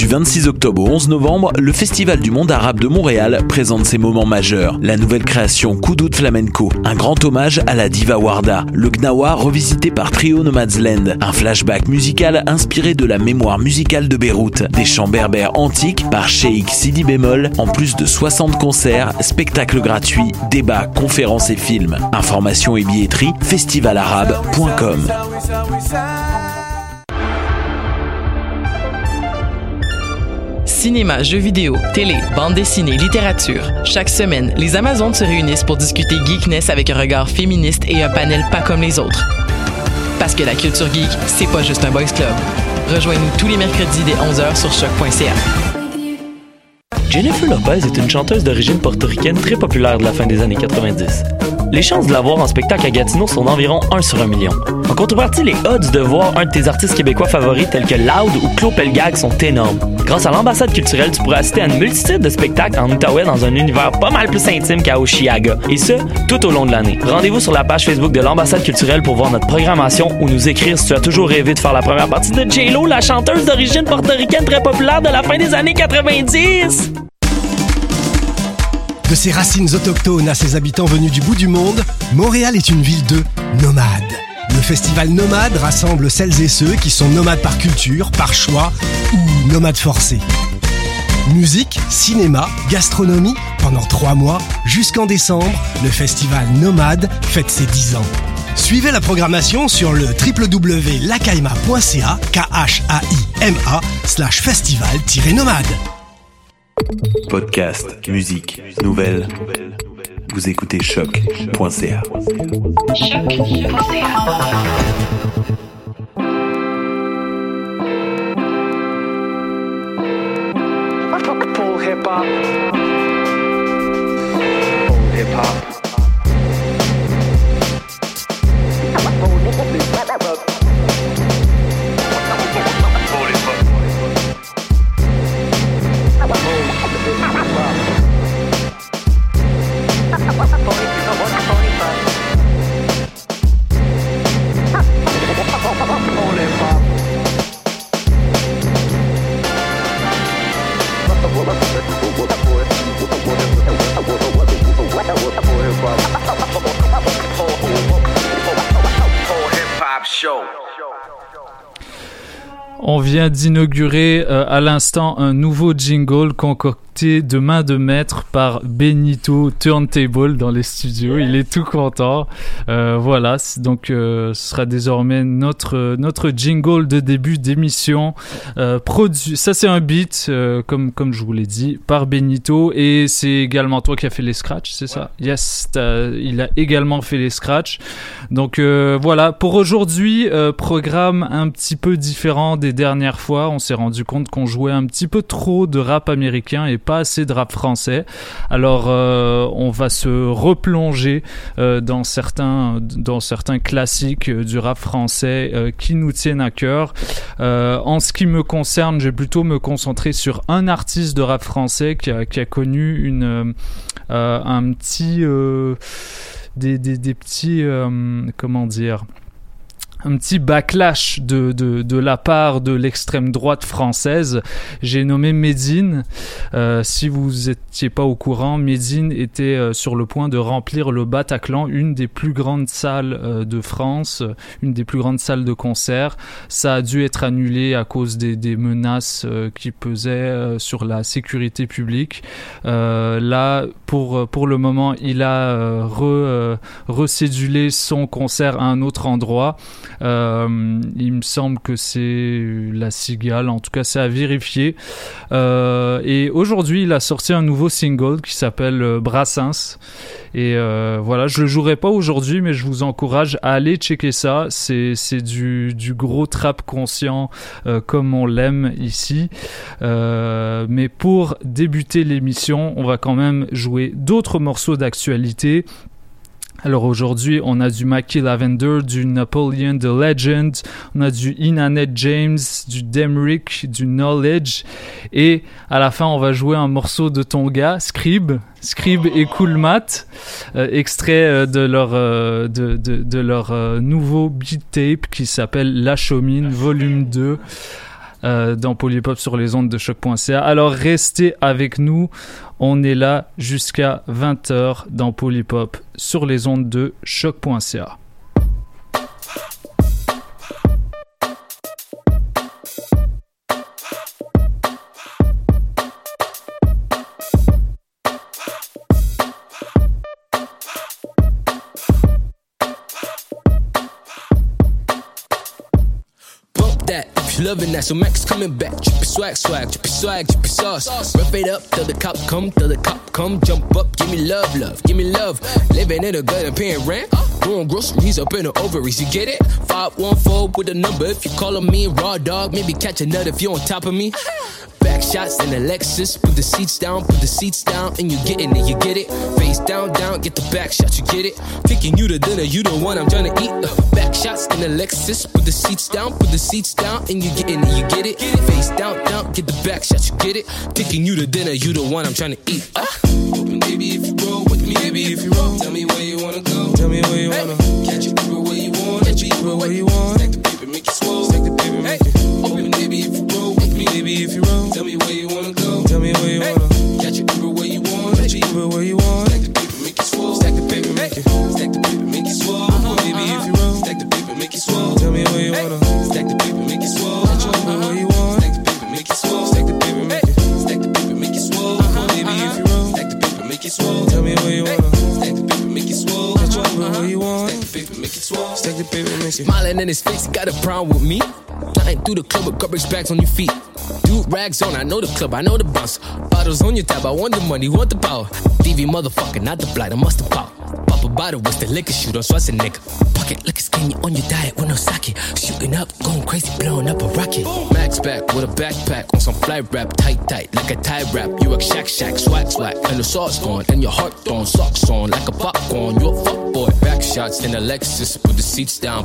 Du 26 octobre au 11 novembre, le Festival du monde arabe de Montréal présente ses moments majeurs. La nouvelle création Koudoud Flamenco, un grand hommage à la diva Warda, le Gnawa revisité par Trio Nomadsland, un flashback musical inspiré de la mémoire musicale de Beyrouth, des chants berbères antiques par Cheikh Sidi Bémol, en plus de 60 concerts, spectacles gratuits, débats, conférences et films. Informations et billetterie, festivalarabe.com. Cinéma, jeux vidéo, télé, bande dessinée, littérature. Chaque semaine, les Amazones se réunissent pour discuter geekness avec un regard féministe et un panel pas comme les autres. Parce que la culture geek, c'est pas juste un boys club. Rejoignez-nous tous les mercredis dès 11h sur choc.ca. Jennifer Lopez est une chanteuse d'origine portoricaine très populaire de la fin des années 90. Les chances de la voir en spectacle à Gatineau sont d'environ 1 sur 1 million. En contrepartie, les odds de voir un de tes artistes québécois favoris tels que Loud ou Claude Pelgag sont énormes. Grâce à l'ambassade culturelle, tu pourras assister à une multitude de spectacles en Outaouais dans un univers pas mal plus intime qu'à Oshiaga. Et ce, tout au long de l'année. Rendez-vous sur la page Facebook de l'ambassade culturelle pour voir notre programmation ou nous écrire si tu as toujours rêvé de faire la première partie de J-Lo, la chanteuse d'origine portoricaine très populaire de la fin des années 90. De ses racines autochtones à ses habitants venus du bout du monde, Montréal est une ville de nomades. Le festival Nomade rassemble celles et ceux qui sont nomades par culture, par choix ou nomades forcés. Musique, cinéma, gastronomie, pendant 3 mois, jusqu'en décembre, le festival Nomade fête ses 10 ans. Suivez la programmation sur le www.lacaima.ca, KHAIMA/festival-nomade. Podcast, musique, nouvelles. Vous écoutez choc.ca. Full hip hop. Hip hop. On vient d'inaugurer à l'instant un nouveau jingle concocté de main de maître par Benito Turntable dans les studios. Il est tout content. Voilà, donc ce sera désormais notre jingle de début d'émission. Produit, ça c'est un beat, comme je vous l'ai dit, par Benito. Et c'est également toi qui as fait les scratchs, c'est ça? Yes, il a également fait les scratchs. Donc voilà, pour aujourd'hui, programme un petit peu différent des dernières fois. On s'est rendu compte qu'on jouait un petit peu trop de rap américain et pas assez de rap français. Alors on va se replonger dans certains classiques du rap français qui nous tiennent à cœur. En ce qui me concerne, je vais plutôt me concentrer sur un artiste de rap français qui a connu un petit des petits comment dire, un petit backlash de la part de l'extrême droite française. J'ai nommé Medine. Si vous étiez pas au courant, Medine était sur le point de remplir le Bataclan, une des plus grandes salles de France, une des plus grandes salles de concert. Ça a dû être annulé à cause des menaces qui pesaient sur la sécurité publique. Là, pour le moment, il a recédulé son concert à un autre endroit. Il me semble que c'est la Cigale, en tout cas c'est à vérifier. Et aujourd'hui il a sorti un nouveau single qui s'appelle Brassens. Et voilà, je le jouerai pas aujourd'hui, mais je vous encourage à aller checker ça. C'est du gros trap conscient comme on l'aime ici. Mais pour débuter l'émission, on va quand même jouer d'autres morceaux d'actualité. Alors aujourd'hui, on a du Mackie Lavender, du Napoleon The Legend, on a du Inanet James, du Demrick, du Knowledge, et à la fin, on va jouer un morceau de ton gars, Scribe et Cool Matt, extrait de leur nouveau beat tape qui s'appelle La Chaumine, volume 2. dans Polypop sur les ondes de choc.ca. Alors restez avec nous, on est là jusqu'à 20h dans Polypop sur les ondes de choc.ca. Loving that, so Max coming back. Drippy swag, swag, drippy swag, drippy sauce. Rough it up till the cop come, jump up, give me love, love, give me love. Living in a good and paying rent. Doing groceries up in the ovaries, you get it? 514 with a number. If you callin' me raw dog, maybe catch a nut if you on top of me. Back shots in the Lexus, put the seats down, and you getting it, you get it. Face down, down, get the back shots, you get it. Taking you to dinner, you the one I'm tryna eat. Back shots in the Lexus, put the seats down, and you getting it, you get it. Face down, down, get the back shots, you get it. Taking you to dinner, you the one I'm tryna eat. Baby, if you roll with me, baby, if you roll, tell me where you wanna go. Tell me where you wanna catch it, where you want, catch it, where you want. Stack the paper, make it swole. Stack the paper, make it open, baby, if you roll with me, baby, if you roll. Tell me where you wanna go. Tell me where you wanna catch it, where you want, catch it, where you want. Stack the paper, make it swole. Stack the paper, make it. Stack the paper, make it swole. Baby, if you roll, stack the paper, make it swole. Tell me where you wanna stack the paper, make it swole. Where you want, stack the paper, make it swole. Stack the paper, make it. Stack the paper, make it swole. Baby, if you roll, stack the paper, make it swole. Tell me where you wanna stack the paper, make it swole. Where you want, stack the paper, make it swole. Stack the paper, make it. Smiling in his face, he got a problem with me. Flying through the club with garbage bags on your feet. Dude, rags on, I know the club, I know the bounce. Bottles on your tab, I want the money, want the power. TV motherfucker, not the blight, I must have power. Pop a bottle, what's the liquor shoot on Schwarzenegger? Pocket liquor skinny on your diet with no sake. Shooting up, going crazy, blowing up a rocket. Max back with a backpack on some fly rap, tight, tight, like a tie wrap. You a shack, shack, swag, swag, and the sauce gone, and your heart throwing socks on like a popcorn. You a fuck boy. Back shots in a Lexus, put the seats down,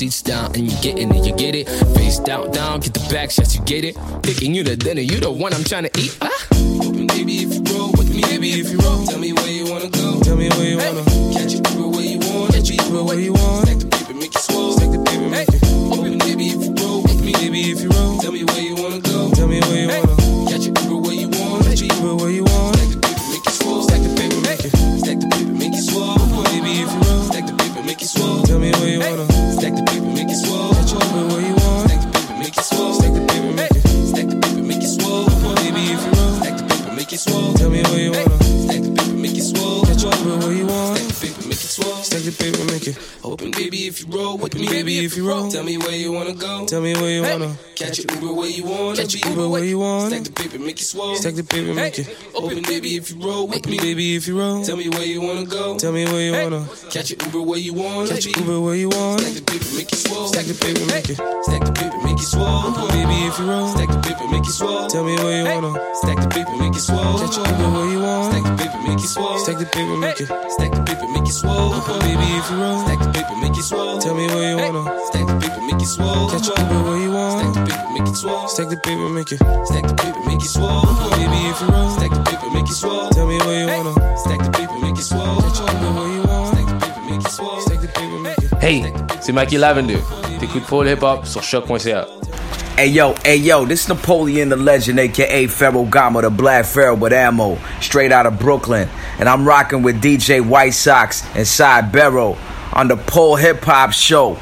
and you getting it, you get it. Face down, down, get the back shots, you get it. Picking you to dinner, you the one I'm trying to eat. Baby, if you roll with me, baby, if you roll, tell me where you wanna go. Tell me where you wanna catch it, where you want, catch it, where you want. Stack the paper, make it swole. Stack the paper, make it open, baby, if you roll with me, baby, if you roll, tell me where you wanna go. Tell me where you wanna catch it, where you want, catch it, where you want. Stack the paper, make it swole. Stack the paper, make it. Stack the paper, make it swole. Baby, if you roll, stack the paper, make it swole. Tell me where you wanna stack the paper, make it swole. Catch it, where you want. Stack the paper, make it swole. Stack the paper, make it. Stack the paper, make it swole. Baby, if you roll, stack the paper, make it swole. Tell me where you wanna stack the paper, make it swole. Catch it, where you want. Stack the paper, make it swole. Stack the paper, make it open, baby, if you roll with me, baby, if you roll. Tell me where you wanna go. Tell me where you wanna catch it, where you want. Catch it, where you want. Stack the paper, make it swole. Stack the paper, make it open, baby, if you roll with me, baby, if you roll. Tell me where you wanna go. Tell me where you wanna catch it, where you want. Catch it, where you want. Stack the paper, make it swole. Stack the paper, make it. Stack the paper, make it swole. Baby, if you roll. Stack the paper, make it swole. Tell me where you wanna stack the paper, make it swole. Catch it, where you want. Stack the paper, make it swole. Stack the paper, make it. Stack the paper, make it swole. Baby, if you roll. Stack the paper, make it swole. Tell me where you wanna stack the paper, make it swole. Catch it, where you want. Stack the paper, make it swole. Stack the paper, make it. Stack the paper, make it swole. Baby, if you roll. Stack the paper, make it swole. Tell me where you wanna stack the paper, make it swole. Catch it, where you want. Stack the paper, make it swole. Stack the paper, make it. Hey, c'est Mikey Lavender. T'écoutes Paul Hip Hop sur choc.ca. Hey yo, this Napoleon the Legend, aka Pharaoh Gama, the Black Pharaoh with ammo, straight out of Brooklyn. And I'm rocking with DJ White Sox and Cy Barrow on the Pole Hip Hop Show.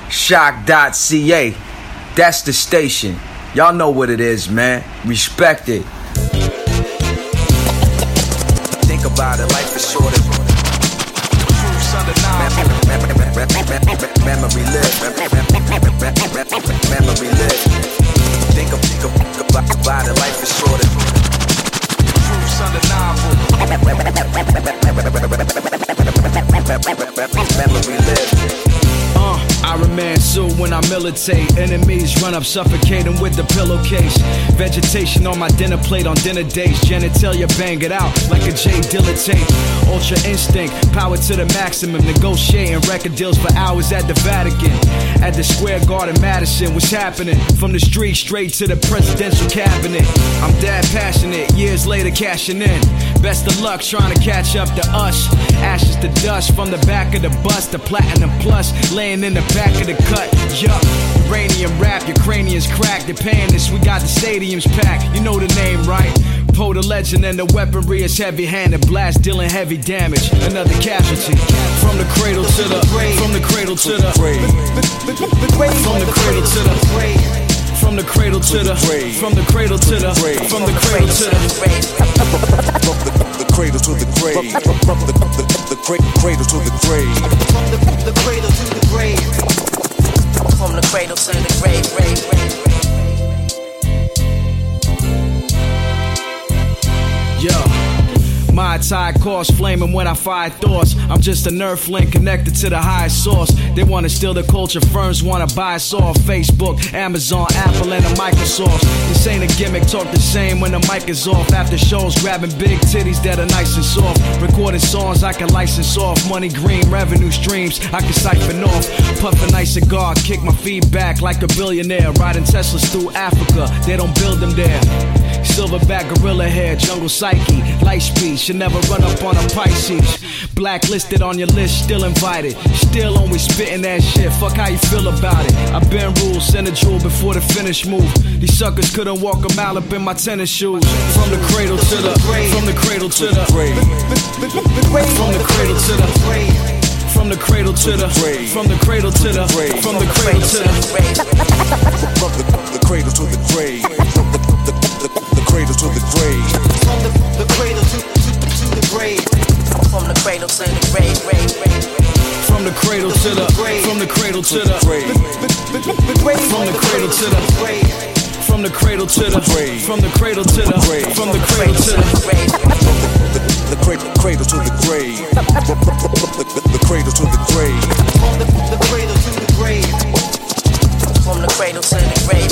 Shock.ca. That's the station. Y'all know what it is, man. Respect it. Think about it, life is short. Memory live. Memory live. Think about it, life is short. Truth's undeniable. Memory live. Iron Man suit when I militate. Enemies run up, suffocating with the pillowcase. Vegetation on my dinner plate on dinner dates. Genitalia bang it out like a J Dilla tape. Ultra instinct, power to the maximum. Negotiating record deals for hours at the Vatican. At the Square Garden, Madison, what's happening? From the street straight to the presidential cabinet. I'm that passionate, years later cashing in. Best of luck trying to catch up to us. Ashes to dust from the back of the bus. The platinum plus laying in the back of the cut. Yup, uranium rap, your cranium's cracked. They're paying this, we got the stadiums packed. You know the name, right? Poe the legend and the weaponry is heavy-handed. Blast dealing heavy damage. Another casualty. From the cradle to the grave. From the cradle to the grave. From the cradle to the grave. From the cradle to the grave. From the cradle to the grave. From the cradle to the grave. The cradle to the grave. From the cradle to the grave. From the cradle to the grave. From the cradle to the grave. Yo, my tide course flaming when I fire thoughts. I'm just a nerve link connected to the highest source. They wanna steal the culture, firms wanna buy us off. Facebook, Amazon, Apple, and a Microsoft. This ain't a gimmick, talk the same when the mic is off. After shows, grabbing big titties that are nice and soft. Recording songs I can license off. Money green, revenue streams I can siphon off. Puff a nice cigar, kick my feet back like a billionaire. Riding Teslas through Africa, they don't build them there. Silverback gorilla hair, jungle psyche, light speed, should never run up on a Pisces. Blacklisted on your list, still invited, still only spitting that shit. Fuck how you feel about it. I've been ruled, send a jewel before the finish move. These suckers couldn't walk a mile up in my tennis shoes. From the cradle to the grave. From the cradle to the grave. From the cradle to the grave. From the cradle to the grave. From the cradle to the grave. From the cradle to the grave. From the cradle to the grave. The cradle to the grave. From the cradle to the grave. From the cradle to the grave. From the cradle to the grave. From the cradle to the grave. From the cradle to the grave. From the cradle to the grave. From the cradle to the grave. From the cradle to the grave. The cradle to the grave. The cradle to the grave. From the cradle to the grave. From the cradle to the grave.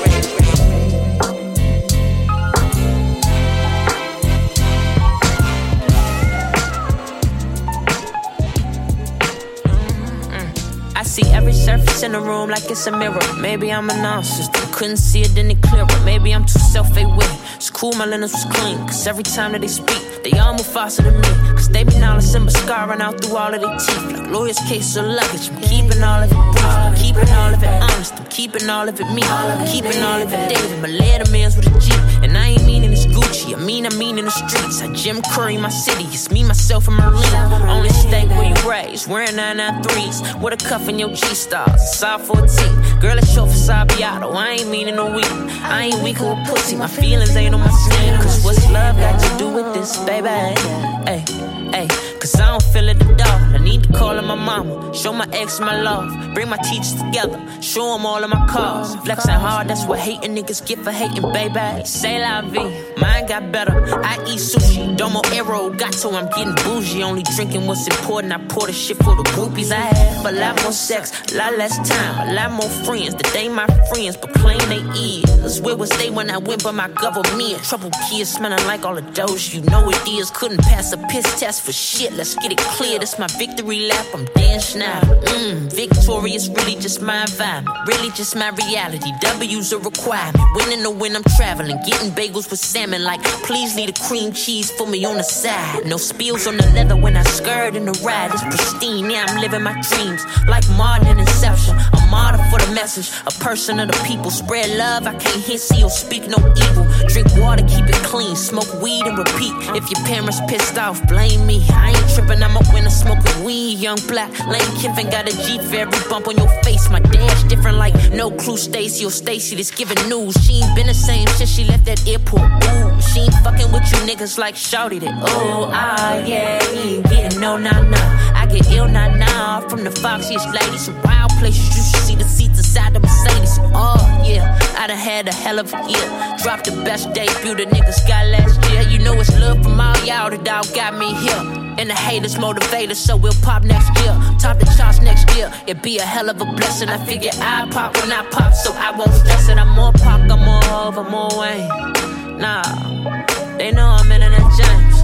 I see every surface in the room like it's a mirror. Maybe I'm a narcissist, couldn't see it any clearer. Maybe I'm too self-aware. It's cool, my lenses was clean. Cause every time that they speak, they all move faster than me. Cause they be knowledge and mascara out through all of their teeth. Like lawyers' case of luggage. I'm keeping all of it brief. I'm keeping all of it honest. I'm keeping all of it me. I'm keeping all of it David. My letterman's with a G. And I ain't meaning it's Gucci. I mean in the streets. I Jim Curry my city. It's me, myself, and Merlin. Only stay where you raised. Wearing 993s. With a cuff in your G-stars. Side 14. Girl, it's short for Sabiato. I ain't meaning no weak. I ain't weak with pussy. My feelings ain't on my sleeve. Cause what's love got to do with this, baby? Hey, hey. Cause I don't feel it at all. I need to call on my mama. Show my ex my love. Bring my teachers together. Show them all of my cars. Flexing hard, that's what hating niggas get for hating, baby. Say la vie. Mine got better. I eat sushi. Domo arrow. Got to I'm getting bougie. Only drinking what's important. I pour the shit for the groupies. I have a lot more sex. A lot less time. A lot more friends. That they my friends. But claim they is. Where was they when I went by my government? Trouble kids smelling like all the doge. You know it is. Couldn't pass a piss test for shit. Let's get it clear, this my victory lap, I'm Dan Schneider. Victorious, really just my environment, really just my reality. W's a requirement, winning to win, I'm traveling, getting bagels with salmon. Like, please leave the cream cheese for me on the side. No spills on the leather when I skirt in the ride. It's pristine, yeah, I'm living my dreams. Like Martin and Inception, a martyr for the message. A person of the people, spread love, I can't hear, see, or speak no evil. Drink water, keep it clean, smoke weed and repeat. If your parents pissed off, blame me. I ain't trippin', I'm a winner, smoking weed. Young black, Lane Kiffin got a G for every bump on your face. My dash different like no clue, Stacy or Stacy that's giving news. She ain't been the same since she left that airport. Ooh, she ain't fucking with you niggas like Shawty that. Oh, yeah, he ain't getting no, nah. I get ill, nah. From the foxiest ladies, some wild places you should see the seats inside the Mercedes. Oh, yeah, I done had a hell of a year. Dropped the best debut the niggas got last year. You know it's love from all y'all that all got me here. And the haters motivators, so we'll pop next year. Top the charts next year, it'd be a hell of a blessing. I figure I pop when I pop, so I won't stress it. I'm more pop, I'm more over, more Wayne. Nah, they know I'm in that James.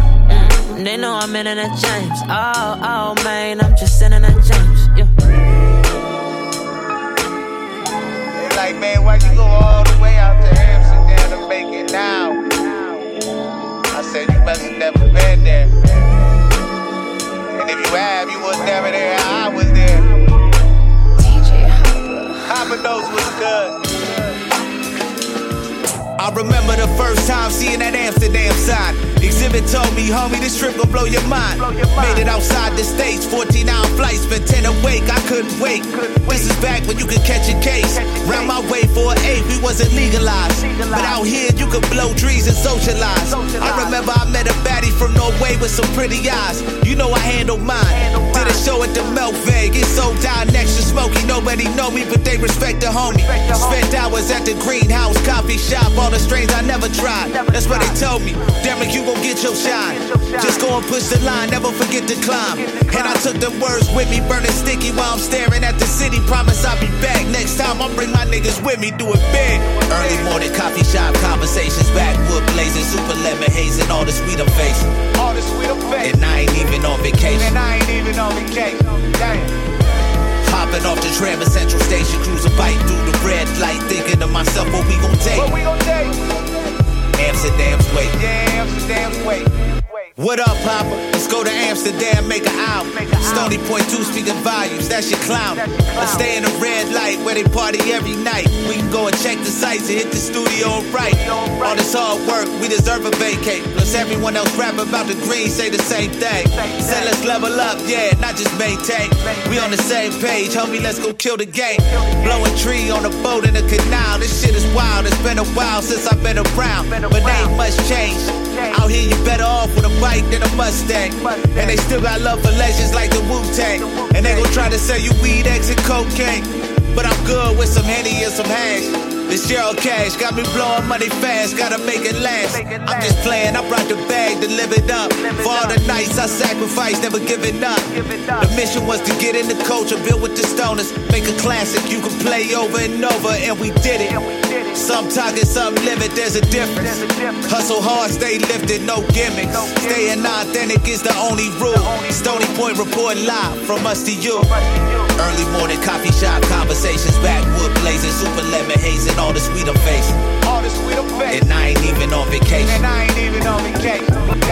They know I'm in that James. Oh, man, I'm just in that James. Yeah. They like, man, why'd you go all the way out to Amsterdam to make it now? I said, you must have never been there. And if you have, you was never there. I was there. DJ Hopper. Hopping knows what's good. I remember the first time seeing that Amsterdam sign. Exhibit told me, homie, this trip gon' blow your mind. Made it outside the States, 14-hour flights, spent 10 awake, I couldn't wait. This is back when you could catch a case. Round my way for an 8, we wasn't legalized. But out here, you could blow trees and socialize. I remember I met a baddie from Norway with some pretty eyes. You know I handled mine. Did a show at the Melkweg, it sold down next to Smokey. Nobody know me, but they respect the homie. Spent hours at the Greenhouse coffee shop, all the strains I never tried. That's what they told me. Derek, you gon' get your shine. Just go and push the line, never forget to climb. And I took them words with me, burning sticky while I'm staring at the city. Promise I'll be back next time. I'll bring my niggas with me, do it big. Early morning coffee shop conversations, backwood blazing, super lemon haze, and all the sweet I'm facing. All the sweet I'm facing. And I ain't even on vacation. And I ain't even on vacation. Damn. Hopping off the tram at Central Station, cruising bike through the red light, thinking to myself, what we gon' take? What we gon' take? Amsterdam's way. Yeah, Amsterdam's way. What up, Papa? Let's go to Amsterdam, make an album. Stony Point 2 speaking volumes, that's your clown. Let's stay in the red light where they party every night. We can go and check the sights and hit the studio and write. All this hard work, we deserve a vacate. Plus everyone else rap about the green, say the same thing. Say let's level up, yeah, not just maintain. We on the same page, homie, let's go kill the game. Blowing tree on a boat in the canal, this shit is wild. It's been a while since I've been around, but ain't much change. Out here you better off with a bike than a Mustang. And they still got love for legends like the Wu-Tang. And they gon' try to sell you weed, X, and cocaine. But I'm good with some Henny and some hash. This Gerald Cash got me blowing money fast, gotta make it last. I'm just playing, I brought the bag to live it up. For all the nights I sacrificed, never giving up. The mission was to get in the culture, build with the stoners, make a classic you can play over and over, and we did it. Some talking, some live it, there's a difference. Hustle hard, stay lifted, no gimmicks. Staying authentic is the only rule. Stony Point report live from us to you. Early morning coffee shop conversations, backwood blazing, super lemon haze, and all the sweet I'm facing. All the sweet I'm facing. And I ain't even on vacation. And I ain't even on vacation.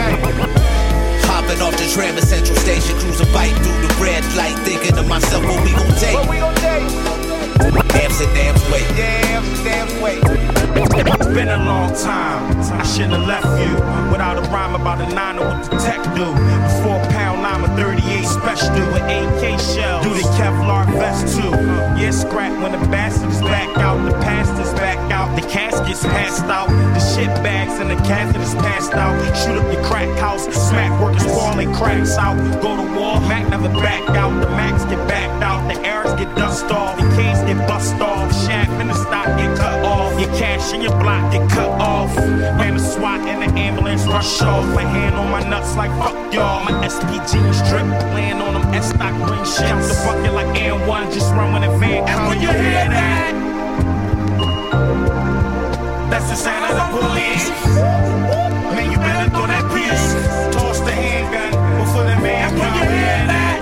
Hopping off the tram at Central Station, cruising bike through the red light, thinking to myself, what we gon' take? What we gon' take? Amsterdam's way. Yeah, Amsterdam's way. It's been a long time. I shouldn't have left you without a rhyme about a 9 or what the tech do. A 4-pound lime, a 38 special with AK shells. Do the Kevlar vest too. Yeah, scrap when the bastard is back out, the pastor's back out, the casket's passed out, the shit bags and the catheter's passed out. Shoot up your crack house, smack workers falling cracks out. Go to war, Mac never back out, the Macs get backed out, the airs get dust off, the K's get bust off, shaft in the stock get cut off, your cash in your block get cut off. Man, the SWAT and the ambulance rush off. My hand on my nuts like fuck y'all. My SPG strip, laying on them S-stock green shit. Out the bucket like N1, just run when the van comes. And when you hear that, that's the sound of the police. Man, you better throw that piece. Toss the handgun before the man comes. And when you hear that,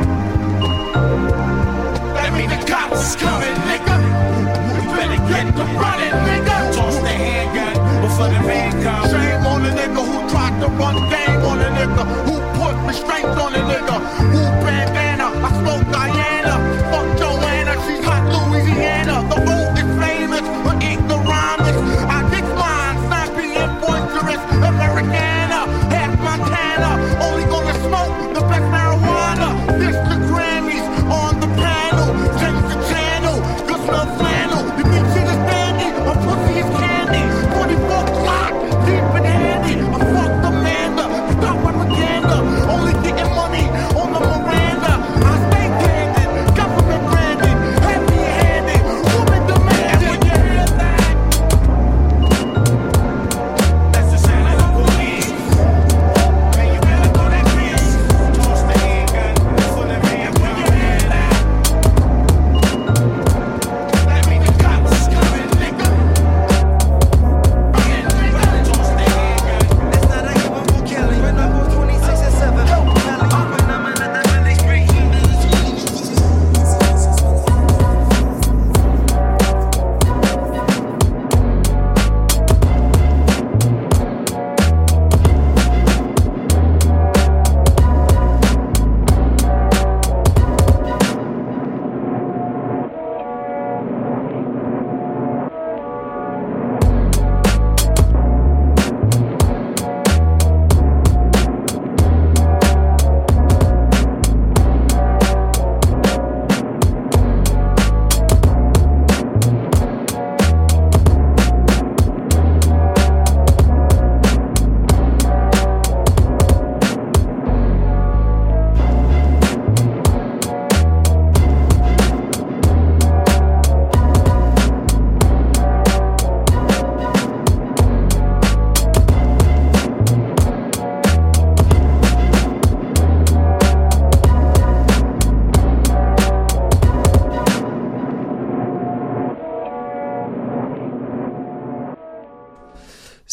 that mean the cops is coming, nigga. You better get to running, nigga. Toss the handgun before the man comes. Shame on the nigga who tried to run game on the nigga, who put restraints on the nigga, who bandana, I smoke Diana, fuck Joanna, she's hot Louisiana. The road is famous for ignoramus. I get mine, snappy and boisterous.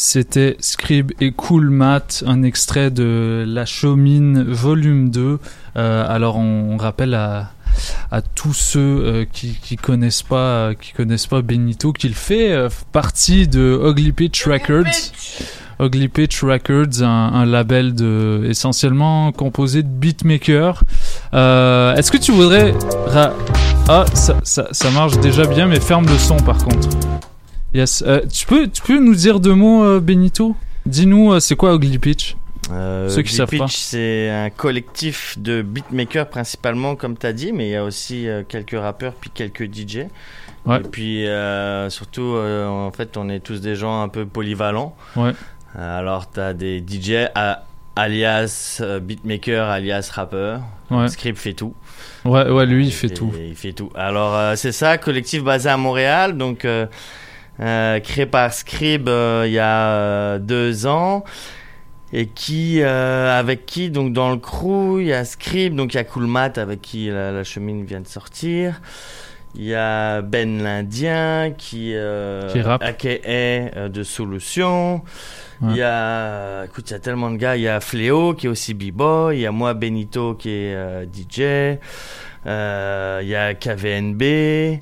C'était Scrib et Cool Matt, un extrait de La Chaumine volume 2. Alors on rappelle à tous ceux qui connaissent pas Benito qu'il fait partie de Ugly Pitch Records. Ugly Pitch Records, un label essentiellement composé de beatmakers. Est-ce que tu voudrais ça marche déjà bien, mais ferme le son par contre. Yes. Tu peux nous dire deux mots, Benito? Dis-nous, c'est quoi Ugly Pitch? Ceux qui savent pas. C'est un collectif de beatmakers principalement, comme tu as dit, mais il y a aussi quelques rappeurs puis quelques DJ. Ouais. Et puis surtout, en fait, on est tous des gens un peu polyvalents. Ouais. Alors, tu as des DJ alias beatmaker, alias rappeur. Ouais. Scrib fait tout. Ouais, lui, il fait tout. Il fait tout. Alors, c'est ça, collectif basé à Montréal, donc créé par Scrib il y a 2 ans. Et avec qui, donc dans le crew, il y a Scrib, donc il y a Cool Matt avec qui la Chaumine vient de sortir. Il y a Ben l'Indien qui rappe. AKA de Solution. Ouais. Il y a tellement de gars. Il y a Fléau qui est aussi B-boy. Il y a moi, Benito, qui est DJ. Il y a KVNB.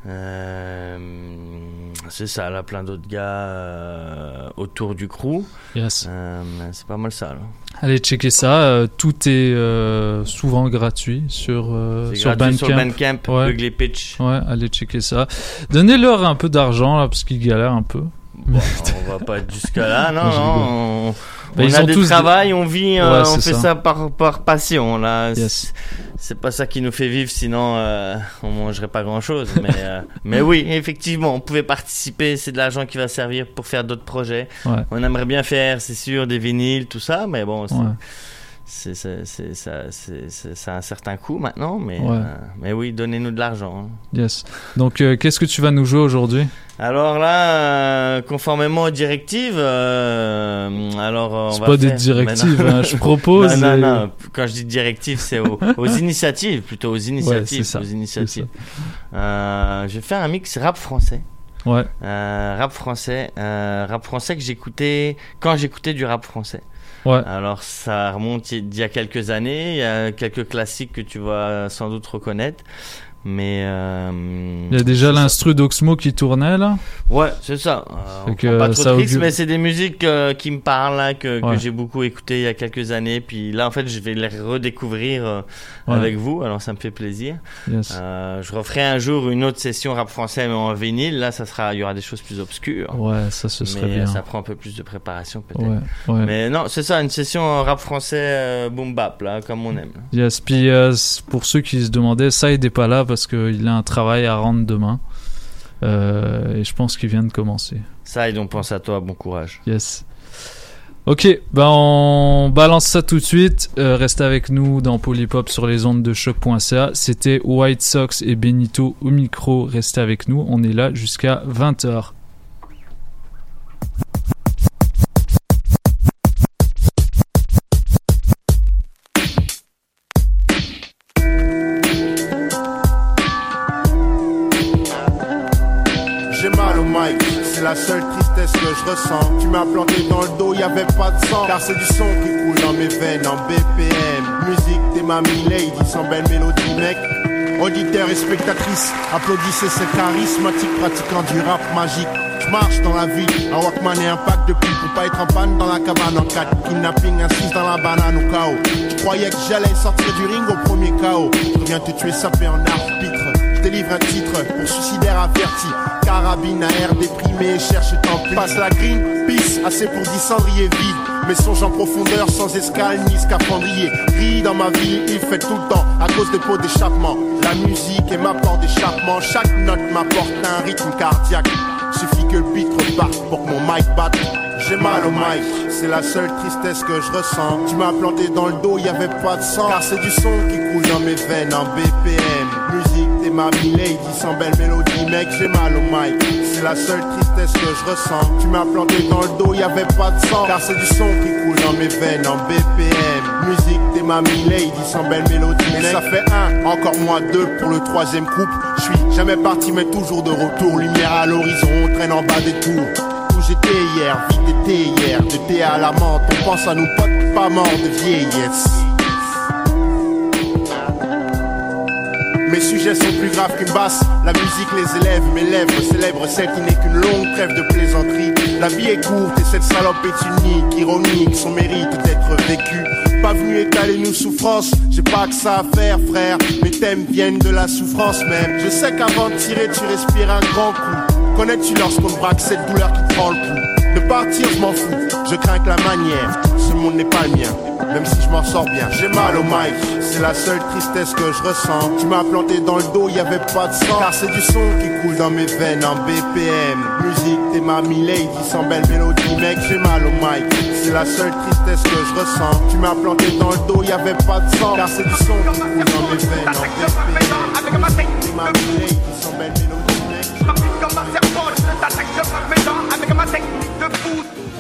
C'est ça, là, plein d'autres gars autour du crew. Yes. C'est pas mal ça, là. Allez checker ça, tout est souvent gratuit sur Bandcamp. Sur Bandcamp, ouais. Ugly Pitch. Ouais, allez checker ça. Donnez-leur un peu d'argent là, parce qu'ils galèrent un peu. Bon, on va pas jusqu'à là, non. Ils on a ont des tous travails, on vit, ouais, on fait ça par passion. Là, yes. C'est pas ça qui nous fait vivre, sinon on mangerait pas grand-chose. Mais oui, effectivement, on pouvait participer. C'est de l'argent qui va servir pour faire d'autres projets. Ouais. On aimerait bien faire, c'est sûr, des vinyles, tout ça, mais bon. Ça a un certain coût maintenant, mais oui, donnez-nous de l'argent. Yes. Donc, qu'est-ce que tu vas nous jouer aujourd'hui? Alors là, conformément aux directives, c'est pas des directives, hein, je propose. Non. Quand je dis directives, c'est aux initiatives, plutôt aux initiatives. Ouais, c'est ça. Aux initiatives. Je vais faire un mix rap français. Ouais. Rap français que j'écoutais quand j'écoutais du rap français. Ouais. Alors ça remonte d'il y a quelques années, il y a quelques classiques que tu vas sans doute reconnaître, mais il y a déjà l'instru d'Oxmo qui tournait là. Ouais, c'est ça. On prend pas trop de risques, mais c'est des musiques qui me parlent là, que j'ai beaucoup écouté il y a quelques années, puis là en fait je vais les redécouvrir avec vous, alors ça me fait plaisir. Yes. Je referai un jour une autre session rap français mais en vinyle, là il y aura des choses plus obscures. Ouais, ça ce serait bien. Ça prend un peu plus de préparation peut-être. Ouais. Mais non, c'est ça, une session rap français boom bap là, comme on aime. Yes, puis pour ceux qui se demandaient, Saïd n'est pas là parce qu'il a un travail à rendre demain. Et je pense qu'il vient de commencer. Saïd, on pense à toi, bon courage. Yes. Ok, on balance ça tout de suite. Restez avec nous dans Polypop sur les ondes de choc.ca. C'était White Sox et Benito au micro. Restez avec nous, on est là jusqu'à 20h. C'est la seule tristesse que je ressens. Tu m'as planté dans le dos, y'avait pas de sang. Car c'est du son qui coule dans mes veines en BPM. Musique des mamies lady, sans belle mélodie mec. Auditeurs et spectatrices, applaudissez ce charismatique pratiquant du rap magique. Je marche dans la ville, un Walkman et un pack de pipes pour pas être en panne dans la cabane en 4. Kidnapping, assise dans la banane au chaos. Je croyais que j'allais sortir du ring au premier chaos. Je reviens te tuer sapé en arbitre. Je délivre un titre pour suicidaire averti. Carabine à air déprimé, cherche tant pis. Passe la green, peace, assez pour 10 cendriers vides. Mais songe en profondeur, sans escale ni scaphandrier. Ris dans ma vie, il fait tout le temps, à cause des pots d'échappement. La musique est ma porte d'échappement. Chaque note m'apporte un rythme cardiaque. Suffit que le beat reparte pour que mon mic batte. J'ai mal au mic, c'est la seule tristesse que je ressens. Tu m'as planté dans le dos, y'avait pas de sang. Car c'est du son qui coule dans mes veines en BPM. Musique des mamies lady, sans belle mélodie mec, j'ai mal au mic. C'est la seule tristesse que je ressens. Tu m'as planté dans le dos, y'avait pas de sang. Car c'est du son qui coule dans mes veines en BPM. Musique des mamies lady, sans belle mélodie mec. Ça fait 1, encore moins 2 pour le 3e couple. Je suis jamais parti mais toujours de retour. Lumière à l'horizon, on traîne en bas des tours. j'étais hier, vie d'été hier, de thé à la menthe. On pense à nos potes pas morts de vieillesse. Mes sujets sont plus graves qu'une basse. La musique les élève, mes lèvres célèbrent celle qui n'est qu'une longue trêve de plaisanterie. La vie est courte et cette salope est unique, ironique, son mérite d'être vécu. Pas venu étaler nos souffrances, j'ai pas que ça à faire frère. Mes thèmes viennent de la souffrance même. Je sais qu'avant de tirer tu respires un grand coup. Connais-tu lorsqu'on te braque cette douleur qui prend le pouls? De partir je m'en fous, je crains que la manière. Ce monde n'est pas le mien, même si je m'en sors bien. J'ai mal au mic, c'est la seule tristesse que je ressens. Tu m'as planté dans le dos, y'avait pas de sang. Car c'est du son qui coule dans mes veines en BPM. Musique, t'es ma milady, sans belle mélodie. Mec, j'ai mal au mic, c'est la seule tristesse que je ressens. Tu m'as planté dans le dos, y'avait pas de sang. Car c'est du son qui coule dans mes veines en BPM. Musique, t'es ma milady, sans belle mélodie. Mec, rapide comme un serpent, je t'attaque, je frappe mes dents avec ma technique de fou.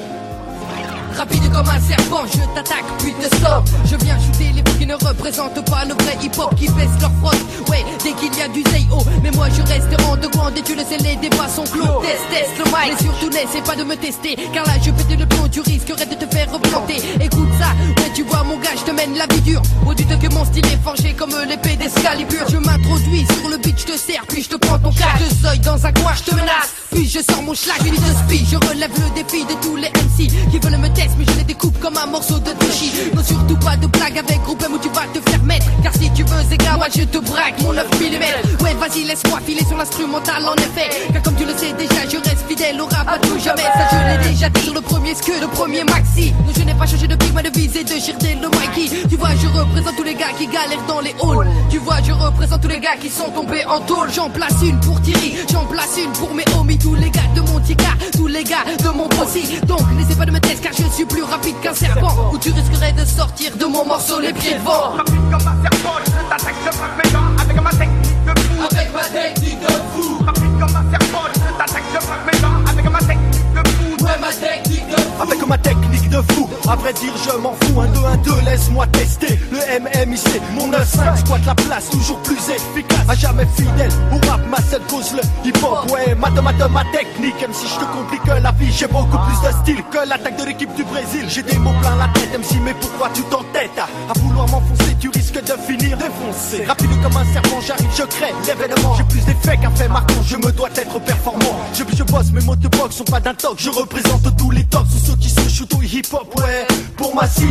Rapide comme un serpent, je t'attaque puis te stoppe. Je viens shooter les bouts qui ne représentent pas le vrai hip-hop, qui baisse leur frotte. Ouais, dès qu'il y a du Zay-O, mais moi je reste en de grande et tu le sais, les débats sont clos. Teste le mic, mais surtout n'essaie pas de me tester, car là je pète le plomb, tu risquerais de te faire replanter. Écoute ça, ouais tu vois mon gars, je te mène la vie dure. Au-dessus que mon style est forgé comme l'épée d'Excalibur. Je m'introduis sur le beat, je te sers, puis je te prends ton cas. Je te soille dans un coin, je te menace, puis je sors mon schlag, une de spi. Je relève le défi de tous les MC qui veulent me tester, mais je les découpe comme un morceau de sushi. Non, surtout pas de blague avec groupe M où tu vas te faire mettre. Car si tu veux, Zéga, moi je te braque mon 9 mm. Ouais, vas-y, laisse-moi filer sur l'instrumental en effet. Car comme tu le sais déjà, je reste fidèle au rap à tout jamais. Ça, je l'ai déjà dit sur le premier que le premier maxi. Non, je n'ai pas changé de pic, ma devise est de girder le Mikey. Tu vois, je représente tous les gars qui galèrent dans les halls. Tu vois, je représente tous les gars qui sont tombés en tôle. J'en place une pour Thierry, j'en place une pour mes homies. Tous les gars de mon tika, tous les gars de mon possi. Donc, n'essaie pas de me tester car je suis plus rapide qu'un serpent. Ou tu risquerais de sortir de mon morceau les pieds devant. Rapide comme un serpent, je t'attaque, je frappe mes dents avec ma technique de fou. Avec ma technique de fou. Rapide comme un serpent, je t'attaque, je frappe mes dents avec ma technique de fou. Ouais, ma technique de fou. Avec ma technique de fou, à vrai dire je m'en fous. 1-2-1-2, laisse-moi tester. Le MMIC, mon 9-5 squatte la place, toujours plus efficace. À jamais fidèle, au rap, ma seule cause le hip-hop. Ouais, ma technique, même si je te complique la vie, j'ai beaucoup plus de style que l'attaque de l'équipe du Brésil. J'ai des mots plein la tête, MC, mais pourquoi tu t'entêtes à vouloir m'enfoncer, tu risques de finir défoncé. Rapide comme un serpent, j'arrive, je crée l'événement. J'ai plus d'effets qu'un fait marquant, je me dois être performant. Je bosse, mes mots de box sont pas d'un toc. Je représente tous les tops, ou ceux qui se shootent au hip-hop, ouais. Pour ma cité,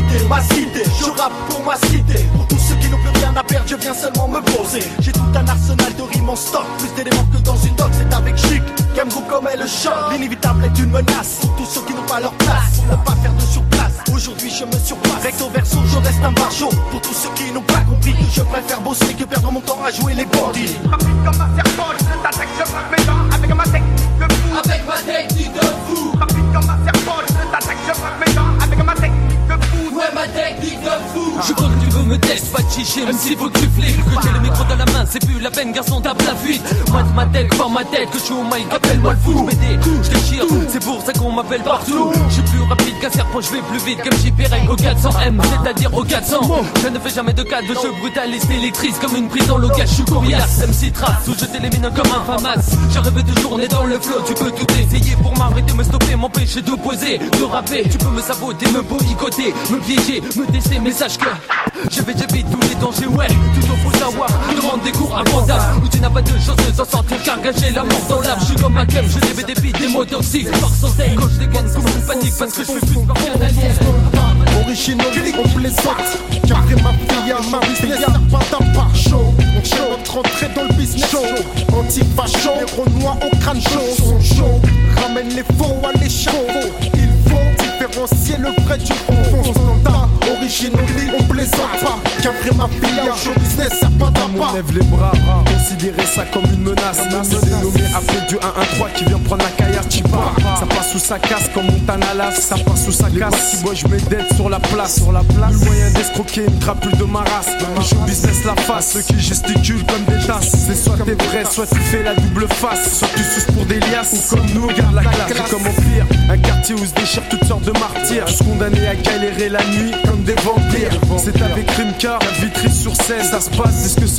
je rappe pour ma cité. Pour tous ceux qui n'ont plus rien à perdre, je viens seulement me poser. J'ai tout un arsenal de rimes en stock, plus d'éléments que dans une doc, c'est avec chic. Gamgo comme est le choc, l'inévitable est une menace. Pour tous ceux qui n'ont pas leur place, pour ne pas faire de surplace. Aujourd'hui je me surpasse, recto verso, je reste un barjot. Pour tous ceux qui n'ont pas compris que je préfère bosser que perdre mon temps à jouer les bandits. Rapide comme un serpent, je t'attaque, je frappe mes dents avec ma technique de fou. Avec ma technique de fou. Rapide comme un serpent, je t'attaque, je frappe mes dents avec ma technique de fou. Ouais, ma technique de fou. Je crois que tu veux me tester, pas de chicher, même s'il faut que tu flippes. Que j'ai le micro dans la main, c'est plus la peine, garçon, tape la fuite. Moi de ma tête, par ma tête, que je suis au mic, appelle-moi le fou. Je déchire, c'est pour ça qu'on m'appelle partout. Je suis plus rapide qu'un serpent, je vais plus vite comme JPREG au 400M, c'est-à-dire au 400. Je ne fais jamais de cas de jeu brutaliste, électrice comme une prise dans l'ocage. Je suis coriace, MC trace, où je t'élimine comme un famas. Je rêve de journée dans le flow, tu peux tout essayer pour m'arrêter, me stopper, m'empêcher d'opposer, de rapper. Tu peux me saboter, me boycotter, me piéger, me tester, mais sache que j'évite tous les dangers, ouais. Toujours faut savoir, demande des cours abordables où tu n'as pas de chance de s'en sortir car gâcher la mort dans l'âme. Je suis comme un clem, je dévie des beats, des mots toxiques. Par centaines, quand je dégaine, comme une panique parce que je suis plus qu'un alien. Original, on plaisante. Car après ma fille à ma business, y'a pas d'un par chaud. On tient notre entrée dans le business show. Anti-facho, les renois au crâne chaud. Sont chauds, ramène les faux à l'échafaud. Il faut différencier le vrai du faux. Standard, original, on plaisante pas. Car après ma fille à show business, y'a pas d'un pas. On lève les bras, considérer ça comme une menace. C'est dénommé après du 1-1-3 qui vient prendre la caillasse, tu pars. Ça passe ou ça casse comme Montana Lave. Ça passe ou ça casse. Si moi je mets dead sur la place. Le moyen d'escroquer une crapule de ma race. Je business la face, ceux qui gesticulent comme des tasses. C'est soit t'es vrai, soit tu fais la double face. Soit tu suces pour des liasses, ou comme nous, garde la classe. C'est comme au pire, un quartier où se déchirent toutes sortes de martyrs. Tous condamnés à galérer la nuit comme des vampires. C'est avec Rimka, la Vitry sur scène. Ça se passe, c'est ce que sort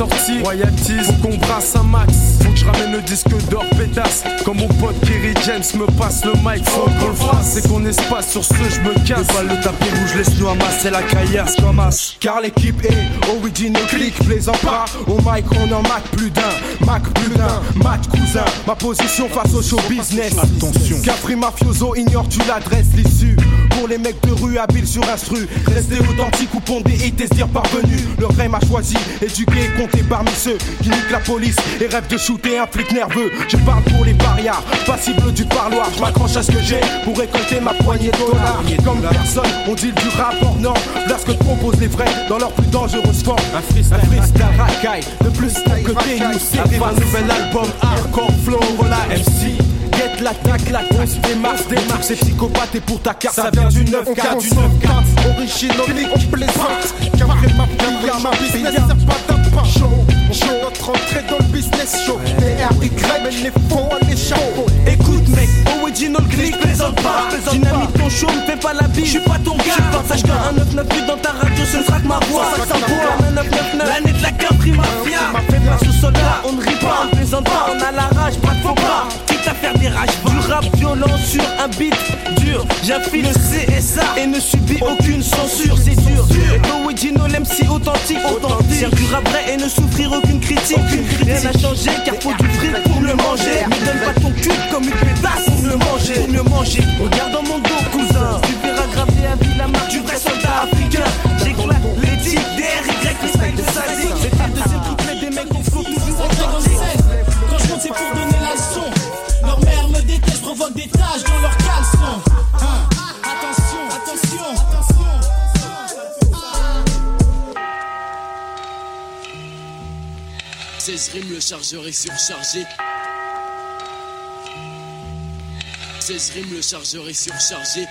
sortie, royalties, faut qu'on brasse un max. Faut que je ramène le disque d'or pétasse. Comme mon pote Kerry James me passe le mic, faut qu'on le fasse. C'est qu'on espace, sur ce je me casse. Déballe le tapis rouge, laisse-nous amasser la caillasse comme as. Car l'équipe est original click, plaisant pas. Au mic on en Mac plus d'un, match cousin. Ma position face au show business. Attention. Capri Mafioso, ignores-tu l'adresse, l'issue. Pour les mecs de rue habiles sur instru, rester authentique ou pondé et tes dire parvenu. Le rêve m'a choisi, éduqué et compté parmi ceux qui niquent la police et rêvent de shooter un flic nerveux. Je parle pour les parias, passibles du parloir. Je m'accroche à ce que j'ai pour récolter ma poignée de dollars. Comme personne, on dit du rap hors norme. Là ce que proposent les vrais dans leur plus dangereuse forme. Un freestyle racaille, de plus que t'es nous. Arrive un nouvel album, hardcore flow, voilà MC. Get l'attaque, on se démarche, c'est psychopathe et pour ta carte ça vient du 9-4, du 9-4. Original, on plaisante, Capri ma business, c'est pas d'un pain chaud. Notre entrée dans le business show, TRY, mais les faux, les chapeaux. Écoute mec, original click, plaisante pas. Dynamique ton show, me fais pas la bise, j'suis pas ton gars. Sache qu'un 998 dans ta radio, ce ne sera que ma voix. Ça s'envoie, un 999, l'année de la Capri Mafia. Ma fait place au soldat, on ne rit pas, on plaisante pas. On a la rage, pas de faux pas. Quitte à faire des rages, du rap violent sur un beat dur. J'affile le CSA et ne subis aucune censure, c'est dur. Original MC authentique, faire du rap vrai et ne souffrir aucune critique. Rien n'a changé car faut du fric pour le manger. Ne donne pas ton cul comme une pétasse pour le manger. Regarde dans mon dos cousin, tu verras graver à vie la marque du vrai soldat africain. J'éclate les types DRY, respect de sa ligue. J'ai fait deuxième triplé des mecs au flot toujours en quand je compte c'est pour donner la leçon. Leur mère me déteste, provoque des taches dans leur caleçon. Attention. 16 rimes, le chargeur est surchargé. 16 rimes, le chargeur est surchargé.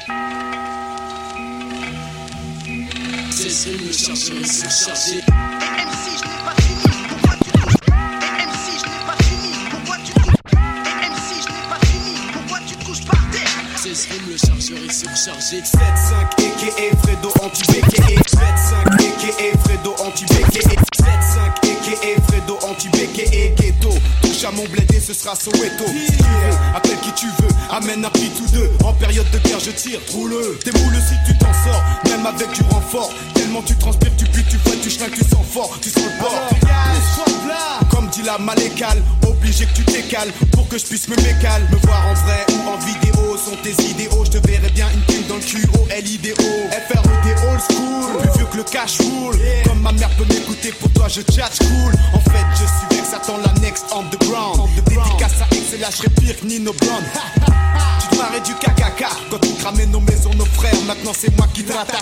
16 rimes, le chargeur est surchargé. MC, je n'ai pas fini, pourquoi tu touches? MC, je n'ai pas fini, pourquoi tu touches? MC, je n'ai pas fini, pourquoi tu te couches par terre? 16 rimes, le chargeur est surchargé. 7-5 aka Fredo anti-BKE. 7-5 aka Fredo anti-BKE. 7-5 aka Fredo anti-BKE. Ghetto, touche à mon bled et ce sera Soweto. Si tu veux, appelle qui tu veux, amène un prix tous deux. En période de guerre je tire, roule-le. T'es moule si tu t'en sors, même avec du renfort. Tellement tu transpires, tu pues, tu fouettes, tu schlingues, tu sens fort, tu sens le bord. Comme dit la malécale, obligé que tu t'écales pour que je puisse me mécale. Me voir en vrai ou en vidéo sont tes idéaux. Je te verrai bien une thune dans le QOLIDO. FRED old school, plus vieux que le cash roule. Comme ma mère peut m'écouter, pour toi je tchatch cool. En fait je suis vex, attends la next on the ground. Dédicace à X et là je serai pire que Nino Brown. Tu te marrais du KKK quand tu cramais nos maisons, nos frères. Maintenant c'est moi qui te rattache.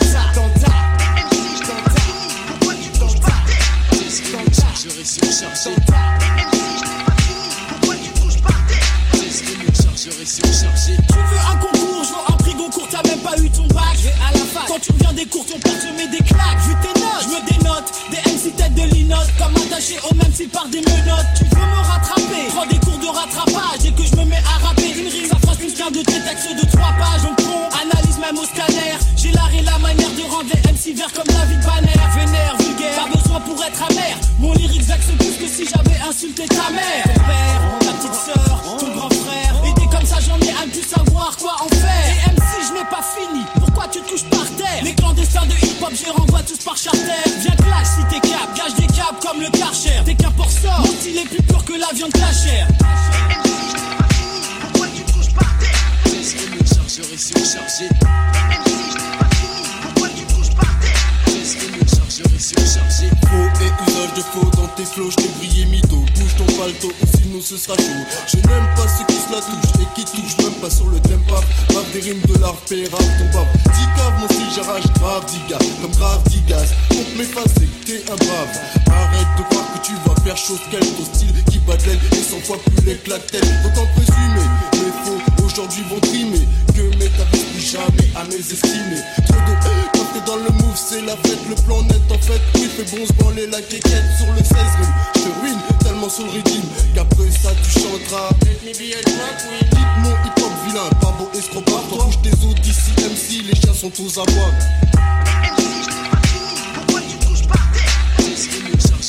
Je reste surchargé. Pourquoi tu touches par terre? Je reste surchargé. Tu veux un concours, je veux un prix Goncourt, t'as même pas eu ton bac. Je vais à la fac. Quand tu reviens des cours, ton père te met des claques. Vu tes notes, je me dénote. Des MC tête de linotte, comme attaché au même fil par des menottes. Tu veux me rattraper? Prends des cours de rattrapage. Et que je me mets à rapper une rime, ça fera plus qu'un de tes textes de 3 pages. Donc con, analyse même au scanner. J'ai l'art et la manière de rendre les MC verts comme la vie de Banner. Vénère, vulgaire, pas besoin pour être amer. Mon lyrique vexe plus que si j'avais insulté ta mère. Ton père, ta petite sœur, ton grand frère. Et des comme ça j'en ai à ne plus savoir quoi en faire. Et MC je n'ai pas fini, pourquoi tu te couches par terre? Les clandestins de hip hop j'y renvoie tous par charter. Viens clash si t'es cap, gage des câbles comme le Karcher. T'es qu'un porceur, mon style est plus pur que la viande cachère. MC, je n'ai pas fini, pourquoi tu te couches par terre? Le chargeur est surchargé. MC, je n'ai pas fini, pourquoi tu te couches par terre? Le chargeur est surchargé. Faux et usage de faux dans tes flots, j't'ai brillé mytho. Bouge ton palto ou sinon ce sera chaud. Je n'aime pas ceux qui se la touchent et qui touchent même pas sur le tempo. Grave des rimes de l'art, rap ton bab. 10 caves, mon style j'arrache grave 10 gars. Comme grave 10 gaz. Pour m'effacer, t'es un brave. Arrête de croire que tu vas faire chose qu'elle. Ton style qui bat de l'aile et 100 fois plus laid que la tête. Autant présumer, les faux aujourd'hui vont trimer. Que m'établis plus jamais à mes estimés. Trop de quand t'es dans le move, c'est la fête. Le plan net en fait, oui, fait bon se branler la quéquette sur le 16 rimes. Je te ruine tellement sur le rythme qu'après ça tu chanteras. Let me be a drunk queen. Dites mon hip hop vilain, pas beau escrobat. Toi bouge tes autres d'ici, MC, les chiens sont aux abois. MC, je n'ai pas fini, pourquoi tu te couches par terre? Le chargeur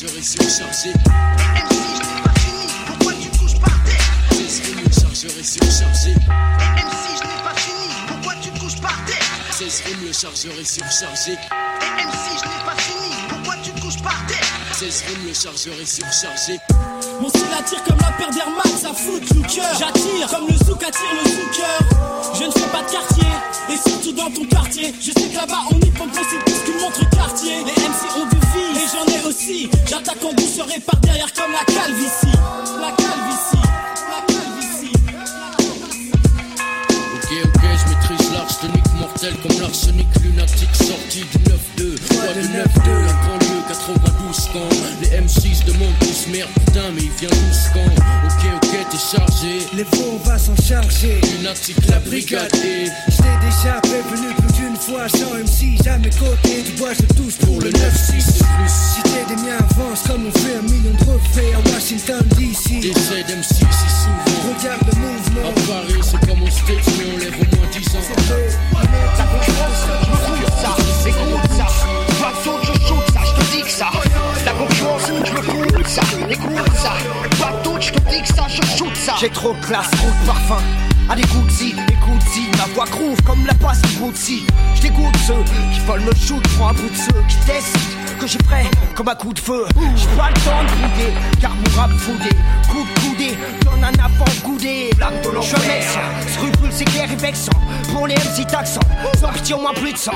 chargeur est surchargé. MC, je n'ai pas fini, pourquoi tu te couches par terre? 16 rimes, le chargeur est surchargé. MC, je n'ai pas fini, pourquoi tu te couches par terre? 16 rimes, le chargeur est surchargé. MC, je n'ai pas fini, pourquoi tu te couches par terre? 16 rimes, le chargeur est surchargé. Mon style attire comme la paire d'Air Max à foot le cœur. J'attire comme le souk attire le zouker. Je ne fais pas de quartier, et surtout dans ton quartier. Je sais que là-bas on y pompe c'est plus qu'une montre quartier. Les MC ont du vie, et j'en ai aussi. J'attaque en douceur et par derrière comme la calvitie. La calvitie, la calvitie. Ok, je maîtrise l'arsenic mortel comme l'arsenic lunatique sorti du 9-2. Quoi de 9-2, la banlieue 92 camps. Les M6 demandent tous merde, putain, mais il vient 12 camps. Ok, t'es chargé. Les faux, on va s'en charger. Lunatique, la brigade et j't'ai déjà prévenu plus d'une fois. Sans MC, jamais côté. Tu vois, je touche pour le 9-6 de plus. Si t'es des miens, avance comme on fait 1 million de trophées à Washington DC. J'essaie d'MC si souvent. Regarde le mouvement. À Paris, c'est comme au States, mais on lève au moins 10 ans. Ta concurrence, je me fous de ça. Écoute ça. Pas de saut, je shoot ça, je te dis que ça. La concurrence, je me fous de ça. Écoute ça. Pas de saut, je te dis que ça, je shoot ça. J'ai trop de classe, trop de parfum. Allez, écoute-y, ma voix groove comme la passe du Gucci. J'dégoûte ceux qui veulent me shoot, prends un bout de ceux qui testent que j'ai prêt comme un coup de feu. J'ai pas le temps de bouder, car mon rap foudé. Coup de coudé, donne un avant-goudé. Je laisse, scrupule c'est clair et vexant. Pour les MC taxants, sans pitié au moins plus de 100.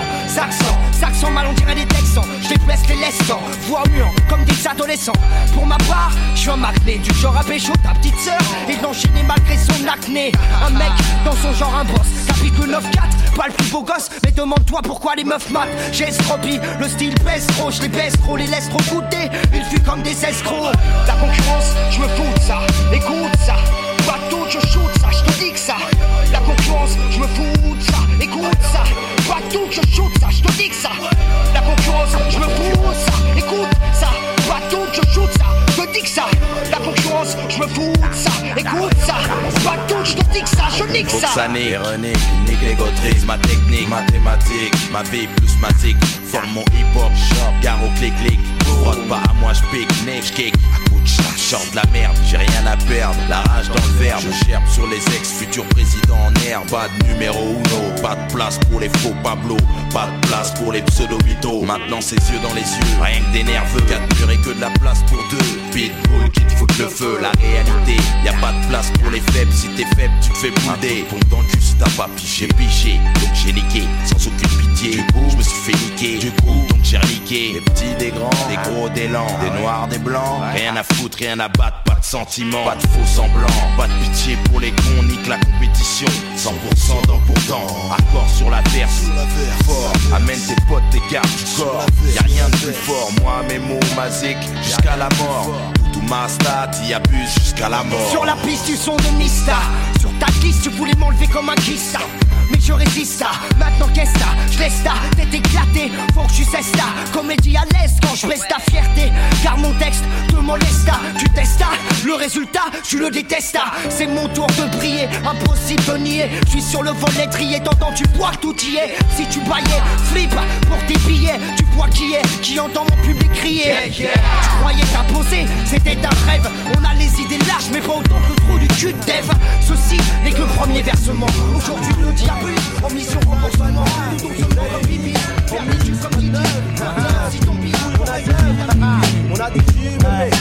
Saxon mal on dirait des texans. J'les blesse les laissants, voix muant comme des adolescents. Pour ma part, j'suis un acné, du genre à pécho ta petite sœur et d'enchaîner malgré son acné. Un mec dans son genre un boss, chapitre 9-4, pas le plus beau gosse, mais demande-toi pourquoi les meufs matent. J'ai estropie, le style pèse trop, je les baisse trop, les laisse trop goûter, ils fuient comme des escrocs. La concurrence, je me fous de ça, écoute ça. Pas tout, je shoot ça, je te dis que ça. La concurrence, je me fous de ça, écoute ça. Pas tout, je shoot ça, je te dis que ça. La concurrence, je me fous de ça, écoute ça. Pas tout, je shoot ça, je te dis que ça. La concurrence, je me fous de ça, écoute ça. Pas tout, je te dis que ça, je nique ça. Ça n'est ironique, nique les gautrises, ma technique, mathématique, ma vie plus matique. Forme mon hip-hop, gare au clic-clic. Frotte pas à moi, j'pique, j'kick. À coup de chat, chante la merde, j'ai rien à perdre. La rage dans le verbe, je gerbe sur les ex, futurs présidents en herbe. Pas de numéro uno, pas de place pour les faux Pablo. Pas de place pour les pseudo-mythos. Maintenant c'est yeux dans les yeux, rien que des nerveux. 4 murs et que de la place pour 2. Pitbull qui te fout le feu, la réalité. Y'a pas de place pour les faibles, si t'es faible tu te fais bouder. Pompe dans le cul si t'as pas piché, donc j'ai niqué, sans aucune pitié. Je me suis fait niquer, du coup donc j'ai reliqué. Des petits, des grands, des gros, des lents, des noirs, des blancs. Rien à foutre, rien à battre, pas de sentiments, pas de faux semblants. Pas de pitié pour les cons, nique la compétition. 100% dans pourtant, accord sur la verse. Fort, amène tes potes, tes gardes du corps. Y'a rien de plus fort, moi mes mots, ma zik, jusqu'à la mort. Tout ma stat, y abuse jusqu'à la mort. Sur la piste du son de Mista, sur ta liste tu voulais m'enlever comme un kista. Mais je résiste à, maintenant qu'est-ce que je laisse ta tête éclatée, faut que tu cesses ta comédie à l'aise quand je baisse ta fierté. Car mon texte te molesta, tu testes le résultat, tu le détestes. C'est mon tour de briller, impossible de nier. Je suis sur le vol l'étrier, t'entends tu bois tout y est. Si tu baillais, flip pour tes billets. Tu vois qui entend mon public crier. Tu croyais t'imposer, c'était un rêve. On a les idées larges mais pas autant que le trou du cul de Dev. Ceci n'est que le premier versement. Aujourd'hui le diable en mission remboursement, tout doucement comme Bibi, en mission comme Kiki. Si ton bidou, on a des jus,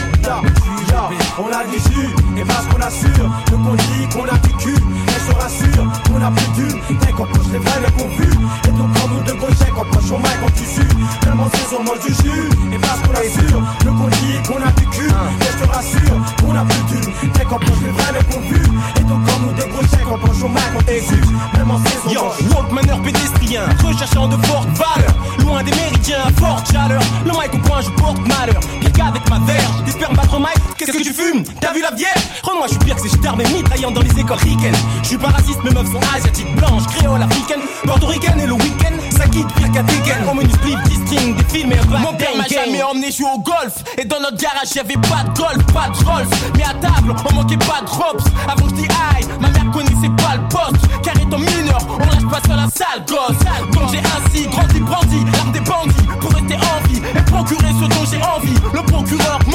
on a des jus, et parce qu'on assure, le qu'on dit qu'on a du cul, elle se rassure, qu'on a plus d'une, dès qu'on pousse les vrais qu'on vu, et donc quand nous de gauche, qu'on poche au mic, on tissu, même en saison, mange du jus, et parce qu'on assure, le qu'on dit qu'on a du cul, elle se rassure, qu'on a plus d'une, dès qu'on pousse les vrais qu'on vu, et donc quand nous de gauche, qu'on poche au mic, on tissu, même en saison. Yo, walkmaneur pédestrien, recherchant de fortes valeurs, loin des méridiens à forte chaleur. Le mic au point, je porte malheur. Pire qu'avec ma verge, t'espères me battre au mic. Qu'est-ce que tu fumes? T'as vu la vierge? Rends-moi, je suis pire que ces stars, mais mitraillant dans les écoles ricaines. Je suis pas raciste, mes meufs sont asiatiques, blanches, créoles, africaines, portoricaines et le week-end, ça quitte pire qu'à Tekken. Au menu split, distingue, des films et un back. Mon père m'a jamais emmené jouer au golf. Et dans notre garage, y'avait pas de golf, pas de Rolls. Mais à table, on manquait pas de drops. Avant que je dis aïe, ma mère connaissait pas le poste. Car étant mineur, on lâche pas sur la sale gosse. Donc j'ai ainsi grandi, brandi, l'arme des bandits pour rester en vie et procurer ce dont j'ai envie. Le procureur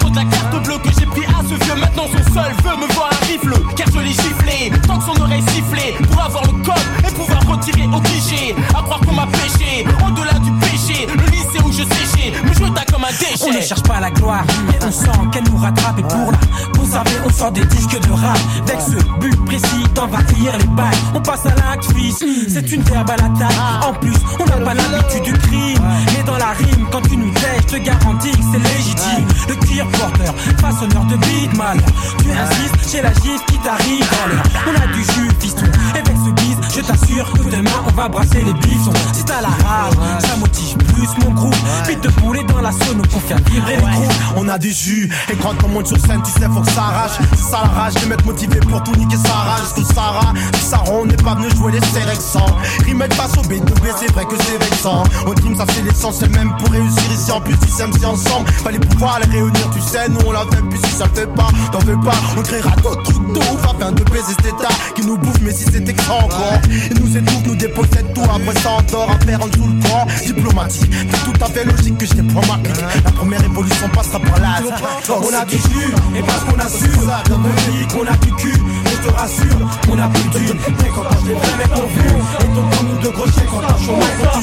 de la carte bleue que j'ai pris à ce vieux. Maintenant son seul veut me voir un rifle, car je l'ai giflé, tant que son oreille sifflait, pour avoir le code et pouvoir retirer au cliché. À croire qu'on m'a pêché, au-delà du péché, le lycée où je séchais, me jeta comme un déchet. On ne cherche pas la gloire, mais on sent qu'elle nous rattrape. Et pour la conserver, on sort des disques de rap, avec ce but précis d'envahir les balles. On passe à l'acte, fils, c'est une verbe à la taille. En plus, on n'a pas l'habitude du crime, mais dans la rime, quand tu nous tèches, je te garantis que c'est légitime. Le cuir porteur, façonneur de beat, mal. Tu insistes chez la gifle qui t'arrive dans l'heure. On a du jus, fiston, et avec ce bise, je t'assure que demain on va brasser les bifons. Si t'as la rage, ça motive plus mon groupe. Vite de poulet dans la sono pour faire vibrer les groupes. On a du jus, et quand on monte sur scène, tu sais, faut que ça arrache. C'est ça la rage, les mecs motivés pour tout niquer sa rage. Tout Sarah, du Saron, on n'est pas venu jouer les sélections. Remake face au B2B, c'est vrai que c'est vexant. Au team, ça c'est l'essentiel même pour réussir ici. En plus, si c'est MC ensemble, fallait pouvoir les réunir. Tu sais, nous on l'a fait, puis si ça le fait pas, t'en veux pas. On créera d'autres trucs de ouf afin de baiser cet état qui nous bouffe, mais si c'était que ça encore. Et nous étouffe, nous dépossède tout, après ça on dort, à faire en dessous le courant. Diplomatique, c'est tout à fait logique que je t'ai point marqué. La première évolution passera par là. On a du jus, et parce qu'on assure, dans nos pays qu'on a du cul, je te rassure, on a plus d'une. Mais quand les vrais mecs ont vu, et ton temps nous de gros chèques quand t'as chômage, quand tu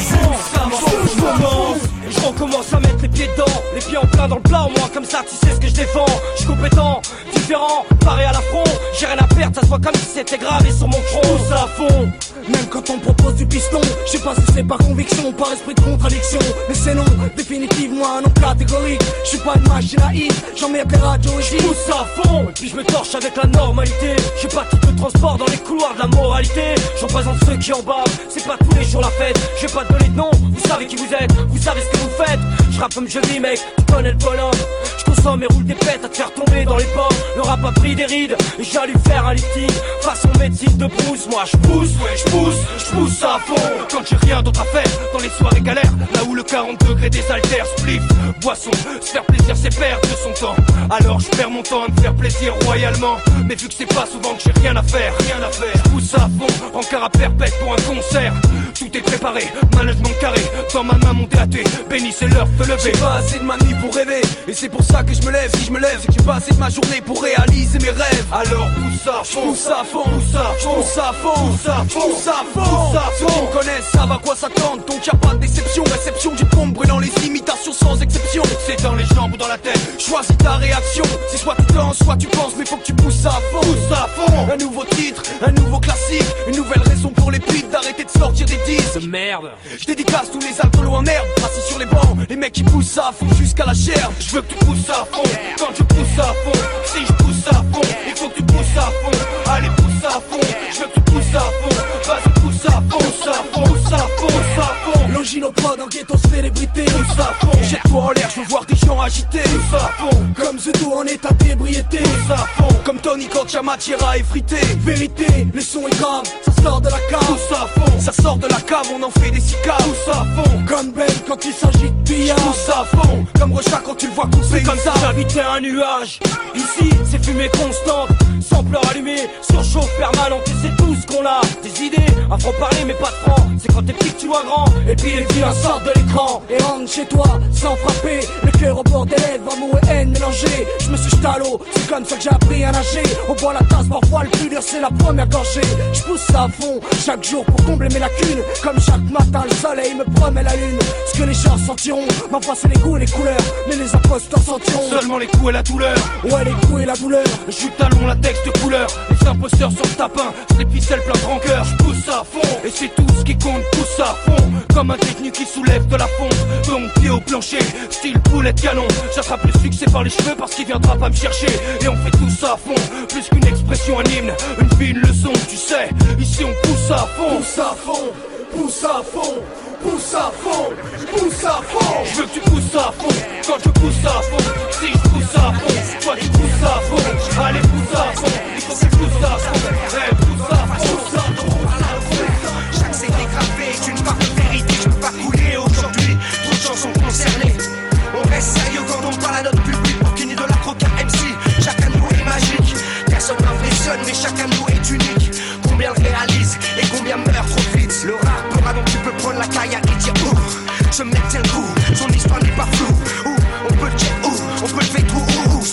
joues. Je recommence à mettre les pieds dedans, les pieds en plein dans le plat, au moins comme ça tu sais ce que je défends. Je suis compétent, différent, paré à l'affront. J'ai rien à perdre, ça se voit comme si c'était gravé sur mon front. Tout ça à fond, même quand on propose du piston. Je sais pas si c'est par conviction, par esprit de contradiction, mais c'est non, définitivement un nom catégorique. Je suis pas une machine à hit, j'emmerde les radios et je pousse à fond. Et puis je me torche avec la normalité. J'ai pas tout de transport dans les couloirs de la moralité. Je représente ceux qui en bavent, c'est pas tous les jours la fête. Je vais pas te donner de nom, vous savez qui vous êtes, vous savez ce que vous faites. Je rappe comme je vis mec, tu connais le bonhomme. Je consomme et roule des pètes à te faire tomber dans les pommes. Le rap a pris des rides et j'ai allé faire un lifting façon médecine de brousse. Moi je pousse, ouais je pousse à fond. Quand j'ai rien d'autre à faire, dans les soirées galères, là où le 40 degrés désaltère, spliff, boisson, se faire plaisir c'est perdre de son temps. Alors je perds mon temps à me faire plaisir royalement. Mais vu que c'est pas souvent que j'ai rien à faire, je pousse à fond, encart à perpète pour un concert. Tout est préparé, management carré, dans ma main mon DAT, béni c'est l'heure de te lever. J'ai pas assez de ma nuit pour rêver, et c'est pour ça que je me lève. Si je me lève, c'est que j'ai pas assez de ma journée pour réaliser mes rêves. Alors pousse à fond, pousse à fond, pousse à fond, pousse à fond, pousse à fond, pousse à fond, pousse à fond. Ceux qui me connaissent savent à quoi s'attendre, donc y'a pas de déception. Réception du pompe brûlant les imitations sans exception. C'est dans les jambes ou dans la tête, choisis ta réaction. C'est soit tu danses, soit tu penses, mais faut que tu pousses à fond, pousse à fond. Un nouveau titre, un nouveau classique, une nouvelle raison pour les putes d'arrêter de sortir des disques de merde. Je dédicace tous les alcoolos en herbe, assis sur les bancs, les mecs qui poussent à fond jusqu'à la chair. Je veux que tu pousses à fond, quand je pousse à fond, si je pousse à fond, il faut que tu pousses à fond. Allez pousse à fond, je veux que tu pousses à fond, vas-y pousse à fond, pousse à fond, pousse à fond, pousse à fond. Longinopode en ghetto célébrité, pousse à fond. Jette-toi en l'air, je veux voir des gens agités, pousse à fond. Comme Zudo en état d'ébriété, pousse à fond. Comme Tony quand y'a matière à effriter. Vérité, le son est grave, ça sort de la cave, pousse à fond. Ça sort de la cave, on en fait des cicaves, pousse à fond. Comme Ben quand il s'agit de billard, pousse à fond. Comme Rocha quand tu le vois couper comme ça, j'habitais un nuage. Ici, c'est fumée constante, sampleur allumé, surchauffe permanente. Et c'est tout ce qu'on a, des idées, un franc-parler mais pas de franc. C'est quand t'es petit que tu vois grand, et puis les vilains sortent de l'écran et rentrent chez toi sans frapper. Le cœur au bord des lèvres, amour et haine mélangés. Je me suis jeté à l'eau, c'est comme ça que j'ai appris à nager. On boit la tasse, parfois le plus dur c'est la première gorgée. Je pousse ça à fond, chaque jour pour combler mes lacunes. Comme chaque matin le soleil me promet la lune. Ce que les gens sentiront, ma voix c'est les goûts et les couleurs, mais les imposteurs sentiront seulement les coups et la douleur. Ouais les coups et la douleur, je suis talon, latex de couleur. Les imposteurs sur le tapin, c'est les ficelles plein de rancœur. Je pousse à fond, et c'est tout ce qui compte, pousse à fond. Comme un technique qui soulève de la fonte, de mon pied au plancher, style poulet de canon. J'attrape le succès par les cheveux parce qu'il viendra pas me chercher. Et on fait tout ça à fond, plus qu'une expression, un hymne, une vie, une leçon, tu sais. Ici on pousse à fond, pousse à fond, pousse à fond, pousse à fond, pousse à fond. Je veux que tu pousses à fond, quand je pousse à fond. Si je pousse à fond, toi tu pousses à fond. Allez pousse à fond, il faut que tu pousses à fond. Hey, pousse à fond, pousse à fond. Chaque CD gravé est une part de vérité. Je peux pas couler aujourd'hui, trop de gens sont concernés. On reste sérieux quand on parle à notre public. Pour qu'une idole croquer MC, chacun de nous est magique. Personne n'impressionne mais chacun de nous est unique. Combien le réalise et combien meurt trop vite. Le rappeur avant tu peux prendre la carrière et dire ouh, ce mec tient le coup, son histoire n'est pas floue. Ouh, on peut le check, ouh, on peut le faire tout, ouh,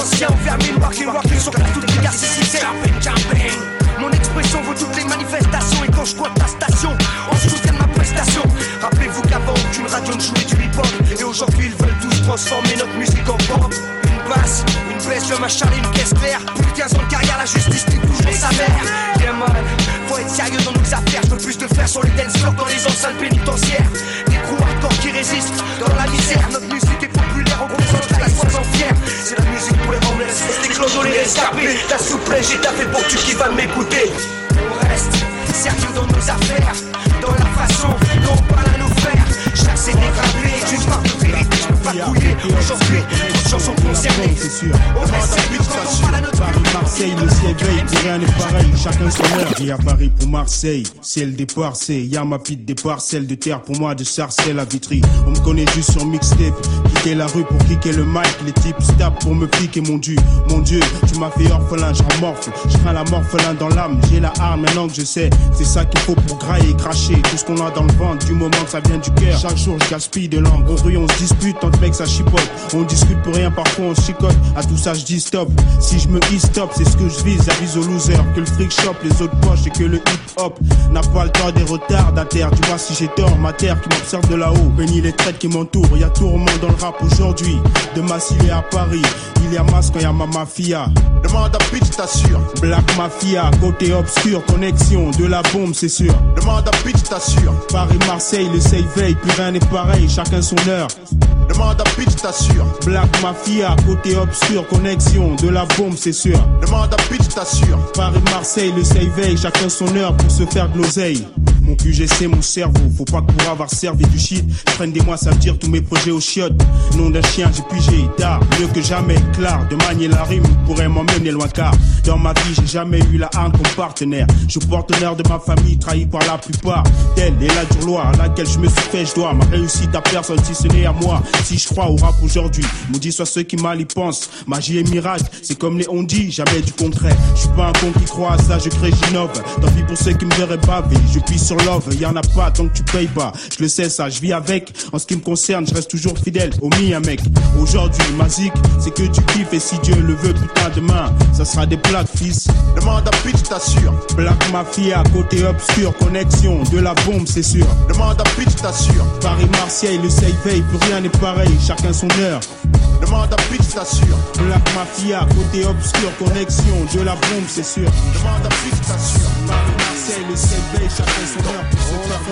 anciens envers mes walking sur toutes les gares, c'est jumping. Mon expression vaut toutes les manifestations. Et quand je compte la station, on se soutient de ma prestation. Rappelez-vous qu'avant aucune radio ne jouait du hip-hop. Et aujourd'hui ils veulent tous transformer notre musique en pop. Une basse, une baisse, le machin et une caisse claire. Plus de 15 ans de carrière, la justice dit toujours sa mère. Bien mal, faut être sérieux dans nos affaires. Je veux plus de faire sur les dance floors dans les enceintes pénitentiaires. Des crews hardcore qui résistent dans la misère. Notre musique est populaire, on représente la sois en fier. C'est la musique pour les homeless, les clodos, les rescapés. Ta souplesse, j'ai taffé pour que tu kiffes à m'écouter. On reste sérieux dans nos affaires, dans la façon dont on parle à nos frères. Chaque CD gravé est une part de vérité. Je peux pas couiller aujourd'hui, toutes chansons concernées. C'est sûr. On reste sérieux quand on parle à notre Paris, Marseille, le ciel veille, rien n'est pareil. Chacun son heure. Et à Paris pour Marseille, c'est le départ, c'est y'a ma pite départ, celle de terre pour moi de Sarcelles à Vitry. On me connaît juste sur mixtape, quitter la rue pour kicker le mic, les types tapent pour me piquer mon dieu. Mon dieu, tu m'as fait orphelin, j'en morfle, je crains la morphelin dans l'âme, j'ai la arme maintenant que je sais, c'est ça qu'il faut pour grailler et cracher tout ce qu'on a dans le ventre, du moment que ça vient du cœur. Chaque jour je gaspille de langue, au rue on se dispute, tant de mecs ça chipote, on discute pour rien, parfois on se chicote, à tout ça je dis stop, si je me hisse stop, c'est ce que je vise, avise aux losers, que le fric chope les autres poches et que le hip-hop n'a pas le temps des retardataires. Dis-moi si j'ai tort, ma terre qui m'observe de là-haut, bénis les traites qui m'entourent, y'a tourment dans le rap aujourd'hui, de Massy à Paris, il y a masse quand y'a ma mafia. Demande à bitch, t'assure. Black Mafia, côté obscur, connexion, de la bombe c'est sûr. Demande à bitch, t'assure. Paris, Marseille, le seuil veille, plus rien n'est pareil, chacun son heure. Demande à bitch, t'assure. Black Mafia, côté obscur, connexion, de la bombe c'est sûr. Demande à bitch, t'assure. Paris, Marseille, le seuil veille, chacun son heure pour se faire de l'oseille. Mon QGC, mon cerveau, faut pas que pour avoir servi du shit, prenne des mois, ça veut dire tous mes projets aux chiottes. Nom d'un chien, j'ai pigé tard, mieux que jamais, clair, de manier la rime pourrait m'emmener loin car dans ma vie j'ai jamais eu la hargne comme partenaire. Je suis partenaire de ma famille, trahi par la plupart. Telle est la dure loi à laquelle je me suis fait, je dois ma réussite à personne si ce n'est à moi. Si je crois au rap aujourd'hui, maudit soit ceux qui mal y pensent. Magie et miracle, c'est comme les on dit, jamais du concret. Je suis pas un con qui croit à ça, je crée, j'innove. Tant pis pour ceux qui me verraient baver, je pisse sur love, y'en a pas tant que tu payes pas. Je le sais ça, je vis avec. En ce qui me concerne, je reste toujours fidèle au mien mec. Aujourd'hui, ma zik, c'est que tu kiffes et si Dieu le veut, putain demain, ça sera des plaques fils. Demande à bitch, t'assure. Black Mafia, côté obscur, connexion, de la bombe c'est sûr. Demande à bitch, t'assure. Paris, Marseille, le seuil veille, plus rien n'est pareil, chacun son heure. Demande à bitch, t'assure. Black Mafia, côté obscur, connexion, de la bombe c'est sûr. Demande à bitch, t'assure. Paris, Marseille, le seuil veille, chacun son heure pour se faire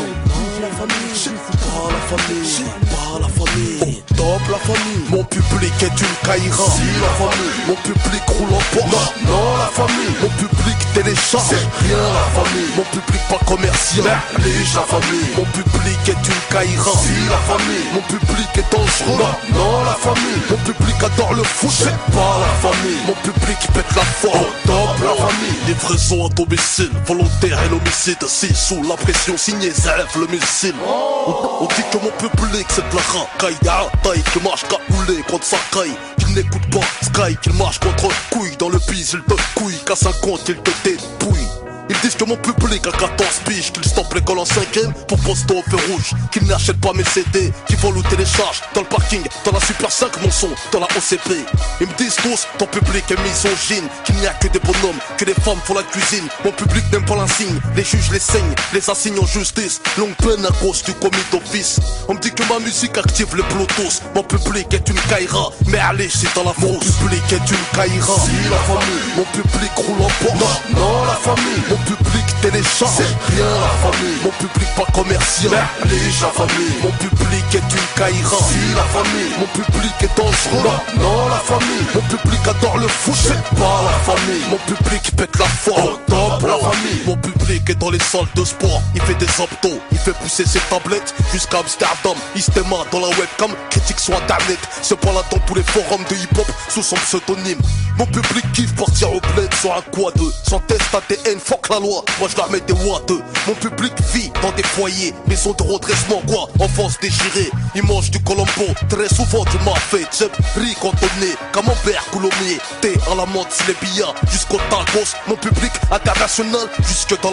la famille, pas la famille, pas la famille. Top la famille, mon public est une caïra. Si la famille, mon public roule en Porsche. Non la famille, mon public télécharge. C'est rien la famille, mon public pas commercial. Néglige la famille, mon public est une caïra. Si la famille, mon public est dangereux. Non la famille, mon public adore le foot. C'est pas la famille, mon public pète la forme. Top la famille, livraison à domicile, volontaire et l'homicide. Si sous la pression signée, zèle le missile. On dit que mon public c'est de la racaille. Y'a un taille qui marche cagoulé contre sa caille. Qu'il n'écoute pas Sky, qu'il marche contre couille. Dans le bise il te couille, qu'à 50 il te dépouille. Ils disent que mon public a 14 piges, qu'ils stoppent l'école en 5ème pour poster au feu rouge, qu'ils n'achètent pas mes CD, qu'ils vont ou téléchargent dans le parking, dans la Super 5 mon son, dans la OCP. Ils me disent tous, ton public est misogyne, qu'il n'y a que des bonhommes, que des femmes font la cuisine. Mon public n'aime pas l'insigne, les juges les saignent, les assignent en justice, longue peine à cause du commis d'office. On me dit que ma musique active les Bluetooth, mon public est une caïra, mais allez c'est dans la fausse. Mon public est une caïra, si la famille, mon public roule en Porsche. Non la famille, mon public télécharge. C'est rien la famille, mon public pas commercial. Néglige la famille, mon public est une caïra. Si la famille, mon public est dangereux. Non la famille, mon public adore le foot. C'est pas la famille, mon public pète la forme. Top la famille, mon public est dans les salles de sport. Il fait des abdos, il fait pousser ses tablettes jusqu'à Amsterdam. Istema dans la webcam, critique sur internet. Se prend là dans tous les forums de hip-hop sous son pseudonyme. Mon public kiffe partir au bled sur un quad, sans test ADN, fuck la loi, moi je leur mets des watts. Mon public vit dans des foyers, maison de redressement quoi, enfance déchirée. Ils mangent du colombo, très souvent du mafé. J'aime riz cantonné, camembert, coulommier. Thé à la menthe, les billards, jusqu'au tacos. Mon public international, jusque dans la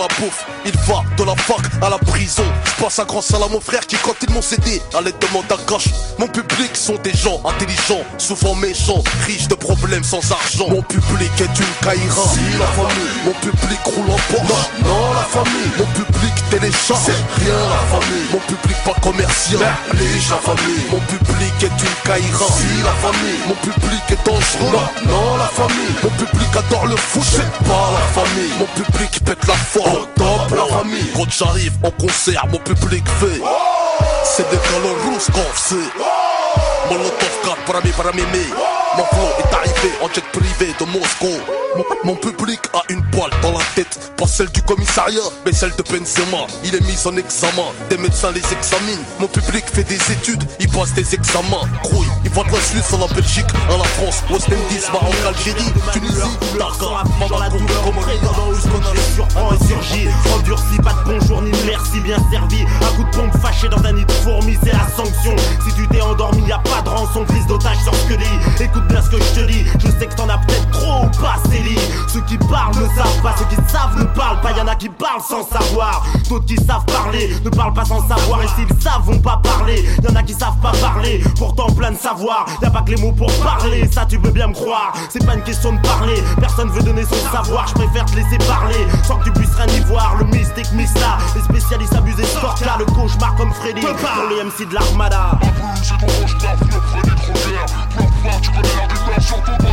la bouffe. Il va de la fac à la prison. Je passe un grand salam à mon frère qui, quand ils m'ont cédé, allait demander à cash. Mon public sont des gens intelligents, souvent méchants, riches de problèmes sans argent. Mon public est une caïra. Si la famille, mon public roule en Porsche. Non, la famille, mon public télécharge. C'est rien la famille, mon public pas commercial. Néglige la famille, mon public est une caïra. Si la famille, mon public est dangereux. Non, la famille, mon public adore le foot. C'est pas la famille, mon public pète la forme. Top la famille, quand j'arrive en concert, mon public fait. C'est des calors rousses qu'on fait. Molotov 4 para mémé. Mon flow est arrivé en jet privé de Moscou. Mon public a une balle dans la tête. Pas celle du commissariat, mais celle de Benzema. Il est mis en examen, des médecins les examinent. Mon public fait des études, il passe des examens. Grouille, il va de la Suisse à la Belgique, à la France, West Indies, Maroc, Algérie, Tunisie, Dakar, dans la douleur, comme dans où ce qu'on les surprend et surgit. Endurci, pas de bonjour ni de merci, bien servi. Un coup de pompe fâché dans un nid de fourmis, c'est la sanction. Si tu t'es endormi, y a pas de rançon, prise d'otage sur ce que dit. Écoute bien ce que je te dis, je sais que t'en as peut-être trop ou pas, c'est lit. Ceux qui parlent ne savent pas, ceux qui savent ne parlent pas. Y'en a qui parlent sans savoir, d'autres qui savent parler ne parlent pas sans savoir. Et s'ils savent vont pas parler, y'en a qui savent pas parler, pourtant plein de savoir. Y'a pas que les mots pour parler, ça tu veux bien me croire. C'est pas une question de parler, personne veut donner son savoir. Je préfère te laisser parler, sans que tu puisses rien y voir. Le mystique Mista, les spécialistes abusés sport là. Le cauchemar comme Freddy, pour les MC de l'Armada. C'est ton cauchemar, Freddy Krueger. Tu connais la rigueur, surtout pendant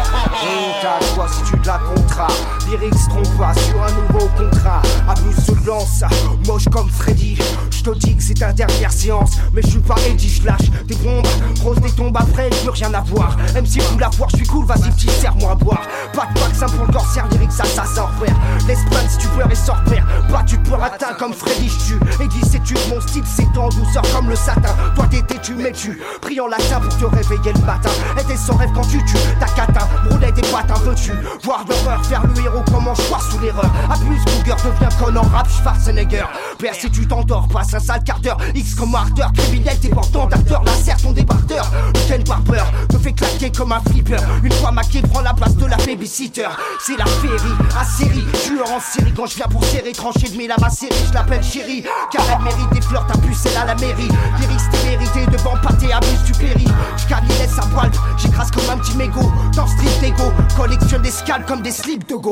t'as le choix si tu te la contrat. Lyrics trompe pas sur un nouveau contrat. Abuse se lance, moche comme Freddy. J'te dis que c'est ta dernière séance, mais j'suis pas Eddie, j'lâche des bombes, rose des tombes après, plus rien à voir. MC cool à voir, j'suis cool, vas-y petit, serre-moi à boire. Pas de vaccin pour le corsaire, lyrics assassin frère. L'Espagne si tu pleures et sors père. Pas tu peux atteint comme Freddy, j'tue. Eddie c'est tu, mon style c'est en douceur comme le satin. Toi t'es têtu mais tu prie en latin pour te réveiller le matin. Et t'es sans rêve quand tu tues, ta catin, rouler des patins, veux-tu voir l'horreur, faire le héros, comment choix sous l'erreur. Abuse, Cougar, deviens con en rap, Schwarzenegger. Père si tu t'endors, passe un sale quart d'heure. X comme ardeur, criminel, débordant d'acteur. La serre ton débardeur, le Ken Barber te fait claquer comme un flipper. Une fois maqué, prend la place de la babysitter. C'est la féerie, à série, tueur en série. Quand je viens pour serrer, trancher de mille à ma série, je l'appelle chérie. Car elle mérite des fleurs, ta puce, elle à la mairie. Lyrics t'es mérité, devant pâté, abuse, tu péris. J'cale, il laisse un poil, j'écrase comme un petit mégot. Dans street d'ego, collectionne des scales comme des slips de go.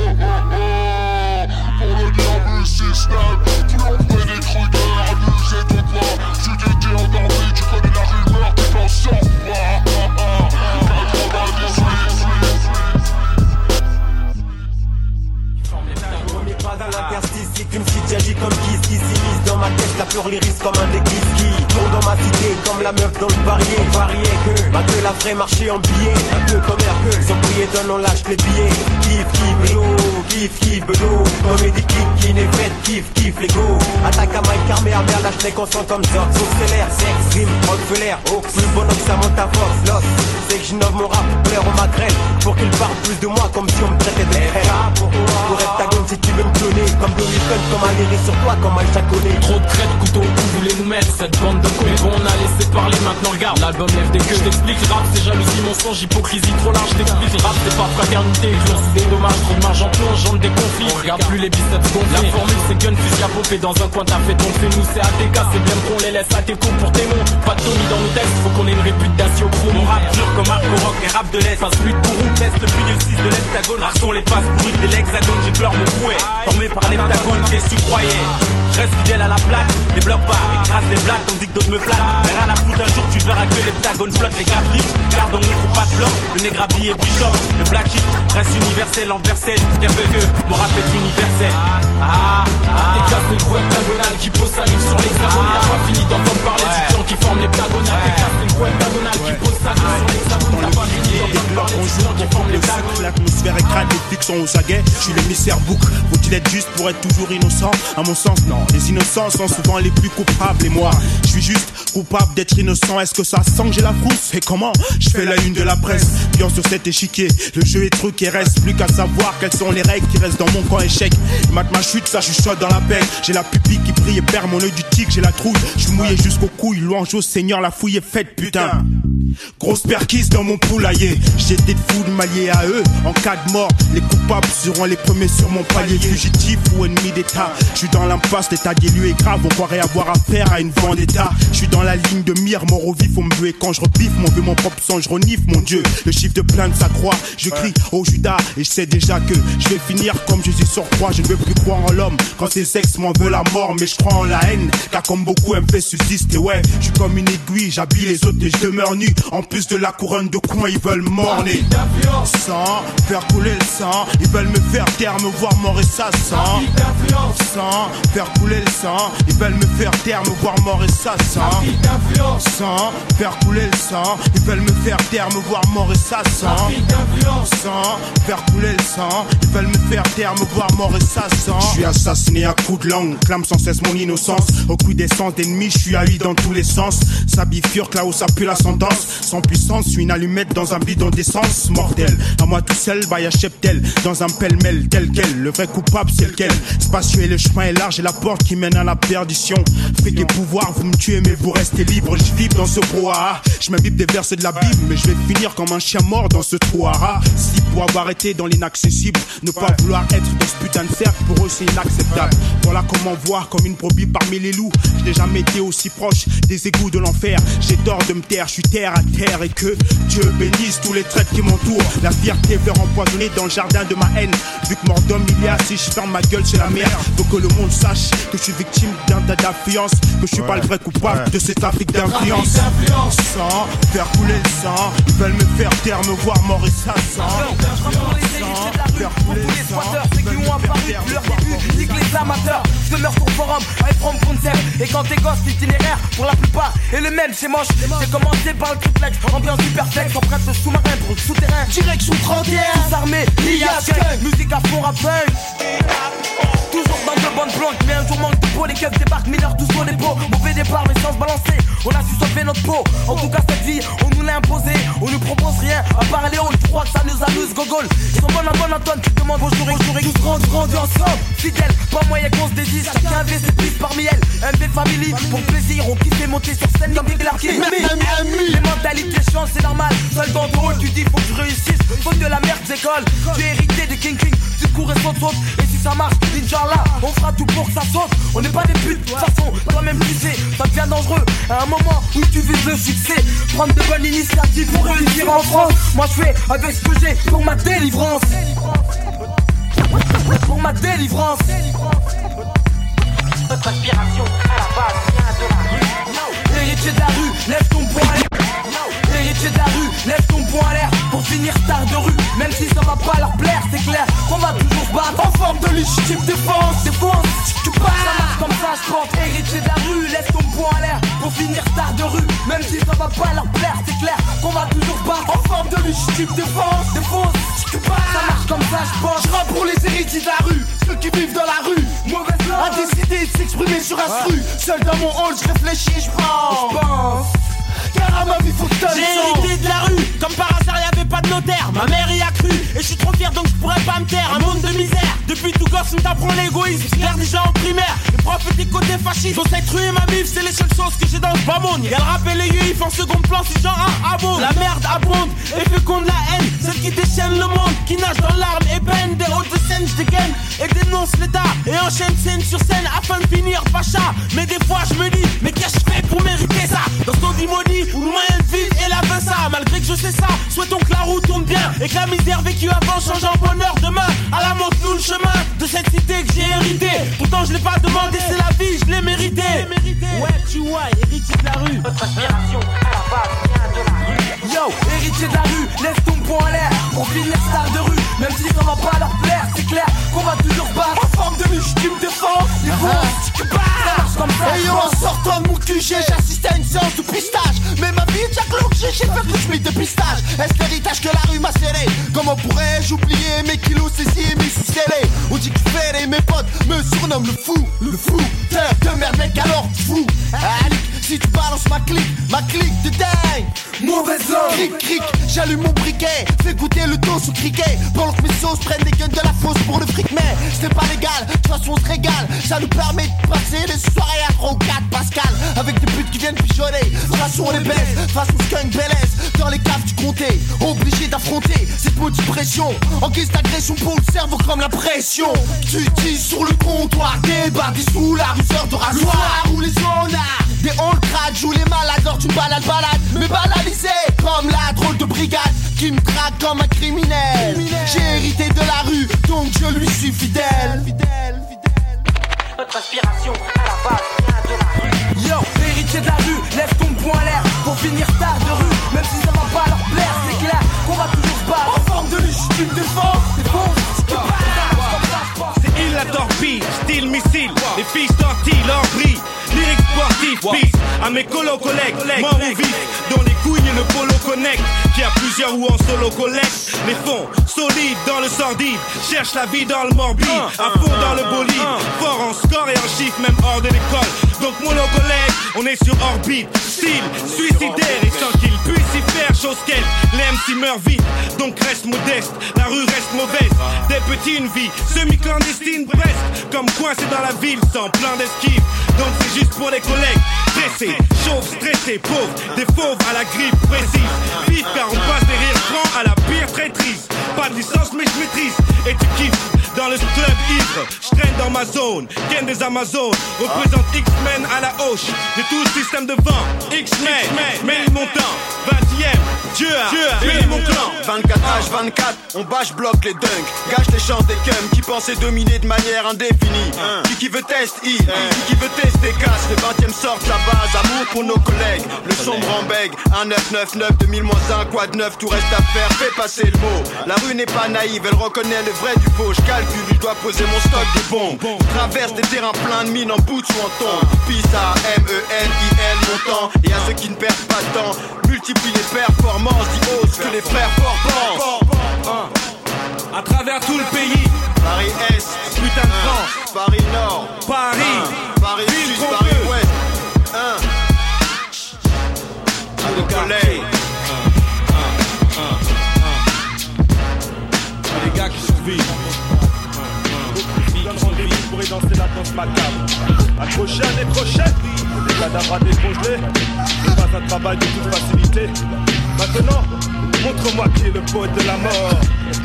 Pour le diable système, tout l'envoie des Krueger. Abusez-toi pas, si t'étais endormi, tu connais la rumeur, tu t'en sors pas. 98. Pas dans l'interstice, c'est qu'une petite agit comme Kiss qui s'immisce dans ma tête, la peur lyrisse comme un déguise qui tourne dans ma cité comme la meuf dans le parier. Varié que, ma gueule a vrai marché en billets, un peu comme Hercule, sans prier donne on lâche les billets. Kiff, belot, comédie qui n'est faite, kiff, les go. Attaque à Mike Carmé, à merde, lâche les consents comme ça. Sauf c'est l'air, sexe, rime, Rockefeller, oh, plus bon que ça monte à force, l'os. C'est que j'innove mon rap, plaire au magrel, pour qu'il parle plus de moi comme si on me traitait de frère. Pour heptagone si tu veux me cloner, comme Donny Fun, comme un lyrique sur toi, comme un jaconné. Trop de crêtes, couteau au cou, voulez nous mettre cette bande de cons. Mais bon, on a laissé parler, maintenant regarde, l'album lève des queues. Je t'explique, rap c'est jalousie, mensonge, hypocrisie trop large. Je t'explique, rap c'est pas fraternité, violence c'est des dommages, trop de marge en plonge, genre des conflits. On regarde plus les biceps gonflés. La formule c'est gun, fusil à popper, dans un coin t'as fait ton fait. Nous c'est ATK, c'est bien qu'on les laisse à tes coups pour tes mots. Pas de Tommy dans nos textes, faut qu'on ait une réputation pro. Mon rap dur comme Arco Rock, les rap de l'Est. Passe plus de bourreau, test depuis le 6 de l'hexagone. Raçon les passes pourries de l'hexagone, j'ai peur mon fouet. Formé par l'heptagone, qu'est-ce que tu croyais? Je reste fidèle à la plaque, les blocs pas, écrase les blagues, tandis que d'autres me flattent. Mais rien à foutre, un jour tu verras que l'heptagone flotte les graphiques. Garde en faut pas de blanc, le nègre habillé bishop. Le black sheep reste universel, enversel. Bien peu que mon rap est universel. T'es casse le gros heptagonal qui pose sa ligne sur l'hexagone. Y'a pas fini d'entendre parler du clan qui forme l'heptagonal. T'es casse le gros heptagonal qui pose sa ligne sur l'hexagone. Y'a pas fini d'entendre parler du clan qui forme l'hexagone. L'atmosphère est crade, les flics sont aux aguets. Je suis l'émissaire bouc. Faut-il être juste pour être toujours innocent? À mon sens, non. Les innocents sont souvent les plus coupables. Et moi, je suis juste coupable d'être innocent. Est-ce que ça sent que j'ai la frousse? Et comment? Je fais la une de la presse. Bien sur cet échiquier, le jeu est truc et reste plus qu'à savoir quelles sont les règles qui restent dans mon camp échec. Mate ma chute, ça chuchote dans la peine. J'ai la pupille qui brille et perd mon œil du tigre. J'ai la trouille, je suis mouillé jusqu'aux couilles. Louange au Seigneur, la fouille est faite, putain. Grosse perquise dans mon poulailler. J'étais de foule mallié à eux. En cas de mort, les coupables seront les premiers sur mon palier. Fugitif ou ennemi d'état, je suis dans l'impasse, l'état des lieux est grave. On croirait avoir affaire à une vendetta. Je suis dans la ligne de mire, mort au vif, on me veut. Et quand je rebiffe, mon vieux, mon propre sang, je renifle, mon Dieu. Le chiffre de plainte s'accroît, je crie au Judas. Et je sais déjà que je vais finir comme Jésus sur croix. Je ne veux plus croire en l'homme quand ses ex m'en veulent la mort. Mais je crois en la haine, car comme beaucoup elle me fait subsister. Ouais, je suis comme une aiguille, j'habille les autres et je demeure nu. En plus de la couronne de coin, ils veulent morner. Sang, faire couler le sang. Ils veulent me faire taire, me voir mort et ça sent. Sang, faire couler le sang. Ils veulent me faire taire, me voir mort et ça sent. Sang, faire couler le sang. Ils veulent me faire taire, me voir mort et ça sent. Sang, faire couler le sang. Ils veulent me faire taire, me voir mort et ça sent. Je suis assassiné à coups de langue, clame sans cesse mon innocence. Au coup d'essence d'ennemis, je suis haï dans tous les sens. Ça bifurque là où ça pue l'ascendance. Sans puissance, je suis une allumette dans un bidon d'essence. Mortel, à moi tout seul, bah y'a cheptel. Dans un pêle-mêle tel quel, le vrai coupable c'est lequel. Spacieux et le chemin est large et la porte qui mène à la perdition. Fait des pouvoirs, vous me tuez mais vous restez libre. Je vibre dans ce brouhaha, je m'imbibe des versets de la Bible. Mais je vais finir comme un chien mort dans ce trou à rats. Si pour avoir été dans l'inaccessible, ne pas vouloir être dans ce putain de cercle, pour eux c'est inacceptable. Voilà comment voir comme une brebis parmi les loups. Je n'ai jamais été aussi proche des égouts de l'enfer. J'ai tort de me taire, je suis terre à terre. Et que Dieu bénisse tous les traîtres qui m'entourent. La fierté veut empoisonner dans le jardin de ma haine. Vu que mort d'homme il y a, si je ferme ma gueule c'est la merde. Faut que le monde sache que je suis victime d'un tas d'influence. Que je suis pas le vrai coupable de cette Afrique d'influence. Sang, faire couler le sang. Ils veulent me faire taire, me voir mort et ça sent. Faire couler le sang. Ceux qui ont apparu depuis leur début, nique les amateurs. Je demeure sur forum, avec from concept. Et quand t'es gosse, l'itinéraire, pour la plupart, est le même, c'est moche. J'ai commencé par le triplex, ambiance hyperflex, empreinte de sous-marin pour le souterrain. Direction 31, tous armés, l'IASK, musique à fond rap punk. Toujours dans de bonnes plantes, mais un jour manque de peau. Les keufs débarquent, mineurs tous au dépôt. Mauvais départ, mais sans se balancer. On a su sauver notre peau. En tout cas, cette vie, on nous l'a imposé. On nous propose rien, à part Léon. Tu crois que ça nous amuse, gogol. Ils sont bonnes à bonne Antoine, tu te demandes bonjour et tous rendus ensemble. Fidèles, pas moyen qu'on se désise. Chacun avait ses pistes parmi elles. MB Family, pour plaisir, on kiffe monter sur scène comme des Clarky. Les mentalités changent, c'est normal. Seul dans ton rôle, tu dis faut que je réussisse. Faute de la merde, j'école. Tu es hérité de King King. Tu cours et saute. Et si ça marche, Inch'Allah, on fera tout pour que ça saute. On n'est pas des putes, de toute façon, toi-même tu sais. Ça devient dangereux à un moment où tu vises le succès. Prendre de bonnes initiatives pour réussir en France. Moi je fais avec ce que j'ai pour ma délivrance. Pour ma délivrance. Notre aspiration à la base vient de la rue. Héritier de la rue, lève ton poing à l'air. Héritier de la rue, lève ton poing à l'air. Pour finir star de rue, même si ça va pas leur plaire, c'est clair qu'on va toujours se battre en forme de légitime défense. Défense, tu passes, ça marche comme ça, je pense. Héritier de la rue, lève ton poing à l'air. Pour finir star de rue, même si ça va pas leur plaire, c'est clair qu'on va toujours se battre en forme de légitime défense. Défense, tu passes, ça marche comme ça, je pense. Je rappe pour les héritiers de la rue, ceux qui vivent dans la rue. Mauvaise langue, a décidé de s'exprimer sur un stru. Seul dans mon hall, je réfléchis, je pense. Car à ma vie faut que t'ailles. J'ai hérité de la rue, comme par hasard y'avait pas de notaire. Ma mère y a cru, et je suis trop fier donc je pourrais pas me taire. Un monde de misère, depuis tout gosse on t'apprend l'égoïsme. J'espère déjà en primaire, les profs étaient côté fascistes. Dans cette rue et ma bif, c'est les seules choses que j'ai dans ce bas monde. Y'a le rap et les yuifs en second plan, c'est genre un abonde. La merde abonde, et féconde la haine. Celle qui déchaîne le monde, qui nage dans l'arme et peine. Des hautes de scène, je dégaine et dénonce l'état. Et enchaîne scène sur scène afin de finir pacha. Mais des fois je me dis, mais qu'est-ce que je fais pour mériter ça? Dans ton dimoni, où le moyen de vivre et la veut ça. Malgré que je sais ça, souhaitons que la roue tourne bien. Et que la misère vécue avant change en bonheur demain. À la montre-nous le chemin de cette cité que j'ai hérité. Pourtant je l'ai pas demandé, c'est la vie, je l'ai mérité. Ouais, tu vois, héritier de la rue. Notre aspiration à la base vient de la rue. Yo, héritier de la rue, lève ton poing à l'air. Pour finir star de rue, même si ça va pas leur plaire, c'est clair qu'on va toujours se battre en forme de légitime défense. Les fonces, tu passes comme ça. Et yo, en sortant de mon QG, j'assistais à une séance de pistage. Mais ma vie, Jack Look, j'ai fait le SMIC de pistage. Est-ce l'héritage que la rue m'a scellé? Comment pourrais-je oublier mes kilos saisis et mes sous scellés? On dit que je fais mes potes me surnomment le fou terre de merde mec alors fou. Alic, si tu balances ma clique de dingue. Mauvaise langue. Cric, j'allume mon briquet, fais goûter le dos sous criquet. Pendant que mes sauces prennent des guns de la fosse pour le fric. Mais c'est pas légal, de toute façon on se régale. Ça nous permet de passer des soirées à 3 ou 4 Pascal. Avec des putes qui viennent pigeonner. De toute façon on les baisse, façon skunk belaise. Dans les caves du comté, obligé d'affronter cette maudite pression. En guise d'agression pour le cerveau comme la pression. Tu dis sur le comptoir, débardé sous la ruseur de rasoir. Où les zonards, des on crack, jouent les malades lors d'une balade. Mais banalisé comme la drôle de brigade qui me traque comme un criminel. J'ai hérité de la rue, donc je lui suis fidèle. Notre inspiration à la base vient de la rue. Yo, héritier de la rue, lève ton poing en l'air pour finir tard de rue. Même si ça va pas leur plaire, c'est clair qu'on va toujours se battre. En forme de luche, tu me défends, c'est bon, si tu parles. C'est il la torpille, style missile. Les fils tortillent, leur brille. Lyrique sportif, peace à mes collègues, mort ou vif, dont les couilles et le polo connect. Qui a plusieurs ou en solo collecte. Les fonds solides dans le sordide, cherche la vie dans le morbide, à fond dans le bolide, fort en score et en chiffres, même hors de l'école. Donc mon collègue, on est sur orbite, style suicidaire et sans qu'il puisse y faire chose qu'elle. Les MC meurent vite, donc reste modeste, la rue reste mauvaise. Des petits une vie semi-clandestine presque, comme coincé dans la ville sans plan d'esquive. Donc c'est juste pour les collègues, pressés, chauves, stressés, pauvres, des fauves à la grippe précise. Vite car on passe des rires francs à la pire traîtrise. Pas de licence mais je maîtrise et tu kiffes. Dans le club ivre, je traîne dans ma zone. Ken des Amazones, représente X-Men à la hoche. J'ai tout le système de vent. X-Men, mets mon temps. 20ème, Dieu a béni mon clan. 24H24, on bâche bloque les dunks. Gâche les chances des cums qui pensaient dominer de manière indéfinie. Qui veut test il, qui veut tester casse. Le 20ème sort de la base, amour pour nos collègues. Le sombre en bègue, 1999, 2000-1, quoi de neuf, tout reste à faire, fais passer le mot. La rue n'est pas naïve, elle reconnaît le vrai du faux. Je calcule, je dois poser mon stock de bombes. Traverse des terrains pleins de mines en boots ou en tombe. Pisse à MENIL montant. Et à ceux qui ne perdent pas de temps, multiplie les performances, dis hausse que les frères forts pensent. À travers tout le pays, Paris Est, putain de France, Paris Nord, Paris Sud, Paris Ouest. À nos collègues. Les gars qui survivent. Donne rendez-vous pour y danser la danse macabre. Accroché à des crochets, des cadavres à décongeler. C'est pas un travail de toute facilité. Maintenant, montre-moi qui est le poète de la mort.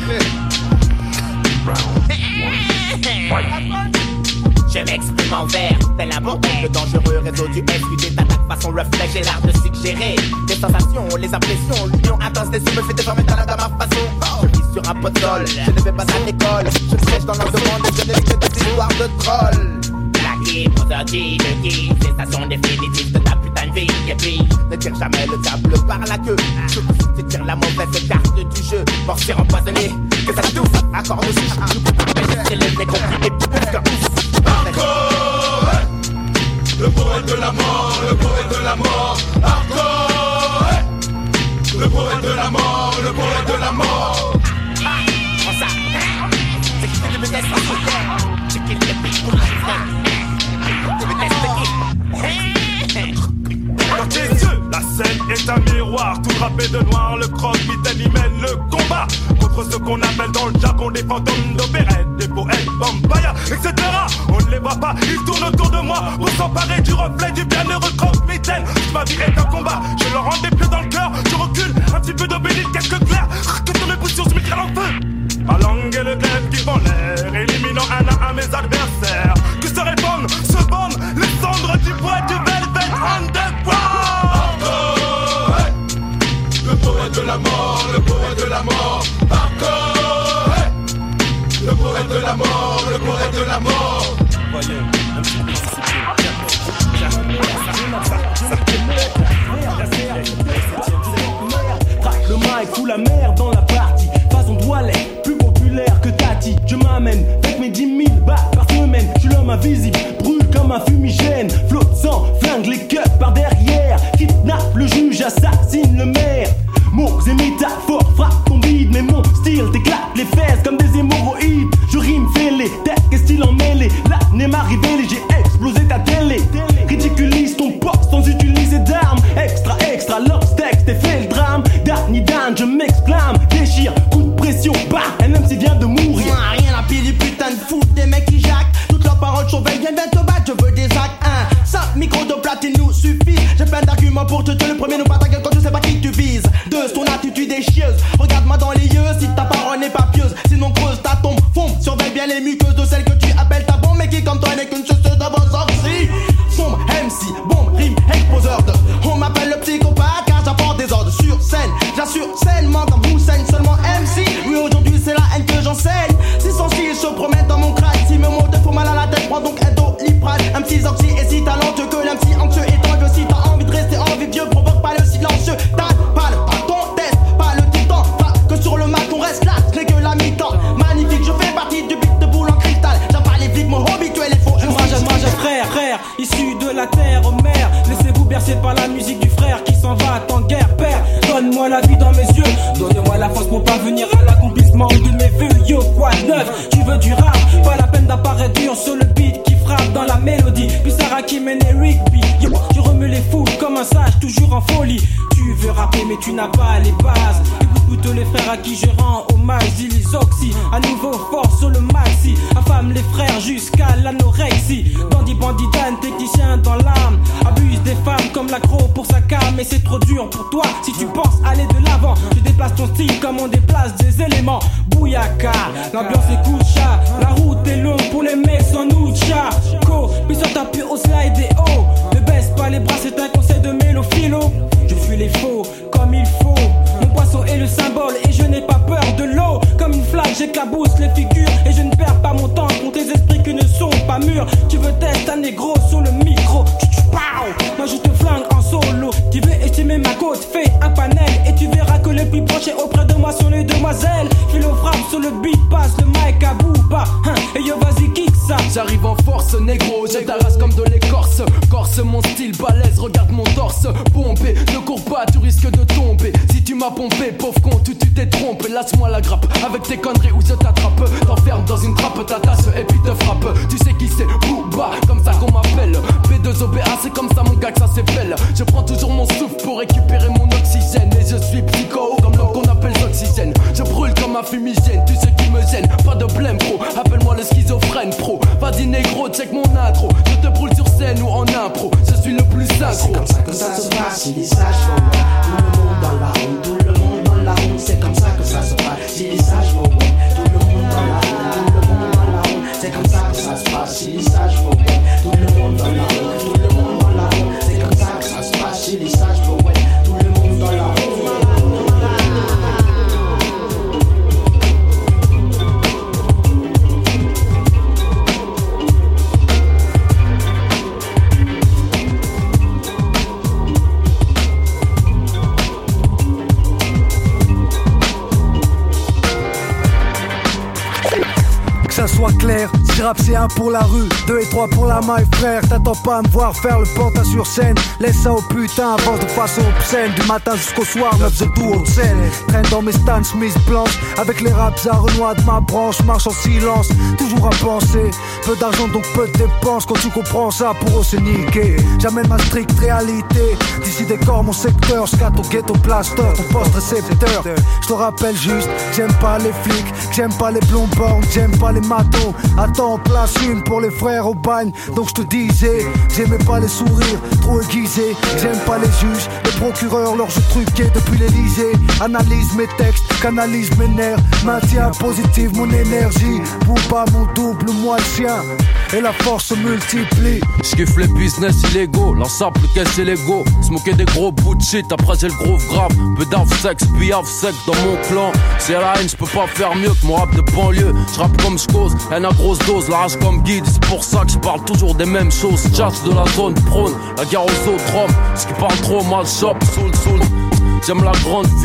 Je m'exprime en vers, tel un bordel. Le dangereux réseau du FUD t'attaque façon reflet. J'ai l'art de suggérer des sensations, les impressions. L'union intense des yeux me fait déformer dans la gamme à façon. Je vis sur un pot de sol, je ne vais pas à l'école. Je sèche dans l'environnement et je n'ai que des histoires de trolls. Plaqué, prosodie, de guise, cessation définitive de ta putain de vie. Et puis, ne tire jamais le diable par la queue. Surtout si tu tires la mauvaise carte du jeu. Morsure empoisonnée, que ça touffe, accord de souche. C'est le décompris et plus que Hardcore, le poète de la mort, le poète de la mort. Hardcore, le poète de la mort, le poète de la mort. Prends ça, c'est qui te me laisse en colère. C'est qui te pique pour la Dans tes yeux, la scène est un miroir. Tout drapé de noir, le croque-mitaine y mène le combat contre ce qu'on appelle dans le jargon des fantômes d'opérette, des poètes, vampires, etc. On ne les voit pas, ils tournent autour de moi pour s'emparer du reflet du bienheureux croque-mitaine. Ma vie est un combat, je leur rends des pieds dans le cœur. Je recule, un petit peu d'obélisque, quelques clairs. Que ton ébullition se m'éclaire en feu. Ma langue et le glaive qui font l'air, éliminant un à mes adversaires. Que se répandent, se bandent les cendres du poète du Velvet Underground. Hardcore, le poète de la mort, le poète de la mort. Hardcore, le poète de la mort, le poète de la mort. Voyez, le mic ou la merde dans la partie. Façon Doualet, plus populaire que Tati. Je m'amène avec mes 10 000 balles par semaine. Je suis l'homme invisible, brûle comme un fumigène. Flotte sang, flingue les cups par derrière. Kidnappe le juge, assassine le maire. Mots et métaphores frappent ton bide, mais mon style t'éclate les fesses comme des hémorroïdes. Je rime fêlé, tête et style emmêlé. L'année m'a révélé, j'ai explosé ta télé. Ridiculise ton poste sans utiliser d'armes. Extra, l'obstacle, t'es fait le drame. Danny Dan, je m'exclame, déchire, coup de pression, bah, un MC vient de mourir. Rien à pire du putain de foot, des mecs qui jacquent. Toutes leurs paroles surveillent, viennent te battre, je veux des actes. 5 micros de platine nous suffit. J'ai plein d'arguments pour te tuer. Le premier, nous pas ta gueule quand je sais pas qui tu vises. 2, ton attitude est chieuse. Regarde-moi dans les yeux si ta parole n'est pas pieuse. Sinon creuse ta tombe, fond. Surveille bien les muqueuses de celles que tu appelles ta bombe. Mais qui comme toi n'est qu'une chasseuse de bonnes sorties. Sombre MC, bombe, rime, exposeur de. On m'appelle le psychopathe car j'apporte des ordres sur scène. J'assure sainement comme Hussein, seulement MC. Oui, aujourd'hui c'est la haine que j'enseigne. Si son style se promène dans mon crâne, si mes mots te font mal à la tête, prends donc un Doliprane. Un petit oxy et si talentueux que l'MC anxieux et tangueux. Si t'as envie de rester envieux, provoque pas le silencieux. T'as pas le bâton, test, pas le titan. Pas que sur le mat on reste là, ce n'est que la mi-temps. Magnifique, je fais partie du beat de boule en cristal. J'avale les flics, mon hobby, tu es les faux. Moi j'ai frère, issu de la terre mère. Laissez-vous bercer par la musique du frère qui s'en va en guerre, père. Donne-moi la vie dans mes yeux, donnez-moi la force pour parvenir à l'accomplissement de mes vœux. Yo, quoi de neuf, tu veux du rap, pas la peine d'apparaître dur sur le beat qui frappe dans la mélodie. Puis Sarah qui mène Eric B. Yo, tu remue les foules comme un sage, toujours en folie. Tu veux rapper mais tu n'as pas les bases. Écoute plutôt les frères à qui je rends hommage. Dis les oxy, à nouveau fort sur le maxi. Affame les frères jusqu'à l'anorexie. Bandit, Dan, technicien dans l'âme. Abuse des femmes comme l'accro pour sa cam. Mais c'est trop dur pour toi si tu penses aller de l'avant. Tu déplaces ton style comme on déplace des éléments. Bouyaka, l'ambiance est coucha. La route est longue pour les mecs sans nucha. Puis sur ta pure au slide et haut. Ne baisse pas les bras, c'est un conseil de mélophilo. Je fuis les faux comme il faut. Mon poisson est le symbole et je n'ai pas peur de l'eau. Comme une flaque, j'éclabousse les figures. Et je ne perds pas mon temps contre tes esprits qui ne sont pas mûrs. Tu veux tester un négro sur le micro. Moi je te flingue en solo. Tu veux estimer ma côte, fais un panel. Et tu verras que le plus proche est auprès de moi sont les demoiselles. Philo frappe sur le beat, passe le mic à Booba. Et yo vas-y kick ça. J'arrive en force négro, je t'arrache comme de l'écorce. Corse mon style balèze, regarde mon torse. Pompé, ne cours pas, tu risques de tomber. Si tu m'as pompé, pauvre con, tu t'es trompé. Laisse-moi la grappe, avec tes conneries où je t'attrape. T'enferme dans une trappe, ta tasse et puis te frappe. Tu sais qui c'est, Booba, comme ça qu'on m'appelle. B2OBA, c'est comme ça mon gars que ça s'appelle. Je prends toujours mon souffle pour récupérer mon oxygène. Et je suis psycho, comme l'homme qu'on appelle l'oxygène. Je brûle comme un fumigène, tu sais qui me gêne. Pas de blême pro, appelle-moi le schizophrène pro. Vas-y négro, check mon intro. Je te brûle sur scène ou en impro. Je suis le plus synchro. C'est comme ça que ça se passe, il est sage for one. Tout le monde dans la rue, tout le monde dans la rue. C'est comme ça que ça se passe, il est sage for one. Tout le monde dans la rue, tout le monde dans la rue. C'est comme ça que ça se passe, il est sage for one. Tout le monde dans la rue, tout le monde dans la rue. C'est comme ça que ça se passe, il est sage for one. Tout le monde dans la rue. Que ça soit clair, si rap c'est 1 pour la rue, 2 et 3 pour la maille frère. T'attends pas à me voir faire le pantin sur scène. Laisse ça au putain, avance de façon obscène. Du matin jusqu'au soir, 9 de tout haute scène. Traîne dans mes stands, Smith blanche. Avec les raps à Renoir de ma branche, marche en silence. Toujours à penser, peu d'argent donc peu de dépenses. Quand tu comprends ça, pour eux c'est niqué. J'amène ma stricte réalité. D'ici décor mon secteur, scat au ghetto plaster. Ton poste récepteur, je te rappelle juste, j'aime pas les flics, j'aime pas les blonds bornes, j'aime pas les matos. Attends, place une pour les frères au bagne. Donc je te disais, j'aimais pas les sourires trop aiguisés. J'aime pas les juges, les procureurs, leurs jeux truqués depuis l'Elysée. Analyse mes textes, canalise mes nerfs. Maintiens positive mon énergie. Booba mon double, moi le sien. Et la force se multiplie. J'kiffe les business illégaux, l'ensemble caisse et l'ego. Smoker des gros bouts de shit, après j'ai le gros grave. Peu d'ave-sex, puis have-sec dans mon clan. C'est la haine, j'peux pas faire mieux que mon rap de banlieue. J'rappe comme j'cause, haine à grosse dose, la rage comme guide. C'est pour ça que j'parle toujours des mêmes choses. Jazz de la zone prône, la guerre aux autres hommes. Ce qui parle trop mal chope, soul. J'aime la grande vie,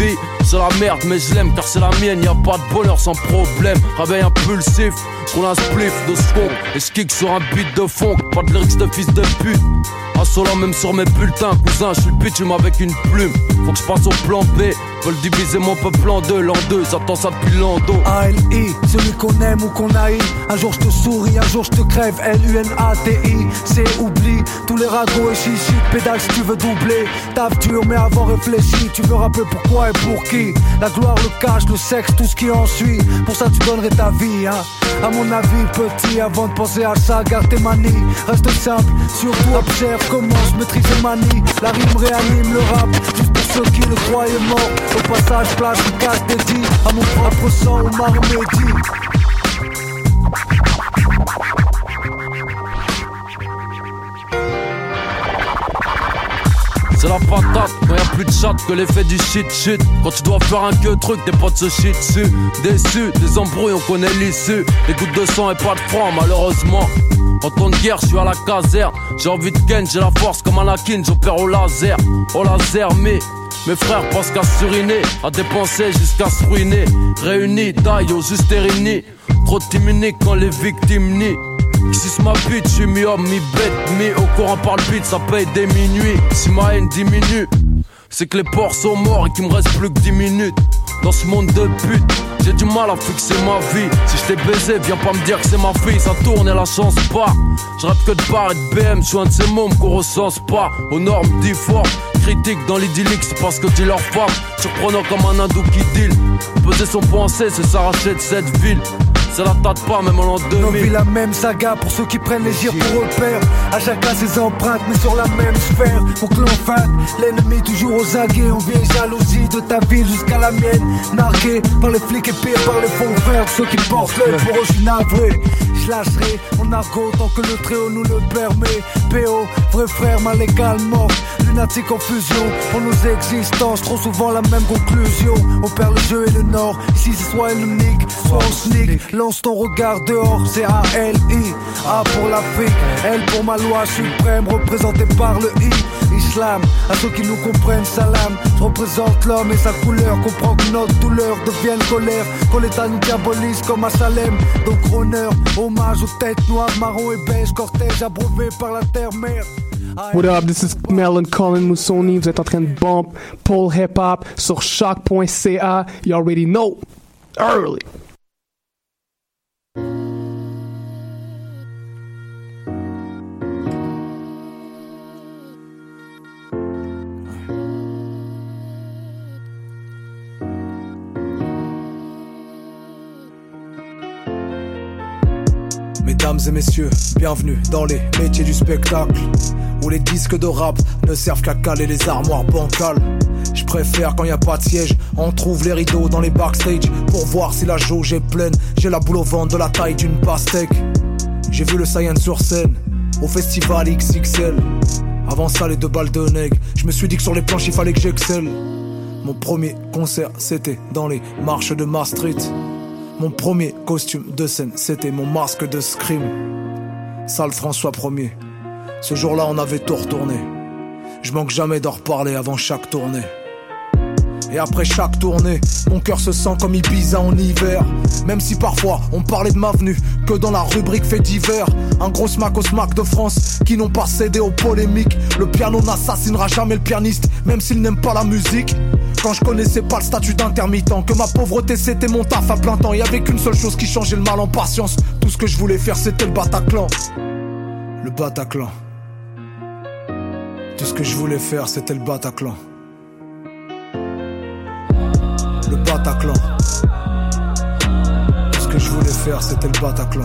c'est la merde mais je l'aime car c'est la mienne, y'a pas de bonheur sans problème. Réveil impulsif, roule un spliff de skunk et je kick sur un beat de funk. Pas de lyrics de fils de pute, insolent même sur mes bulletins. Cousin, je suis le pitch avec une plume. Faut que je passe au plan B, veulent diviser mon peuple en deux. L'an 2, j'attends ça depuis l'an 2. A-L-I, celui qu'on aime ou qu'on haït. Un jour je te souris, un jour je te crève. L-U-N-A-T-I, c'est oubli. Tous les ragots et chichi, pédale si tu veux doubler. Taf dur mais avant réfléchi. Tu veux rappeler pourquoi et pour qui. La gloire, le cash, le sexe, tout ce qui en suit. Pour ça tu donnerais ta vie, hein. À mon avis petit, avant de penser à ça, garde tes manies. Reste simple, surtout observe comment je maîtrise les manies. La rime réanime le rap, juste pour ceux qui le croyaient mort. Au passage, place une case dédiée à mon propre sang ou ma remédie. C'est la patate, quand y'a plus de chat que l'effet du shit. Quand tu dois faire un que truc, tes potes se shit dessus. Déçus, des embrouilles, on connaît l'issue. Des gouttes de sang et pas de franc, malheureusement. En temps de guerre, je suis à la caserne. J'ai envie de ken, j'ai la force comme Anakin, j'opère au laser. Au laser, mais mes frères pensent qu'à suriner, à dépenser jusqu'à se ruiner. Réunis, taille au juste réunis. Trop timide quand les victimes nient. Si ma bite, j'suis mi-homme, mi-bête, mi au courant par le beat, ça paye des minuits. Si ma haine diminue, c'est que les porcs sont morts et qu'il me reste plus que 10 minutes. Dans ce monde de pute, j'ai du mal à fixer ma vie. Si je t'ai baisé, viens pas me dire que c'est ma fille. Ça tourne et la chance part. Je rêve que de bar et de BM, j'suis un de ces mômes qu'on recense pas. Aux normes difformes, critique dans l'idyllique, c'est parce que dis leur femme. Surprenant comme un hindou qui deal. Peser son pensée, c'est s'arracher de cette ville. Ça la tâte pas même en l'an 2000. On vit la même saga pour ceux qui prennent les gires pour repère. À chacun ses empreintes mais sur la même sphère. Pour que l'on fasse l'ennemi toujours aux aguets. On vient jalousie de ta ville jusqu'à la mienne. Nargué par les flics et pire par les faux frères. Ceux qui portent l'œil pour eux je suis navré. Je lâcherai mon argot tant que le Très-Haut nous le permet. PO, vrai frère mal également. Lunatique en fusion pour nos existences. Trop souvent la même conclusion. On perd le jeu et le nord. Ici c'est soit unique, soit on sneak. Lance ton regard dehors, c'est A-L-I. A pour l'Afrique, L pour ma loi suprême, représentée par le I. Islam, à ceux qui nous comprennent, salam. Je représente l'homme et sa couleur. Comprends que notre douleur devienne colère. Quand l'État nous diabolise comme à Salem. Donc honneur, hommage aux têtes noires, marron et beige. Cortège abreuvé par la terre-mère. What up, this is Melon Colin Moussoni. Vous êtes en train de bump Pole Hip Hop sur choc.ca. You already know. Early. Mesdames et messieurs, bienvenue dans les métiers du spectacle, où les disques de rap ne servent qu'à caler les armoires bancales. Je préfère quand y a pas de siège, on trouve les rideaux dans les backstage pour voir si la jauge est pleine. J'ai la boule au ventre de la taille d'une pastèque. J'ai vu le Saiyan sur scène, au festival XXL. Avant ça les 2 balles de nègre, je me suis dit que sur les planches il fallait que j'excelle. Mon premier concert c'était dans les marches de Maastricht. Mon premier costume de scène, c'était mon masque de scream. Salle François 1er. Ce jour-là, on avait tout retourné. Je manque jamais d'en reparler avant chaque tournée. Et après chaque tournée, mon cœur se sent comme Ibiza en hiver. Même si parfois on parlait de ma venue que dans la rubrique fait divers. Un gros smack au smack de France qui n'ont pas cédé aux polémiques. Le piano n'assassinera jamais le pianiste, même s'il n'aime pas la musique. Quand je connaissais pas le statut d'intermittent, que ma pauvreté c'était mon taf à plein temps. Y'avait qu'une seule chose qui changeait le mal en patience. Tout ce que je voulais faire c'était le Bataclan. Le Bataclan. Tout ce que je voulais faire c'était le Bataclan. Le Bataclan. Tout ce que je voulais faire c'était le Bataclan.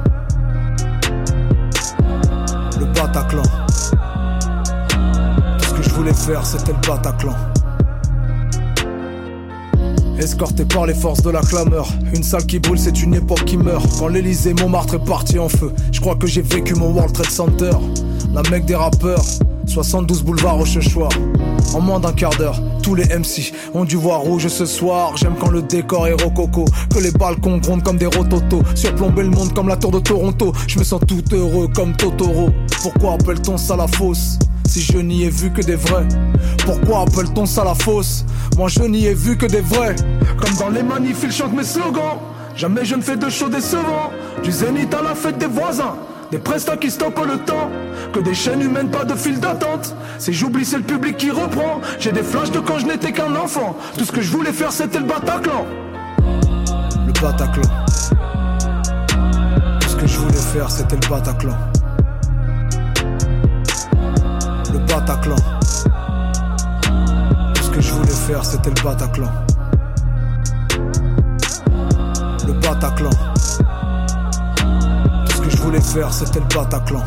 Le Bataclan. Tout ce que je voulais faire c'était le Bataclan. Escorté par les forces de la clameur. Une salle qui brûle, c'est une époque qui meurt. Quand l'Elysée, Montmartre est parti en feu, je crois que j'ai vécu mon World Trade Center. La mecque des rappeurs, 72 boulevards au Chechouar. En moins d'un quart d'heure, tous les MC ont dû voir rouge ce soir. J'aime quand le décor est rococo, que les balcons grondent comme des rototos, surplomber le monde comme la tour de Toronto. Je me sens tout heureux comme Totoro. Pourquoi appelle-t-on ça la fosse? si je n'y ai vu que des vrais? Pourquoi appelle-t-on ça la fosse? Moi je n'y ai vu que des vrais. Comme dans les manifs, ils chantent mes slogans. Jamais je ne fais de show décevant. Du zénith à la fête des voisins. Des prestats qui stoppent le temps. Que des chaînes humaines, pas de file d'attente. Si j'oublie, c'est le public qui reprend. J'ai des flashs de quand je n'étais qu'un enfant. Tout ce que je voulais faire, c'était le Bataclan. Le Bataclan. Tout ce que je voulais faire, c'était le Bataclan. Le Bataclan. Tout ce que je voulais faire, c'était le Bataclan. Le Bataclan. Tout ce que je voulais faire, c'était le Bataclan.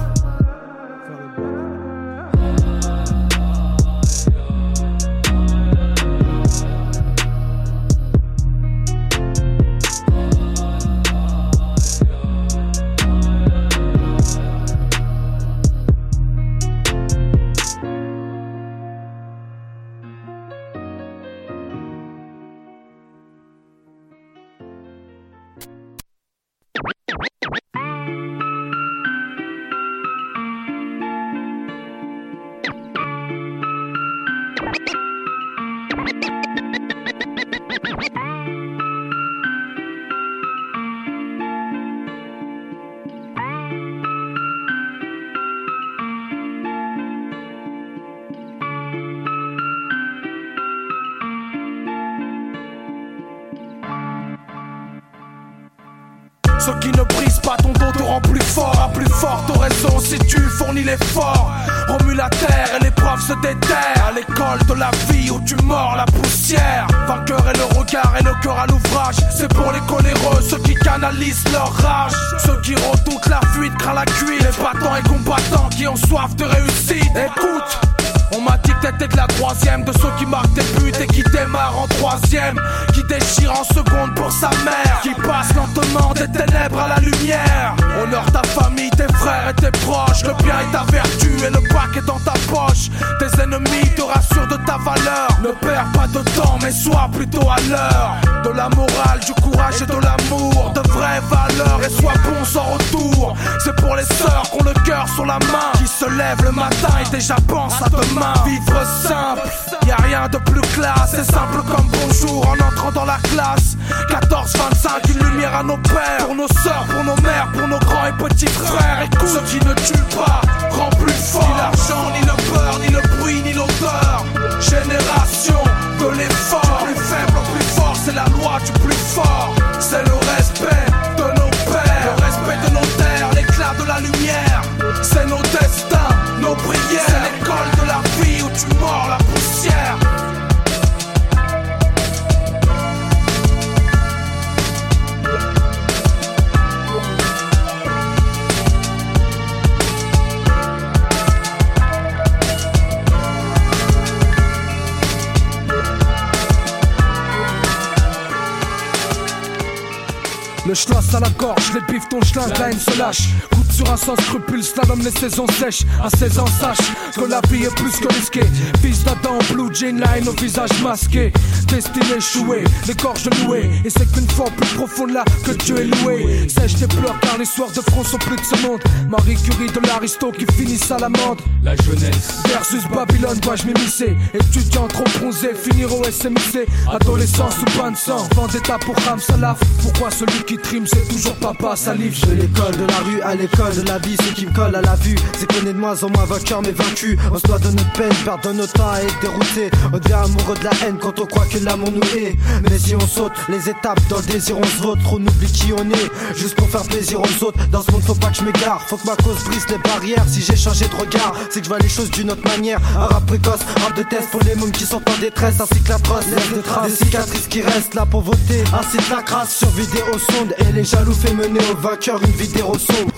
Ceux qui ne brisent pas ton dos te rend plus fort. À plus forte raison si tu fournis l'effort. Remue la terre et l'épreuve se déterre. À l'école de la vie où tu mords la poussière. Vainqueur et le regard et le cœur à l'ouvrage. C'est pour les coléreux, ceux qui canalisent leur rage. Ceux qui redoutent la fuite, craignent la cuite. Les battants et combattants qui ont soif de réussite. Écoute, on m'a dit que t'étais de la troisième. De ceux qui marquent des buts et qui démarrent en troisième. Qui déchirent en seconde pour sa mère. Qui passe lentement des ténèbres à la lumière. Honore ta famille, tes frères et tes proches. Le bien est ta vertu et le bac est dans ta poche. Tes ennemis te rassurent de ta valeur. Ne perds pas de temps mais sois plutôt à l'heure. De la morale, du courage et de l'amour. De vraies valeurs et sois bon sans retour. C'est pour les sœurs qui ont le cœur sur la main. Qui se lèvent le matin et déjà pensent à demain. Vivre simple, y'a rien de plus classe. C'est simple comme bonjour en entrant dans la classe. 14-25, une lumière à nos pères. Pour nos sœurs, pour nos mères, pour nos grands et petits frères. Écoute, ce qui ne tue pas rend plus fort. Ni l'argent, ni le beurre, ni le bruit, ni l'odeur. Génération de l'effort. Plus faible, plus fort, c'est la loi du plus fort. C'est le respect de nos pères. Le respect de nos terres, l'éclat de la lumière. C'est nos destins, nos prières. C'est l'école de la vie où tu mords la poussière. Le schloss à la gorge, les bifs ton schlingue, la haine se lâche. Coupe sur un sans scrupule, slalom les saisons sèches. À 16 ans sache que la vie est plus que risquée. Fils d'Adam, blue jean, la haine au visage masqué. Destiné échoué, les gorges nouées. Et c'est qu'une fois plus profonde là que Dieu est loué. Sèche tes pleurs car les soirs de front sont plus de ce monde. Marie Curie de l'aristo qui finissent à l'amende. La jeunesse versus Babylone, dois-je m'immiscer. Étudiant trop bronzé, finir au SMIC. Adolescence ou bain de sang, vendetta pour Ram Salaf. Pourquoi celui qui trime c'est toujours papa salive? De l'école de la rue à l'école de la vie, ce qui me colle à la vue, c'est qu'on est de moins en moins vainqueur mais vaincu. On se doit de notre peine, perdre notre temps à être dérouté. On devient amoureux de la haine quand on croit que l'amour nous hait. Mais si on saute les étapes dans le désir on se vote. On oublie qui on est, juste pour faire plaisir aux autres. Dans ce monde faut pas que je m'égare, faut que ma cause brise les barrières. Si j'ai changé de regard, c'est que je vois les choses d'une autre manière. Un rap précoce, rap de test pour les mômes qui sont en détresse. Ainsi que la trosse, laisse de traces, des cicatrices qui restent là pour voter. Ainsi de la crasse sur vidéo sonde. Et les jaloux fait mener au vainqueur une vidéo sombre.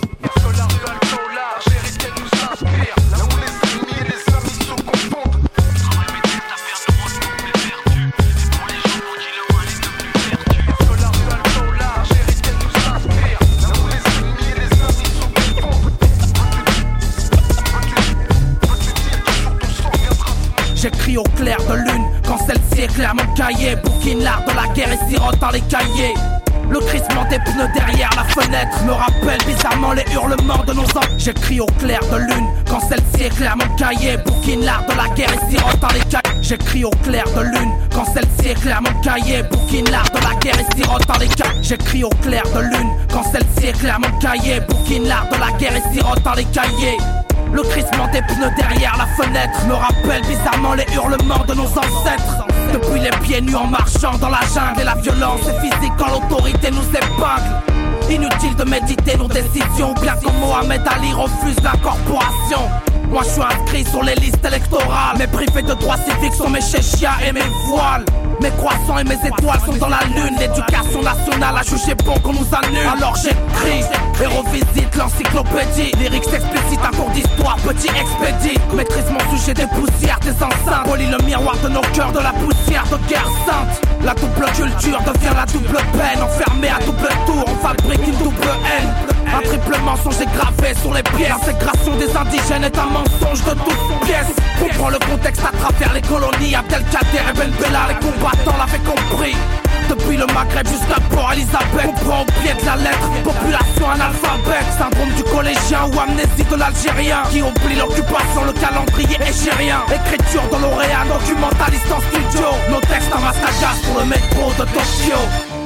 J'écris au clair de lune, quand celle-ci éclaire mon cahier. Bouquine l'art de la guerre et sirote dans les cahiers. Le crissement des pneus derrière la fenêtre me rappelle bizarrement les hurlements de nos enfants. J'écris au clair de lune quand celle-ci éclaire mon cahier. Bouquine l'art de la guerre et sirote dans les cahiers. J'écris au clair de lune quand celle-ci éclaire mon cahier. Bouquine l'art de la guerre et sirote dans les cahiers. J'écris au clair de lune quand celle-ci éclaire mon cahier. Bouquine l'art de la guerre et sirote dans les cahiers. Le crissement des pneus derrière la fenêtre me rappelle bizarrement les hurlements de nos ancêtres. Depuis les pieds nus en marchant dans la jungle et la violence est physique quand l'autorité nous épingle. Inutile de méditer nos décisions, bien comme Mohamed Ali refuse l'incorporation. Moi je suis inscrit sur les listes électorales, mais privé de droits civiques sont mes chéchias et mes voiles. Mes croissants et mes étoiles sont dans la lune. L'éducation nationale a jugé bon qu'on nous annule. Alors j'écris et revisite l'encyclopédie. Lyrics explicites, un cours d'histoire, petit expédie. Maîtrise mon sujet des poussières, des enceintes. Polis le miroir de nos cœurs de la poussière de guerre sainte. La double culture devient la double peine. Enfermé à double tour, on fabrique une double haine. Un triple mensonge est gravé sur les pièces. L'intégration des indigènes est un mensonge de toutes pièces. Comprends le contexte à travers les colonies. Abdelkader et Ben Bella, les combattants l'avaient compris. Depuis le Maghreb jusqu'à Port Elizabeth, comprend au pied de la lettre. Population analphabète, syndrome du collégien ou amnésie de l'Algérien qui oublie l'occupation, le calendrier égérien. Écriture de lauréat, documentaliste en studio. Nos textes en masque à gaz pour le métro de Tokyo.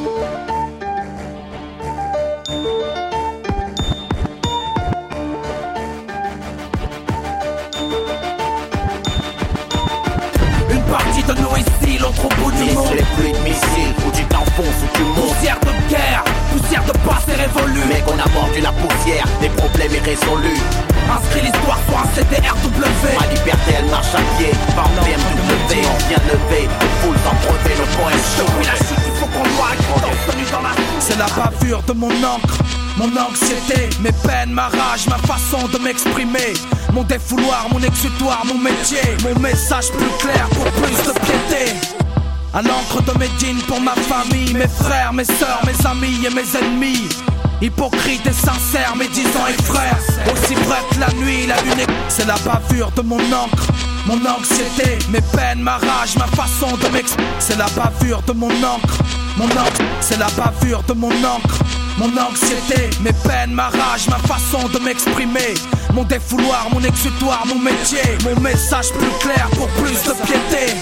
Partie de nous ici, l'autre au bout du monde. Les pluies de missiles, où tu t'enfonces, où tu montes. Poussière de guerre, poussière de passé révolu. Mais qu'on a mordu la poussière, des problèmes irrésolus. Inscris l'histoire sur un CDRW. Ma liberté elle marche à pied, par BMW. On vient lever, on foule sans brevet, le poème chaud. Depuis la chute, il faut qu'on voit dans la... C'est la bavure de mon encre, mon anxiété, mes peines, ma rage, ma façon de m'exprimer. Mon défouloir, mon exutoire, mon métier. Mon message plus clair pour plus de piété. À l'encre de Médine pour ma famille, mes frères, mes sœurs, mes amis et mes ennemis. Hypocrite et sincère, mes 10 ans et frères. Aussi vrai que la nuit, la lune est... C'est la bavure de mon encre, mon anxiété, mes peines, ma rage, ma façon de m'exprimer. C'est la bavure de mon encre, mon encre. C'est la bavure de mon encre, mon anxiété, mes peines, ma rage, ma façon de m'exprimer. Mon défouloir, mon exutoire, mon métier. Mon message plus clair pour plus de piété.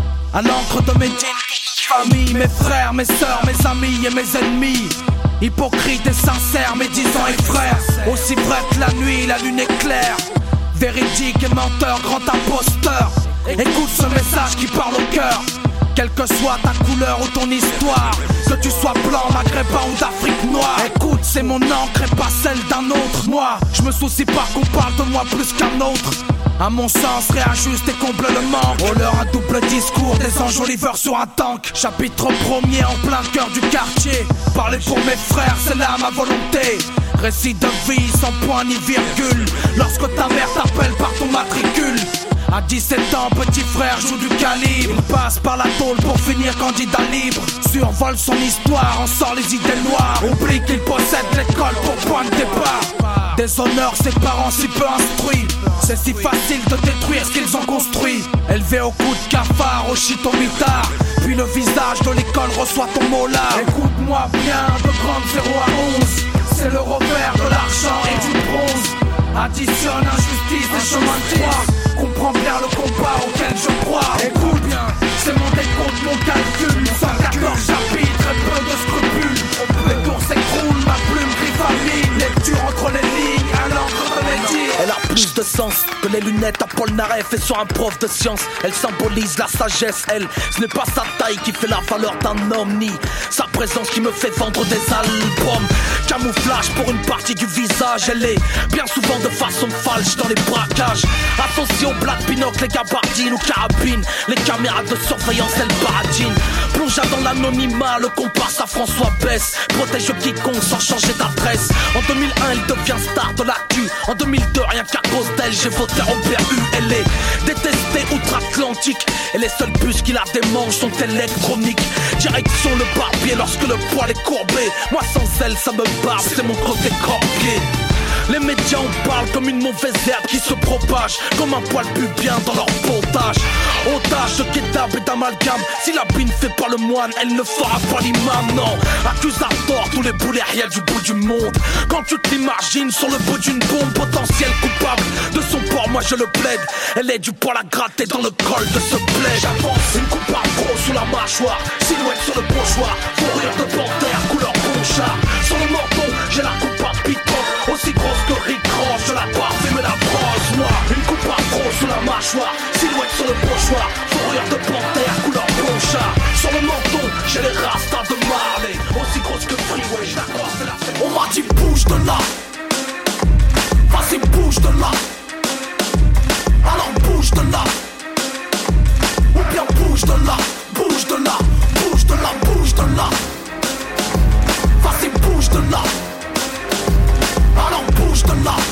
À l'encre de mes famille, mes frères, mes sœurs, mes amis et mes ennemis. Hypocrite et sincère, mes 10 ans et frères. Aussi vrai que la nuit, la lune est claire. Véridique et menteur, grand imposteur. Écoute ce message qui parle au cœur. Quelle que soit ta couleur ou ton histoire, que tu sois blanc, maghrébin ou d'Afrique noire. Écoute, c'est mon encre et pas celle d'un autre. Moi, je me soucie pas qu'on parle de moi plus qu'un autre. À mon sens, réajuste et comble le manque. Oh leur un double discours, des enjoliveurs sur un tank. Chapitre premier en plein cœur du quartier. Parler pour mes frères, c'est là ma volonté. Récit de vie sans point ni virgule. Lorsque ta mère t'appelle par ton matricule. À 17 ans, petit frère joue du calibre. Il passe par la tôle pour finir candidat libre. Survole son histoire, en sort les idées noires. Oublie qu'il possède l'école pour point de départ. Déshonore ses parents si peu instruits. C'est si facile de détruire ce qu'ils ont construit. Élevé au coup de cafard, au shit au mitard. Puis le visage de l'école reçoit ton molar. Écoute-moi bien, de grande 0 à 11. C'est le revers de l'argent et du bronze. Additionne injustice et chemin de croix. Comprends bien le combat auquel je crois. Écoute bien, c'est mon décompte, mon calcul. 114 chapitres et peu de scrupules. Les tours s'écroulent, ma plume griffe à mine. Lecture entre les lignes, à l'encre de mes dires. Elle a plus de sens que les lunettes à Paul Naref et sur un prof de science. Elle symbolise la sagesse, elle. Ce n'est pas sa taille qui fait la valeur d'un homme, ni sa présence qui me fait vendre des albums. Camouflage pour une partie du visage. Elle est bien souvent de façon falche dans les braquages. Associée au black binocle, les gabardines ou carabines. Les caméras de surveillance, elle baradine. Plongea dans l'anonymat, le comparse à François Besse. Protège quiconque sans changer d'adresse. En 2001, elle devient star de l'actu. En 2002, rien qu'à cause d'elle, j'ai voté Robert U. Elle est détestée outre-Atlantique. Et les seuls bus qui la démangent sont électroniques. Direction le barbier lorsque le poil est courbé. Moi sans elle, ça me barbe, c'est mon côté corpier. Les médias en parlent comme une mauvaise herbe qui se propage, comme un poil pubien dans leur pontage. Otage de kidnap et d'amalgame. Si la bine fait pas le moine, elle ne fera pas l'imam, non. Accusateur tous les boulets réels du bout du monde. Quand tu t'imagines sur le bout d'une bombe, potentiel coupable de son port, moi je le plaide. Elle est du poil à gratter dans le col de ce plaid. J'avance, une coupe par gros sous la mâchoire, silhouette sur le pochoir, fourrure de panthère, couleur ponchard. Sur le menton, j'ai la coupe à piquant, aussi grosse que Rick Ross, je la barbe et me la brosse noire. Une coupe par gros sous la mâchoire, silhouette sur le pochoir, fourrure de panthère, couleur ponchard. Sur le menton, j'ai les rastas de Marley, aussi grosse que Freeway, je la croise et la fête. On m'a dit bouge de là, vas-y bouge de là. Alors bouge de là, ou bien bouge de là, bouge de là, bouge de là, bouge de là. Vas-y bouge de là, alors bouge de là.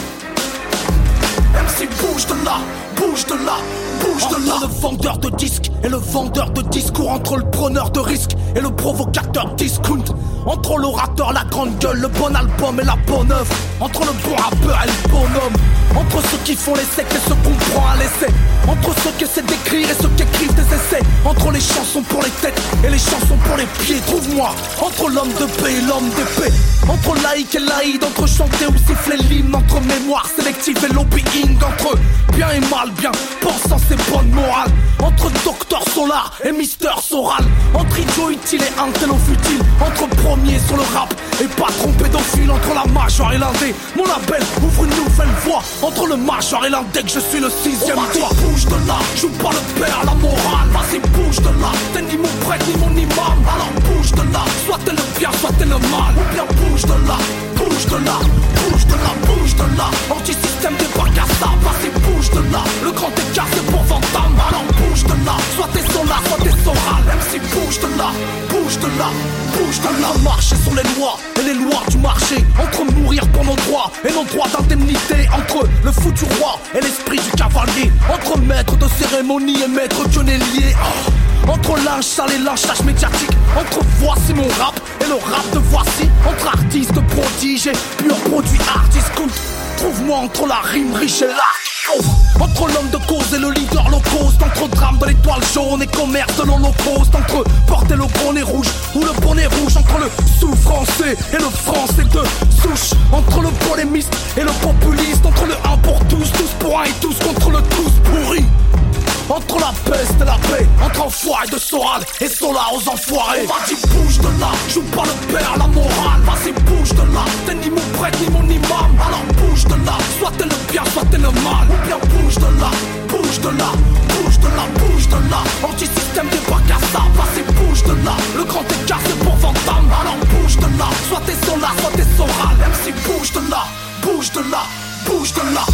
MC bouge de là, bouge de là, bouge de là. Entre le vendeur de disques et le vendeur de discours, entre le preneur de risques et le provocateur discount, entre l'orateur, la grande gueule, le bon album et la bonne œuvre, entre le bon rappeur et le bonhomme, entre ceux qui font l'essai et ceux qu'on prend à l'essai, entre ceux qui essaient d'écrire et ceux qui écrivent des essais, entre les chansons pour les têtes et les chansons pour les pieds. Trouve-moi entre l'homme de paix et l'homme d'épée, entre laïc et laïd, entre chanter ou siffler l'hymne, entre mémoire sélective et lobbying, entre bien et mal, bien pensant c'est bonne morale, entre Docteur Solar et Mister Soral, entre idiot utile et intello futile, entre premier sur le rap et patron pédophile, entre la major et l'indé, mon label ouvre une nouvelle voie, entre le major et l'indé que je suis le sixième toit. Bouge de là, joue pas le père, la morale, vas-y bouge de là, t'es ni mon prêtre ni mon imam, alors bouge de là, soit t'es le bien, soit t'es le mal, ou bien bouge de là, bouge de là, bouge de là, bouge de là, anti-système débarque à ça, vas-y bouge de là, le grand écart c'est pour Vandamme, alors bouge de là, soit t'es solar, soit t'es soral, MC bouge de là, bouge de là, bouge de là. Marcher sur les lois et les lois du marché, entre mourir pour nos droits et nos droits d'indemnité, entre le fou du roi et l'esprit du cavalier, entre maître de cérémonie et maître pionnier, entre linge sale et lynchage médiatique, entre voici mon rap et le rap de voici, entre artistes prodiges et pur produit art discount. Trouve-moi entre la rime riche et l'art, entre l'homme de cause et le leader low cost, entre drame de l'étoile jaune et commerce de l'holocauste, entre porter le bonnet rouge ou le bonnet rouge, entre le sous-français et le français de souche, entre le polémiste et le populiste, entre le 1 pour tous, tous pour un et tous contre le tous pourri, entre la peste et la paix, entre enfoirés de Soral et Solar aux enfoirés. On m'a dit bouge de là, joue pas le père, la morale, vas-y bouge de là, t'es ni mon prêtre ni mon imam, alors bouge de là, soit t'es le bien, soit t'es le mal, ou bien bouge de là, bouge de là, bouge de là, bouge de là, anti-système débarque à ça, vas-y bouge de là, le grand écart c'est pour Vandamme, alors bouge de là, soit t'es solar, soit t'es soral, MC bouge de là, bouge de là, bouge de là.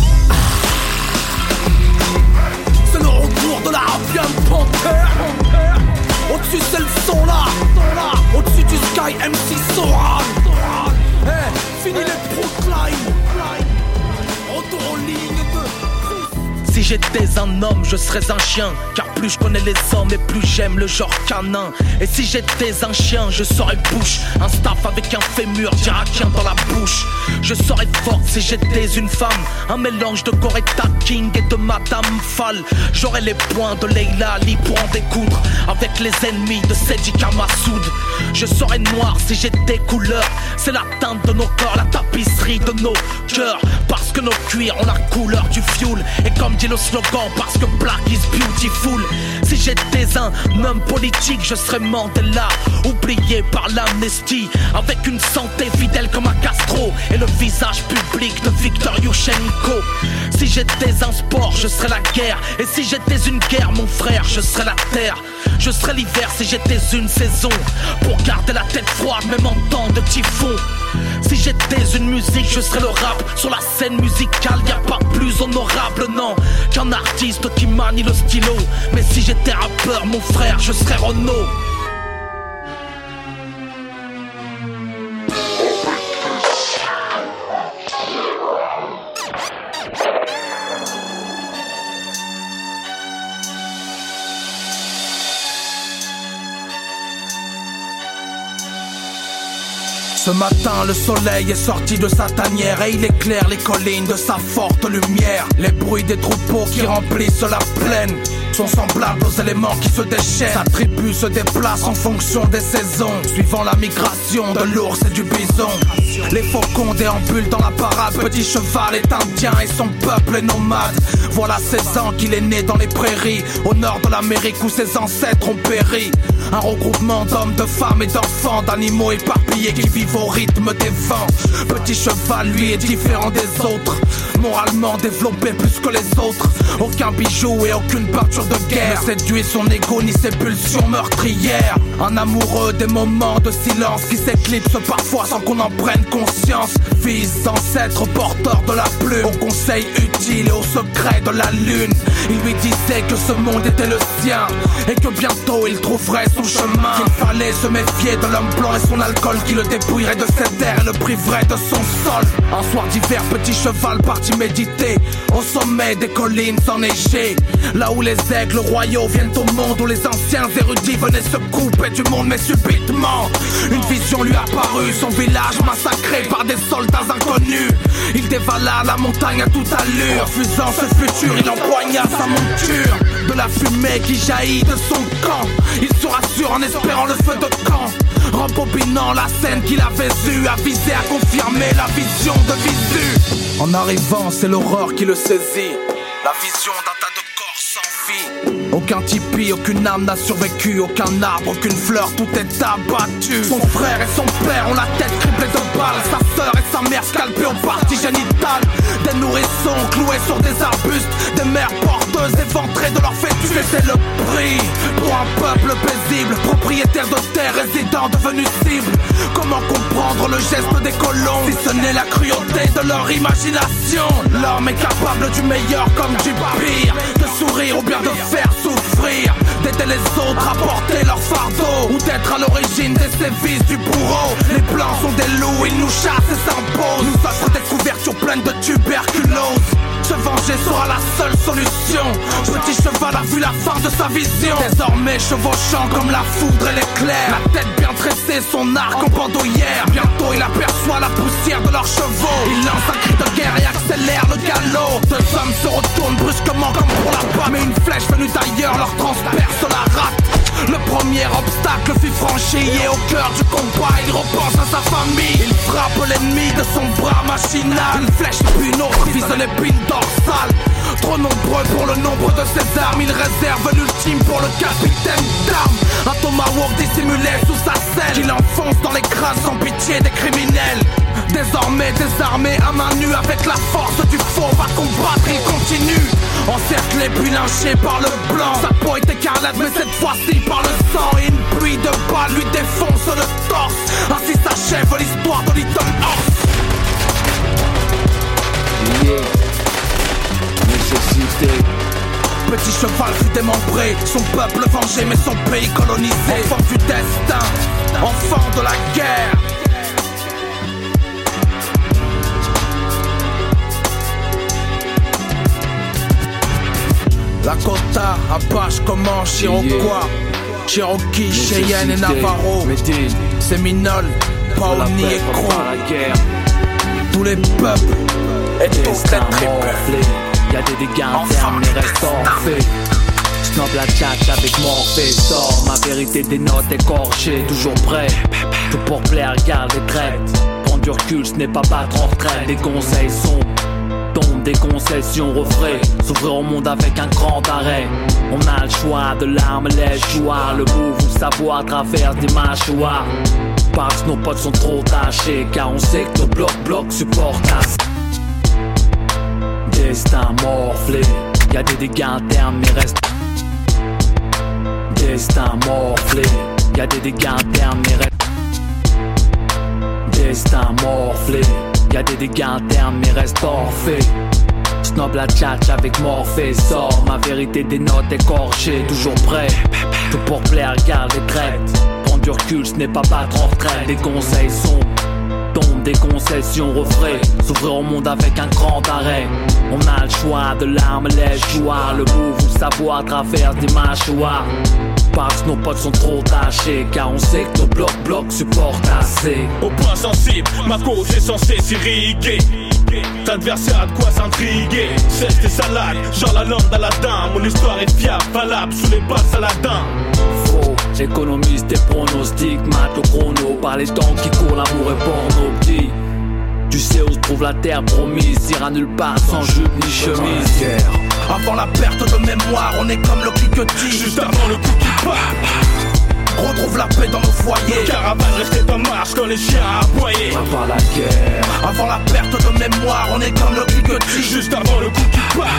C'est le retour de la ravienne panthère. Au-dessus c'est le son là, au-dessus du sky MC Soral. Fini les proclines, retour en ligne de... Si j'étais un homme, je serais un chien, car plus je connais les hommes et plus j'aime le genre canin. Et si j'étais un chien, je serais Bush, un staff avec un fémur d'irakien dans la bouche. Je serais forte si j'étais une femme, un mélange de Coretta King et de Madame Fall. J'aurais les poings de Leila Ali pour en découdre avec les ennemis de Sedika Massoud. Je serais noir si j'étais couleur, c'est la teinte de nos corps, la tapisserie de nos cœurs, parce que nos cuirs ont la couleur du fioul. Et comme dit le slogan, parce que black is beautiful. Si j'étais un homme politique, je serais Mandela, oublié par l'amnestie, avec une santé fidèle comme un Castro et le visage public de Viktor Yushchenko. Si j'étais un sport, je serais la guerre, et si j'étais une guerre, mon frère, je serais la terre. Je serais l'hiver si j'étais une saison, pour garder la tête froide même en temps de typhon. Si j'étais une musique, je serais le rap. Sur la scène musicale, y'a pas plus honorable, non, qu'un artiste qui manie le stylo. Mais si j'étais rappeur, mon frère, je serais Renaud. Ce matin, le soleil est sorti de sa tanière et il éclaire les collines de sa forte lumière. Les bruits des troupeaux qui remplissent la plaine sont semblables aux éléments qui se déchaînent. Sa tribu se déplace en fonction des saisons, suivant la migration de l'ours et du bison. Les faucons déambulent dans la parade. Petit cheval est indien et son peuple est nomade. Voilà 16 ans qu'il est né dans les prairies, au nord de l'Amérique où ses ancêtres ont péri. Un regroupement d'hommes, de femmes et d'enfants, d'animaux éparpillés qui vivent au rythme des vents. Petit cheval, lui, est différent des autres, moralement développé plus que les autres. Aucun bijou et aucune peinture de guerre ne séduit son ego ni ses pulsions meurtrières. Un amoureux des moments de silence qui s'éclipsent parfois sans qu'on en prenne conscience. Fils d'ancêtres porteurs de la plume, aux conseils utiles et aux secrets de la lune. Il lui disait que ce monde était le sien et que bientôt il trouverait son chemin. Qu'il fallait se méfier de l'homme blanc et son alcool qui le dépouillerait de ses terres et le priverait de son sol. Un soir d'hiver, petit cheval partit méditer au sommet des collines enneigées, là où les aigles royaux viennent au monde, où les anciens érudits venaient se couper du monde. Mais subitement, une vision lui apparut, son village massacré par des soldats inconnus. Il dévala la montagne à toute allure, refusant ce futur, il empoigna sa monture. De la fumée qui jaillit de son camp, il se rassure en espérant le feu de camp. Rembobinant la scène qu'il avait eue, avisé à confirmer la vision de Visu. En arrivant, c'est l'horreur qui le saisit, la vision d'un tas de corps sans vie. Aucun tipi, aucune âme n'a survécu, aucun arbre, aucune fleur, tout est abattu. Son frère et son père ont la tête criblée de balles, sa sœur et sa mère scalpées aux parties génitales. Des nourrissons cloués sur des arbustes, des mères porteuses éventrées de leur fœtus. C'était le prix pour un peuple paisible, propriétaire de terres, résidents devenus cibles. Comment comprendre le geste des colons, si ce n'est la cruauté de leur imagination? L'homme est capable du meilleur comme du pire, de sourire ou bien de faire souffrir, d'aider les autres à porter leur fardeau, ou d'être à l'origine des sévices du bourreau. Les blancs sont des loups, ils nous chassent et s'imposent, nous offrent des couvertures pleines de tuberculose. Se venger sera la seule solution. Petit cheval a vu la fin de sa vision, désormais chevauchant comme la foudre et l'éclair, la tête bien tressée, son arc en bandoulière. Bientôt il aperçoit la poussière de leurs chevaux, il lance un cri de guerre et accélère le galop. Deux hommes se retournent brusquement comme pour la batte, mais une flèche venue d'ailleurs leur transperce la rate. Le premier obstacle fut franchi et au cœur du combat il repense à sa famille. Il frappe l'ennemi de son bras machinal, une flèche puis une autre vise l'épine dorsale. Trop nombreux pour le nombre de ses armes, il réserve l'ultime pour le capitaine d'armes. Un tomahawk dissimulé sous sa selle, il enfonce dans les crânes sans pitié des criminels. Désormais désarmé à main nue, avec la force du faux va combattre, il continue. Encerclé puis lynché par le blanc, sa peau est écarlate mais cette fois-ci par le sang. Et une pluie de balles lui défonce le torse, ainsi s'achève l'histoire de Little Horse. Nécessité. Petit cheval fut démembré, son peuple vengé mais son pays colonisé. Enfant du destin, enfant de la guerre. Lakota, Apache, Comanche, Iroquois, Cherokee, Cheyenne et Navarro, Séminole, Paoni et Croix. Tous les peuples et toutes les tribus. Y'a des dégâts internes mais reste orphée. Snob la tchatch avec Morphée. Sors ma vérité des notes écorchées. Toujours prêt, tout pour plaire, garde les traites. Prendre du recul, ce n'est pas battre en retraite. Des conseils sont tombent, des concessions refrais. S'ouvrir au monde avec un grand arrêt. On a le choix de l'arme, les joueurs. Le move ou le savoir traverse des mâchoires. Parce que nos potes sont trop tachés, car on sait que nos blocs supportent assez. Destin morflé, y'a des dégâts internes mais reste. Destin morflé, y'a des dégâts internes mais reste. Destin morflé, y'a des dégâts internes mais reste orphée. Snob la tchatch avec Morphée. Sors ma vérité des notes écorchées. Toujours prêt, tout pour plaire, garde les traites. Prendre du recul, ce n'est pas battre en retraite. Des conseils sont tombent, des concessions, refrais, s'ouvrir au monde avec un grand arrêt. On a le choix de l'arme, les joueurs, le move ou le savoir traverse des mâchoires. Parce que nos potes sont trop tachés, car on sait que nos blocs supportent assez. Au point sensible, ma cause est censée s'irriguer. T'adversaire a de quoi s'intriguer. Cesse tes salades, genre la lampe d'Aladin. Mon histoire est fiable, valable sous les bas Saladin. Faux, économiste des pronostics, mate au chrono. Par les temps qui courent, l'amour est porno petit. Tu sais où se trouve la terre promise, ira nulle part sans jupe ni chemise. Avant la perte de mémoire, on est comme le cliquetis. Juste avant le coup qui part, retrouve la paix dans nos foyers. Le caravane restait en marche quand les chiens aboyaient. Avant la guerre, avant la perte de mémoire, on est comme le cliquetis. Juste avant le coup qui part,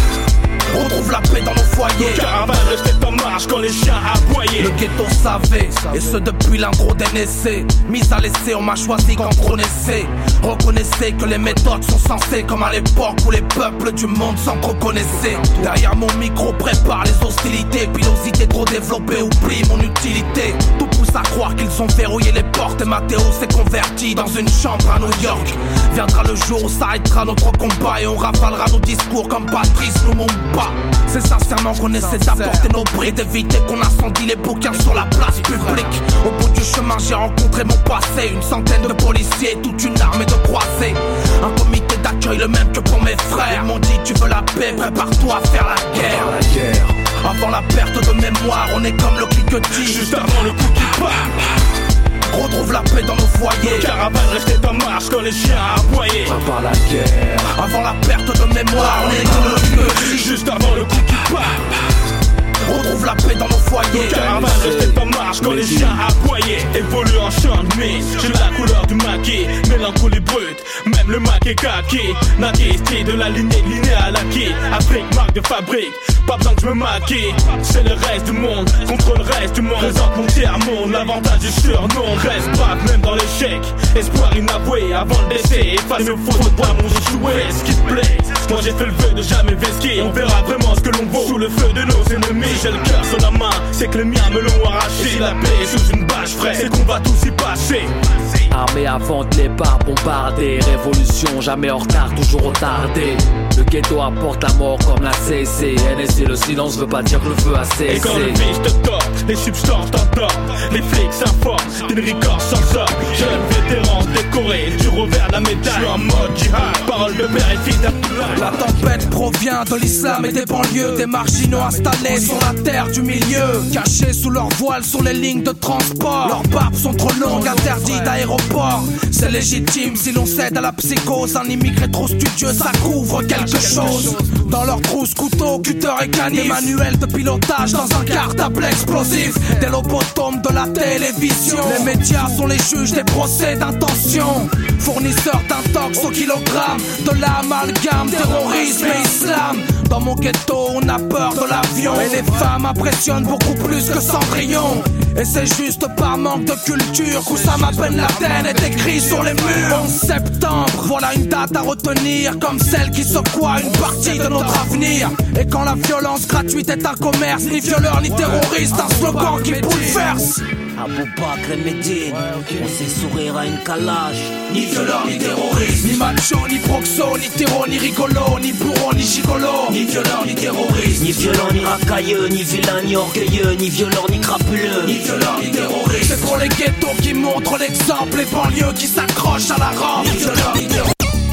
retrouve la paix dans nos foyers. Le caravane restait en marche quand les chiens aboyaient. Le ghetto savait, et ce depuis l'intro d'NSC. Mise à l'essai, on m'a choisi quand on essaie. Reconnaissez que les méthodes sont censées comme à l'époque où les peuples du monde s'entreconnaissaient. Derrière mon micro prépare les hostilités. Pilosité trop développée, oublie mon utilité. Tout pousse à croire qu'ils ont verrouillé les portes. Et Mathéo s'est converti dans une chambre à New York. Viendra le jour où s'arrêtera notre combat et on rafalera nos discours comme Patrice Lumumba. C'est sincèrement qu'on essaie d'apporter nos bris, d'éviter qu'on incendie les bouquins sur la place publique. Au bout du chemin j'ai rencontré mon passé, une centaine de policiers, toute une armée de croisés. Un comité d'accueil le même que pour mes frères. Ils m'ont dit tu veux la paix, prépare-toi à faire la guerre. Avant la perte de mémoire, on est comme le cliquetis. Juste avant le coup qui part, retrouve la paix dans nos foyers. Le caravane restait en marche quand les chiens aboyaient. Avant la guerre, avant la perte de mémoire, on est comme le cliquetis. Juste avant le coup qui part, retrouve la paix dans nos foyers. Le caravane restait en marche quand les chiens aboyaient. Évolue en champ de mise, j'ai la couleur du maquis. Mélancolie brute, même le maquis kaki. Naquis, style de la lignée linéale acquis. Afrique, marque de fabrique, pas besoin que je me maquille. C'est le reste du monde contre le reste du monde. Présente mon tiers-monde, l'avantage du surnom. Reste brave même dans l'échec, espoir inavoué avant le décès. Efface mes fautes, moi mon échoué. Ce qui te plaît, moi j'ai fait le vœu de jamais vesquer. On verra vraiment ce que l'on vaut sous le feu de nos ennemis. J'ai le cœur sur la main, c'est que les miens me l'ont arraché. Si la paix est sous une bâche fraîche, c'est qu'on va tous y passer. Armée avant de les par bombarder. Révolution jamais en retard, toujours retardé. Le ghetto apporte la mort comme la CC. NSC, le silence veut pas dire que le feu a cessé. Et quand le vice te tord, les substances t'endorment. Les flics s'informent, d'une ricorde sans sort. Jeune vétéran décoré du revers de la médaille. Je suis en mode jihad, parole de père et fille d'Abdullah. La tempête provient de l'islam et des banlieues. Des marginaux installés sur la terre du milieu, cachés sous leur voile sur les lignes de transport. Leurs barbes sont trop longues, interdites d'aéroport. C'est légitime si l'on cède à la psychose. Un immigré trop studieux, ça couvre quelque chose. Dans leur trousse, couteau, cutter et canif. Des manuels de pilotage dans un cartable explosif. Des lobotomes de la télévision. Les médias sont les juges des procès d'intention. Fournisseurs d'intox au kilogramme. De l'amalgame, terrorisme et islam. Dans mon ghetto, on a peur de l'avion. Et les femmes impressionnent beaucoup plus que Cendrillon. Et c'est juste par manque de culture qu'Oussama Ben Laden est écrit sur les murs. 11 septembre, voilà une date à retenir, comme celle qui secoua une partie de notre avenir. Et quand la violence gratuite est un commerce, ni violeur ni terroriste, un slogan qui bouleverse. Aboubakr et Médine, on sait sourire à une calage. Ni violeur ni terroriste, ni macho, ni proxo, ni terreau, ni rigolo, ni bourreau, ni gigolo. Ni violeur ni terroriste, ni violent ni racailleux, ni vilain ni orgueilleux, ni violent ni crapuleux. Ni violeur ni terroriste, c'est pour les ghettos qui montrent l'exemple, les banlieues qui s'accrochent à la rampe. Ni violeur ni terroriste.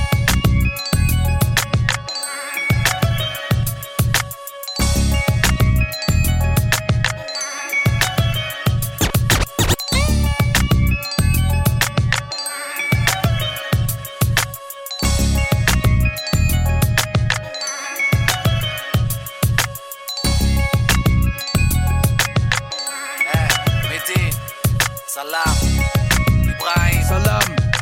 Salam, Ibrahim, salam.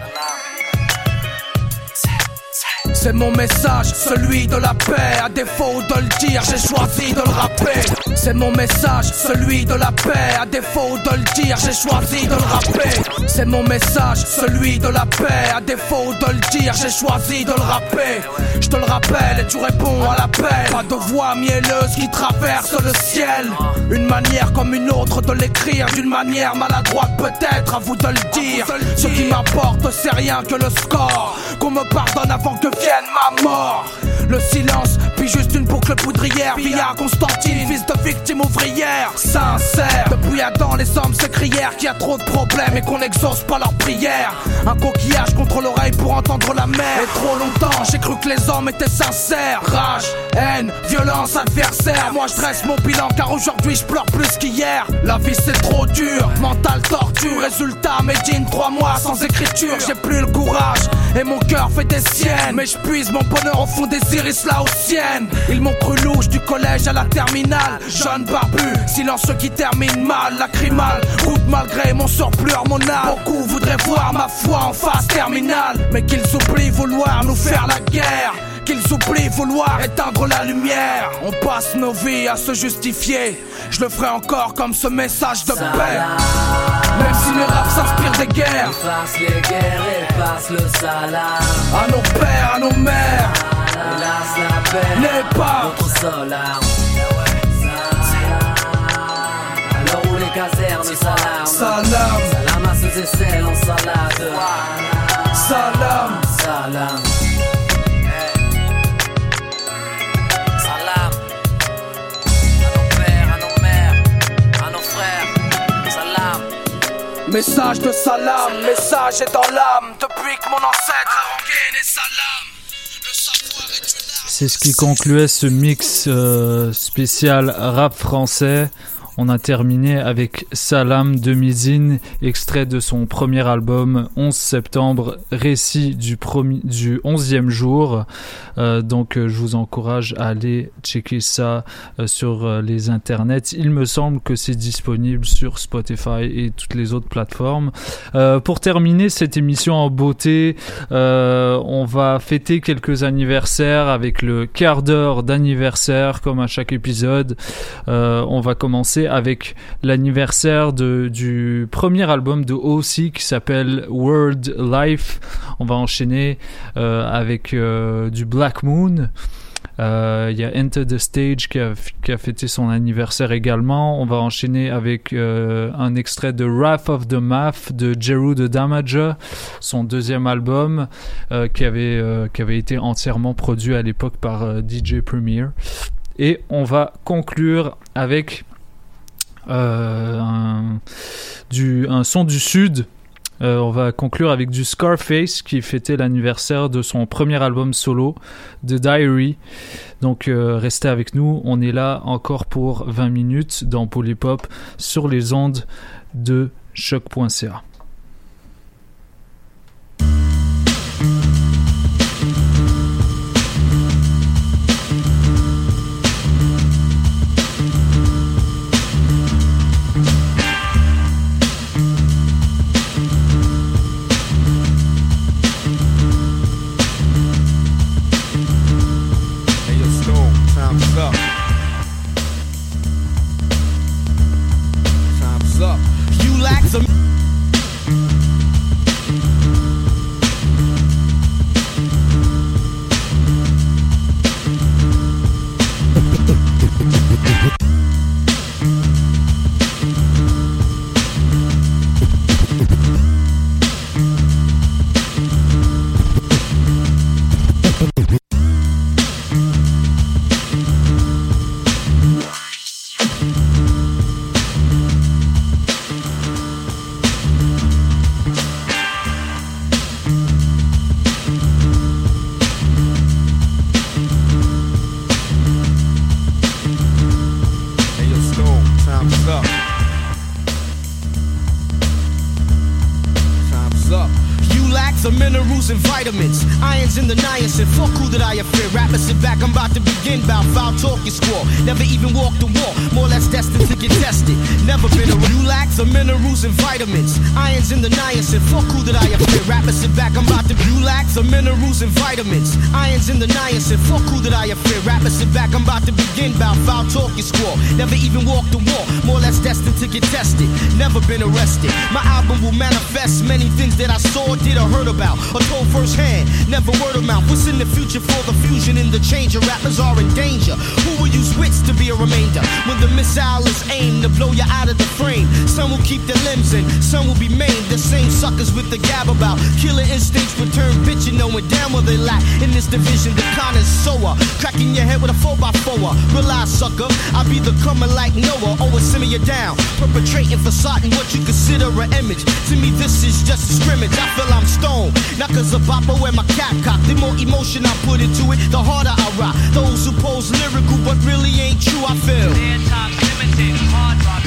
C'est mon message, celui de la paix. À défaut de le dire, j'ai choisi de le rapper. C'est mon message, celui de la paix. À défaut de le dire, j'ai choisi de le rapper. C'est mon message, celui de la paix. À défaut de le dire, j'ai choisi de le rapper. Je te le rappelle et tu réponds à l'appel. Pas de voix mielleuse qui traverse le ciel. Une manière comme une autre de l'écrire, d'une manière maladroite peut-être, à vous de le dire. Ceux qui m'importe, c'est rien que le score. Qu'on me pardonne avant que vienne ma mort. Le silence, puis juste une boucle poudrière. Via Constantine, fils de victime ouvrière. Sincère, depuis Adam les hommes se crièrent qu'il y a trop de problèmes et qu'on n'exauce pas leurs prières. Un coquillage contre l'oreille pour entendre la mer. Et trop longtemps j'ai cru que les hommes étaient sincères. Rage, haine, violence, adversaire. Moi je dresse mon bilan car aujourd'hui je pleure plus qu'hier. La vie c'est trop dur, mental torture. Résultat, Medine 3 mois sans écriture. J'ai plus le courage et mon cœur fait des siennes. Mais je puise mon bonheur au fond des iris laotiennes. Ils m'ont cru louche du collège à la terminale. Jeune barbu, silencieux qui termine mal. Lacrymal, route malgré mon surplus hormonal. Beaucoup voudraient voir ma foi en phase terminale. Mais qu'ils oublient vouloir nous faire la guerre. Qu'ils oublient vouloir éteindre la lumière. On passe nos vies à se justifier. Je le ferai encore comme ce message de paix. Même si mes raps s'inspirent des guerres. Efface les guerres, efface le salam. À nos pères, à nos mères. Hélas la paix n'est pas notre seule arme. Alors où les casernes s'alarment. Salam. Salam à ceux et celles en salade. Salam. Salam. Salam. À nos pères, à nos mères, à nos frères. Salam. Message de salam, message est dans l'âme. Depuis que mon ancêtre a rengaine et salam. C'est ce qui concluait ce mix spécial rap français. On a terminé avec Salam de Mizine, extrait de son premier album 11 septembre, récit du 11e jour. Donc je vous encourage à aller checker ça sur les internets. Il me semble que c'est disponible sur Spotify et toutes les autres plateformes. Pour terminer cette émission en beauté, on va fêter quelques anniversaires avec le quart d'heure d'anniversaire comme à chaque épisode. On va commencer avec l'anniversaire du premier album de O.C. qui s'appelle World Life. On va enchaîner avec du Black Moon. Il y a Enter the Stage qui a fêté son anniversaire également. On va enchaîner avec un extrait de Wrath of the Math de Jeru the Damager, son deuxième album qui avait été entièrement produit à l'époque par DJ Premier. Et on va conclure avec un son du Sud. On va conclure avec du Scarface qui fêtait l'anniversaire de son premier album solo, The Diary. Donc restez avec nous, on est là encore pour 20 minutes dans Polypop sur les ondes de choc.ca. Vitamins, irons in the niacin. Fuck who that I fear. Rappers sit back, I'm about to begin. Bout foul talking squaw. Never even walked the wall. More or less destined to get tested. Never been a you lack some minerals and vitamins. Irons in the niacin. Fuck who that I fear. Rappers sit back, I'm about to you lack some minerals and vitamins. Irons in the niacin. Fuck who that I fear. Rappers sit back, I'm about to begin. Bout foul talking squaw. Never even walked the wall. More or less destined to get tested. Never been arrested. My album will manifest many things that I saw. Did or heard about or told firsthand, never word of mouth. What's in the future for the fusion and the change of rappers are in danger? Who will use wits to be a remainder when the missile is aimed to blow you out of the frame? Some will keep their limbs in, some will be maimed. The same suckers with the gab about killer instincts return bitchin', knowing damn well they lack in this division. The con is sower, cracking your head with a 4x4. Realize, sucker, I be the comer like Noah. Always simmer you down, perpetrating facade and what you consider an image. To me, this is just a scrimmage. I feel I'm stoned, not cause of bopper where my cap cocked. The more emotion I put into it, the harder I rock. Those who pose lyrical but really ain't true, I feel. Time's limited, hard rock.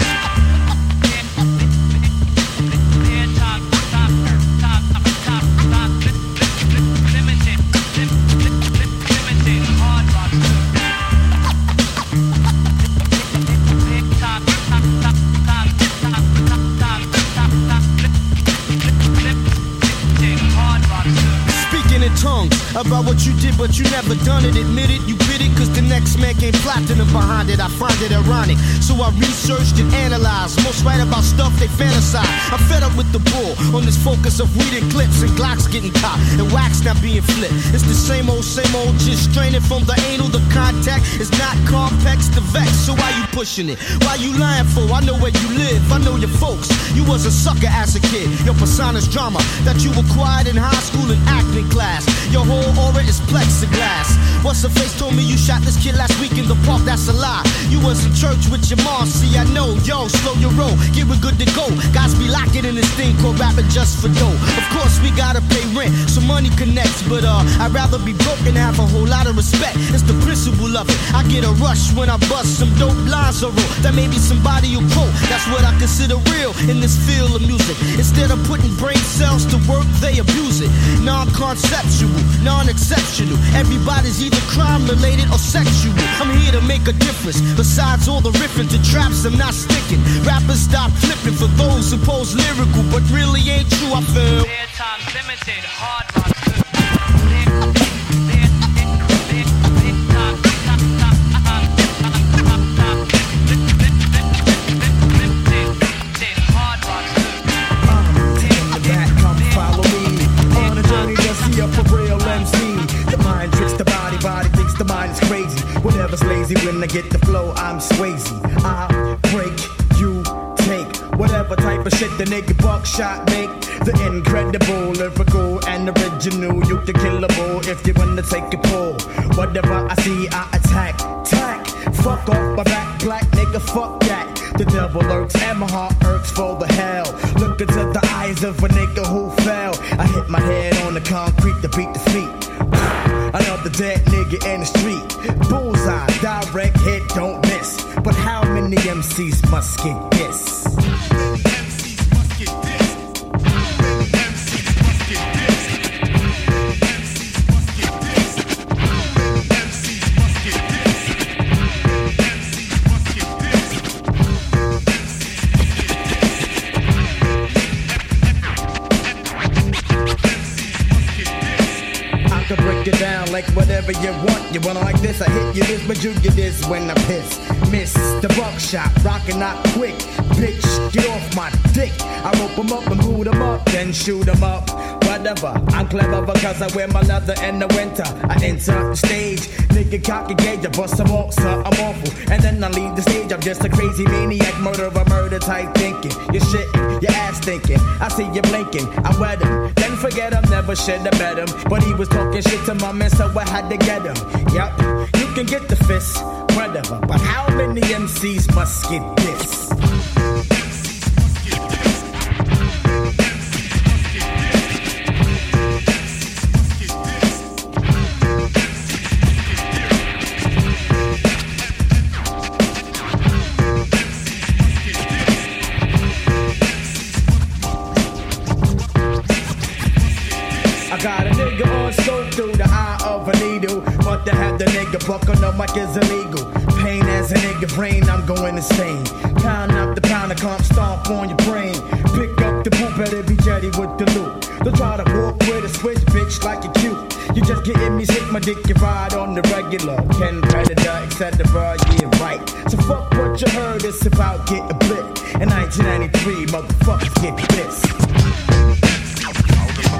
About what you did, but you never done it. Admit it, you bit it, cause the next man came platinum behind it. I find it ironic, so I researched and analyzed. Most write about stuff they fantasize. I'm fed up with the bull on this focus of weed and clips and Glocks getting caught and wax not being flipped. It's the same old, just straining from the anal. The contact is not complex, the vex. So why you pushing it? Why you lying for? I know where you live, I know your folks. You was a sucker as a kid. Your persona's drama that you acquired in high school and acting class. Your whole aura is plexiglass. What's the face told me you shot this kid last week in the park? That's a lie. You was in church with your mom. See, I know. Yo, slow your roll. Get we good to go. Guys be locking in this thing called rapping just for dough. Of course, we gotta pay rent, so money connects. But I'd rather be broke and have a whole lot of respect. It's the principle of it. I get a rush when I bust some dope lines or roll. That maybe somebody will quote. That's what I consider real in this field of music. Instead of putting brain cells to work, they abuse it. Non-conceptual, non-exceptional. Everybody's either crime related or sexual. I'm here to make a difference. Besides all the riffing to traps, I'm not sticking. Rappers stop flipping for those who pose lyrical, but really ain't true, I feel. Time's limited, hard rock. The mind is crazy, whatever's lazy. When I get the flow, I'm Swayze. I break, you take whatever type of shit the nigga buckshot make. The incredible, lyrical and original. You can kill a bull if you wanna take a pull. Whatever I see, I attack. Tack, fuck off my back, black nigga, fuck that. The devil lurks and my heart irks for the hell. Look into the eyes of a nigga who fell. I hit my head on the concrete to beat the feet. Another dead nigga in the street. Bullseye, direct hit, don't miss. But how many MCs must get this? Get down like whatever you want. You wanna like this, I hit you this, but you get this when I piss. Miss the buckshot, rockin' not quick. Bitch, get off my dick. I rope 'em up and boot 'em up, then shoot 'em up. Whatever, I'm clever because I wear my leather in the winter. I enter the stage, nigga cock a gauge, I bust some off, so I'm awful. And then I leave the stage, I'm just a crazy maniac, murder type thinking. You're shitting, your ass thinking. I see you blinking, I wet him. Then forget him, never should have met him. But he was talking shit to my man, so I had to get him. Yup, you can get the fist, whatever. But how many MCs must get this? Got a nigga on scope through the eye of a needle. But to have the nigga buck on the mic is illegal. Pain as a nigga brain, I'm going insane. Pound up the pound of comp, stomp on your brain. Pick up the boot, better be jetty with the loot. Don't try to walk with a switch, bitch, like you're cute. You just getting me sick, my dick, you ride on the regular. Ken Predator, etc. Yeah, right. So fuck what you heard, it's about getting blipped. In 1993, motherfuckers get pissed.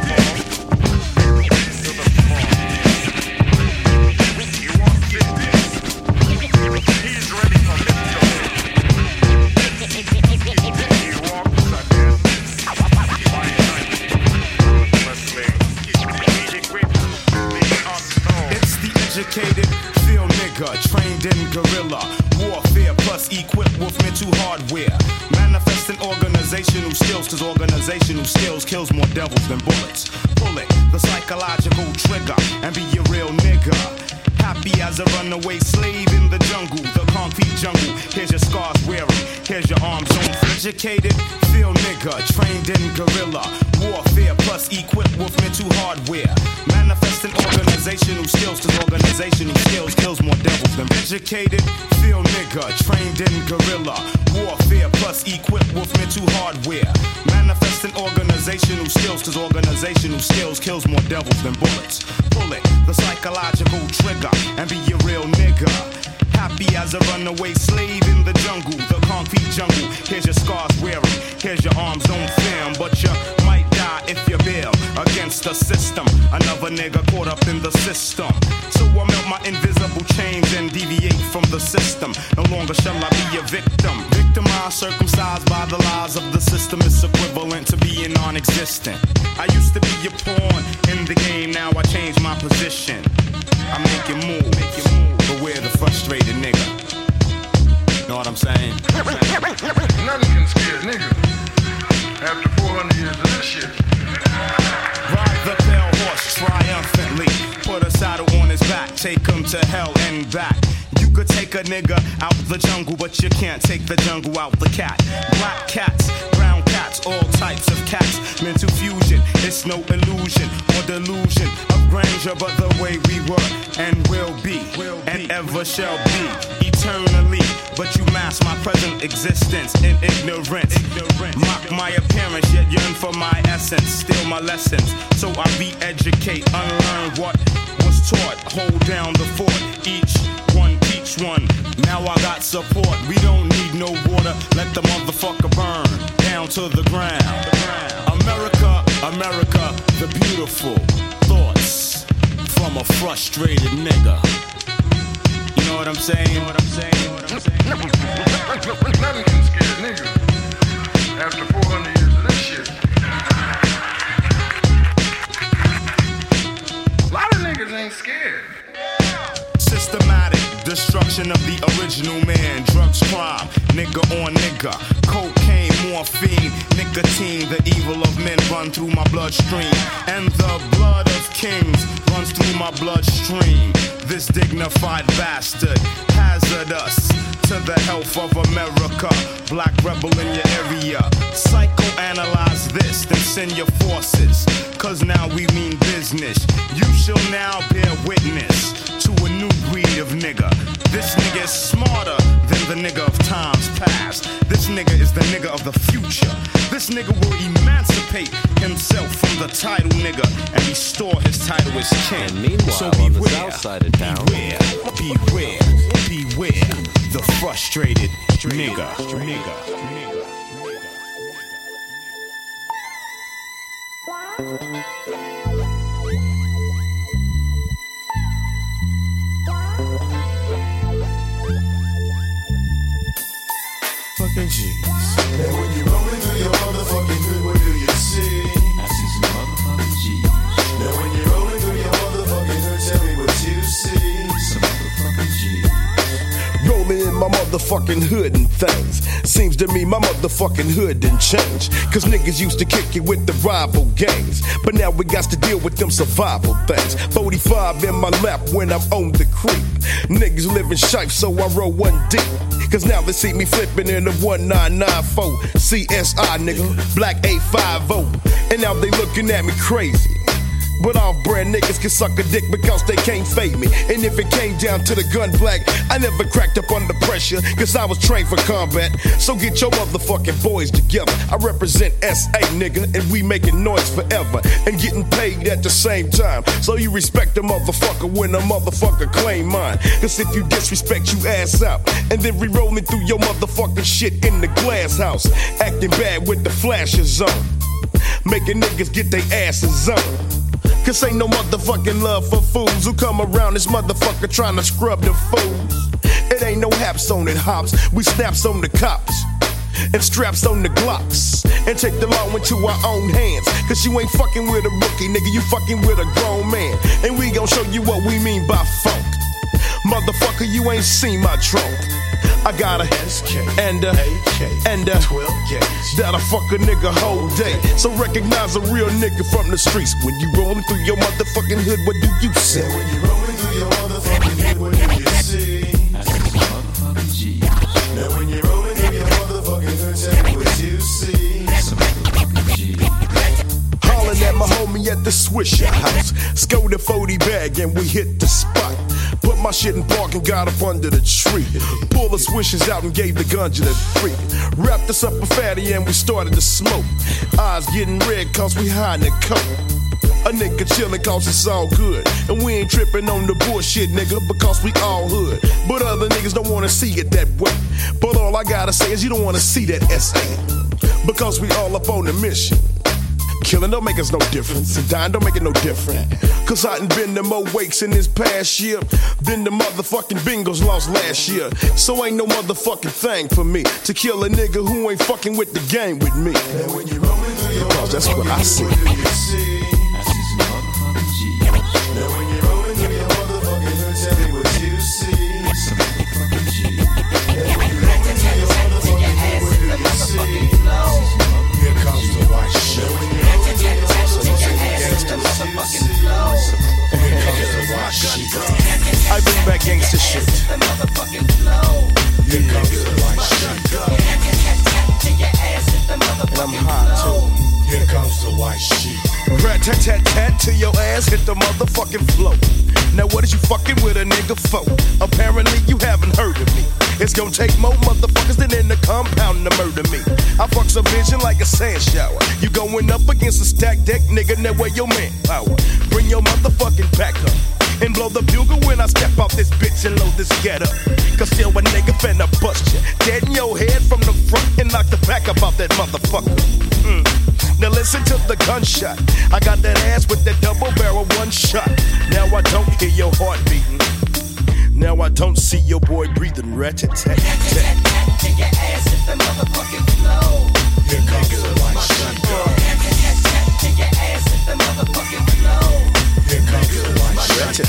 trained in guerrilla warfare, plus equipped with mental hardware. Manifesting organizational skills, cause organizational skills kills more devils than bullets. Pull it, the psychological trigger, and be a real nigga. Happy as a runaway slave in the jungle, the concrete jungle. Here's your scars weary, here's your arms on. Educated, feel nigga, trained in guerrilla warfare, plus equipped with mental hardware. Manifesting organizational skills, cause organizational skills kills more devils than educated, feel nigga, trained in guerrilla warfare, plus equipped with mental hardware. Manifesting organizational skills, cause organizational skills kills more devils than bullets. Pull it, the psychological trigger, and be a real nigga. Happy as a runaway slave in the jungle, the concrete jungle. Here's your scars weary, here's your arms on film, but you might die if you bail against the system. Another nigga caught up in the system. So I melt my invisible chains and deviate from the system. No longer shall I be a victim. Victimized, circumcised by the lies of the system. It's equivalent to being non-existent. I used to be a pawn in the game, now I changed my position. I'm making moves, beware the frustrated nigga. Know what I'm saying? Nothing can scare nigga. After 400 years of this shit. Ride the pale horse triumphantly. Put a saddle on his back, take him to hell and back. You could take a nigga out the jungle, but you can't take the jungle out the cat. Black cats, brown cats, all types of cats. Mental fusion, it's no illusion or delusion of grandeur, but the way we were and will be and ever shall be eternally. But you mask my present existence in ignorance. Mock my appearance, yet yearn for my essence. Steal my lessons, so I re-educate, unlearn what was taught. Hold down the fort, each one teach one. Now I got support, we don't need no water. Let the motherfucker burn down to the ground. America, America, the beautiful thoughts from a frustrated nigga. You know what I'm saying? You know what I'm saying? You know what I'm saying? Nothing can scare nigga. After 400 years of this shit. A lot of niggas ain't scared. Systematic destruction of the original man. Drugs, crime, nigga on nigga. Cocaine, morphine, nicotine. The evil of men run through my bloodstream, and the blood of kings runs through my bloodstream. This dignified bastard, hazardous to the health of America. Black rebel in your area. Psychoanalyze this, then send your forces, cause now we mean business. You shall now bear witness to a new breed of nigga. This nigga is smarter than the nigga of times past. This nigga is the nigga of the future. This nigga will emancipate himself from the title nigga and restore his title as king. And meanwhile, so beware, on the south side of town, beware, the frustrated nigga. Fucking G's. And when you're rolling through your motherfucking hood, what do you see? I see some motherfucking G's. Now when you're rolling through your motherfucking hood, tell me what you see. Some motherfucking G's. Rolling in my motherfucking hood and things. Seems to me my motherfucking hood didn't change. Cause niggas used to kick it with the rival gangs, but now we got to deal with them survival things. 45 in my lap when I'm on the creep. Niggas living shipe, so I roll one deep. Cause now they see me flipping in the 1994 CSI, nigga, Black 850. And now they looking at me crazy. But off-brand niggas can suck a dick because they can't fade me. And if it came down to the gun black, I never cracked up under pressure, cause I was trained for combat. So get your motherfucking boys together. I represent SA, nigga, and we making noise forever and getting paid at the same time. So you respect the motherfucker when a motherfucker claim mine. Cause if you disrespect, you ass out. And then re-rolling through your motherfucking shit in the glass house, acting bad with the flashes on, making niggas get their asses on. Cause ain't no motherfucking love for fools who come around this motherfucker trying to scrub the fools. It ain't no haps on it, hops. We snaps on the cops and straps on the Glocks and take the law into our own hands. Cause you ain't fucking with a rookie, nigga, you fucking with a grown man. And we gon' show you what we mean by funk. Motherfucker, you ain't seen my trunk. I got a SK and a AK and a 12 gauge that'll fuck a nigga whole day. So recognize a real nigga from the streets. When you rolling through your motherfucking hood, what do you see? When you rolling through your motherfucking hood, what do you see? Motherfucking G. Now when you're rolling through your motherfucking hood, tell me what you see. Motherfucking G. Hollin' at my homie at the Swisher house. Scored a 40 bag and we hit the spot. Put my shit in park and got up under the tree. Pull the swishers out and gave the gun to the freak. Wrapped us up a fatty and we started to smoke. Eyes getting red cause we high in the coat. A nigga chillin' cause it's all good. And we ain't trippin' on the bullshit, nigga, because we all hood. But other niggas don't wanna see it that way. But all I gotta say is you don't wanna see that SA. Because we all up on the mission. Killing don't make us no difference, and dying don't make it no different. Cause I done been to more wakes in this past year than the motherfucking Bengals lost last year. So ain't no motherfucking thing for me to kill a nigga who ain't fucking with the game with me. And when you rollin' through your Cause that's what I see. What do you see? I see some motherfucking G. Now when you rollin' through your motherfucking hood, tell me what you see. Some motherfucking G. And when you rollin' through your motherfucking hood, what do you see? Here comes the white shit. I bring back gangsta shit. Here comes the white shit. And I'm hot too. Here comes the white shit. Rat tat tat tat till your ass hit the motherfucking flow. Now what is you fucking with a nigga for? Apparently you haven't heard of me. It's gonna take more motherfuckers than in the compound to murder me. I fuck some vision like a sand shower. You going up against a stacked deck, nigga, now where your manpower? Bring your motherfucking back up. And blow the bugle when I step out this bitch and load this getup. Cause still a nigga finna bust ya. Dead in your head from the front and knock the back up out that motherfucker. Now listen to the gunshot. I got that ass with that double barrel one shot. Now I don't hear your heart beating. Now I don't see your boy breathing. Rat-a-tat-tat. Take your ass hit the motherfucking flow. Here comes the white shit. Take your ass hit the motherfucking flow. Here comes the white shit.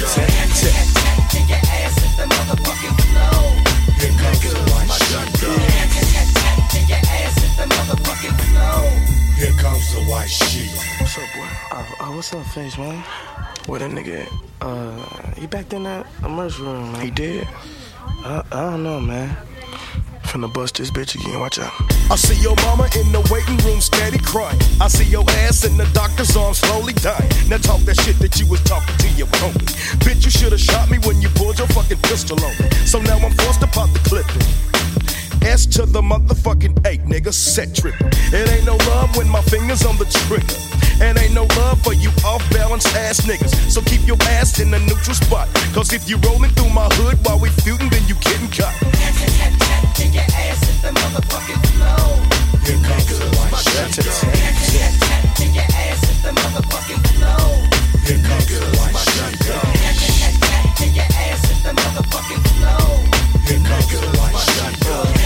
Take your ass hit the motherfucking flow. Here comes the white shit. Take your ass hit the motherfucking flow. Here comes the white sheet. What's up, boy? What's up, Face, man? Where that nigga at? He back in that emergency room, man. He did? I don't know, man. Finna bust this bitch again, watch out. I see your mama in the waiting room steady crying. I see your ass in the doctor's arms slowly dying. Now talk that shit that you was talking to your homie. Bitch, you should've shot me when you pulled your fucking pistol on me. So now I'm forced to pop the clip in. S to the motherfucking 8, nigga, set trippin'. It ain't no love when my fingers on the trigger. And ain't no love for you off-balance ass niggas. So keep your ass in the neutral spot. Cause if you rollin' through my hood while we feudin', then you getting caught. Take your ass hit the motherfucking flow. Here comes the white shit. Take your ass hit the motherfucking flow. Here comes the white shit. Take your ass hit the motherfucking flow. Here comes the white shit.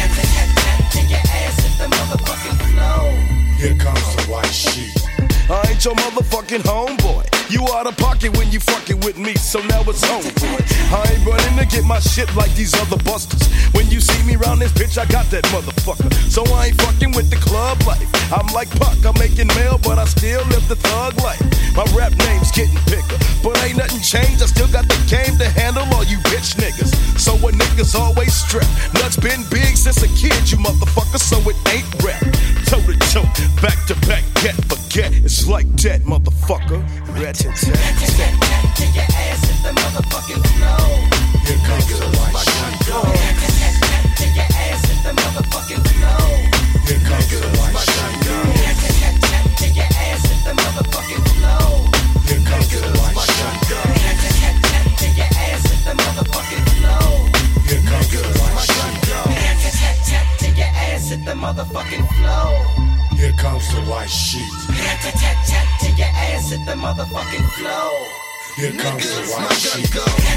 Take your ass hit the motherfucking flow. Here comes the white sheet. I ain't your motherfucking homeboy. You out of pocket when you fucking with me, so now it's home, boy. I ain't running to get my shit like these other busters. When you see me round this bitch, I got that motherfucker. So I ain't fucking with the club life. I'm like Puck, I'm making mail, but I still live the thug life. My rap name's getting bigger, but ain't nothing changed. I still got the game to handle all you bitch niggas. So a niggas always strapped. Nuts been big since a kid, you motherfucker, so it ain't rap. Toe to toe, back to back, get forget. It's like that, motherfucker. Rat-a-tat-tat. Take your ass hit the motherfucking flow. Here comes the white shit. Take your ass hit the motherfucking flow. Here comes the white shit. Take your ass hit the motherfucking flow. Here comes the white shit. Take your ass hit the motherfucking flow. Here comes the white shit. Take your ass hit the motherfucking flow. Here comes the white sheet. Take your ass hit the motherfucking flow. Here comes the white sheet.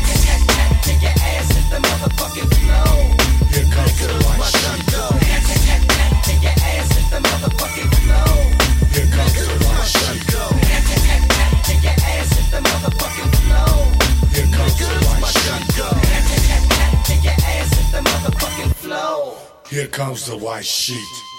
Take your ass hit the motherfucking flow. Here comes the white sheet. Take your ass hit the motherfucking flow. Here comes the white sheet. Take your ass hit the motherfucking flow. Here comes the white sheet. Here comes the white sheet.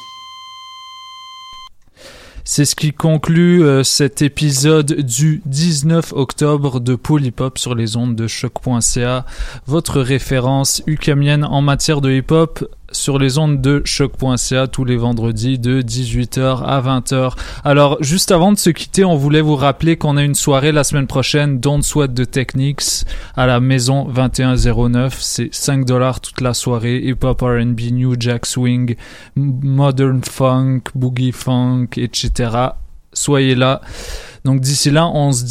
C'est ce qui conclut cet épisode du 19 octobre de Polypop sur les ondes de choc.ca, votre référence ukamienne en matière de hip-hop sur les ondes de choc.ca tous les vendredis de 18h à 20h. Alors, juste avant de se quitter, on voulait vous rappeler qu'on a une soirée la semaine prochaine, Don't Sweat the Techniques, à la maison 2109. C'est $5 toute la soirée, hip-hop, R&B, New Jack Swing, Modern Funk, Boogie Funk, etc. Soyez là. Donc d'ici là, on se dit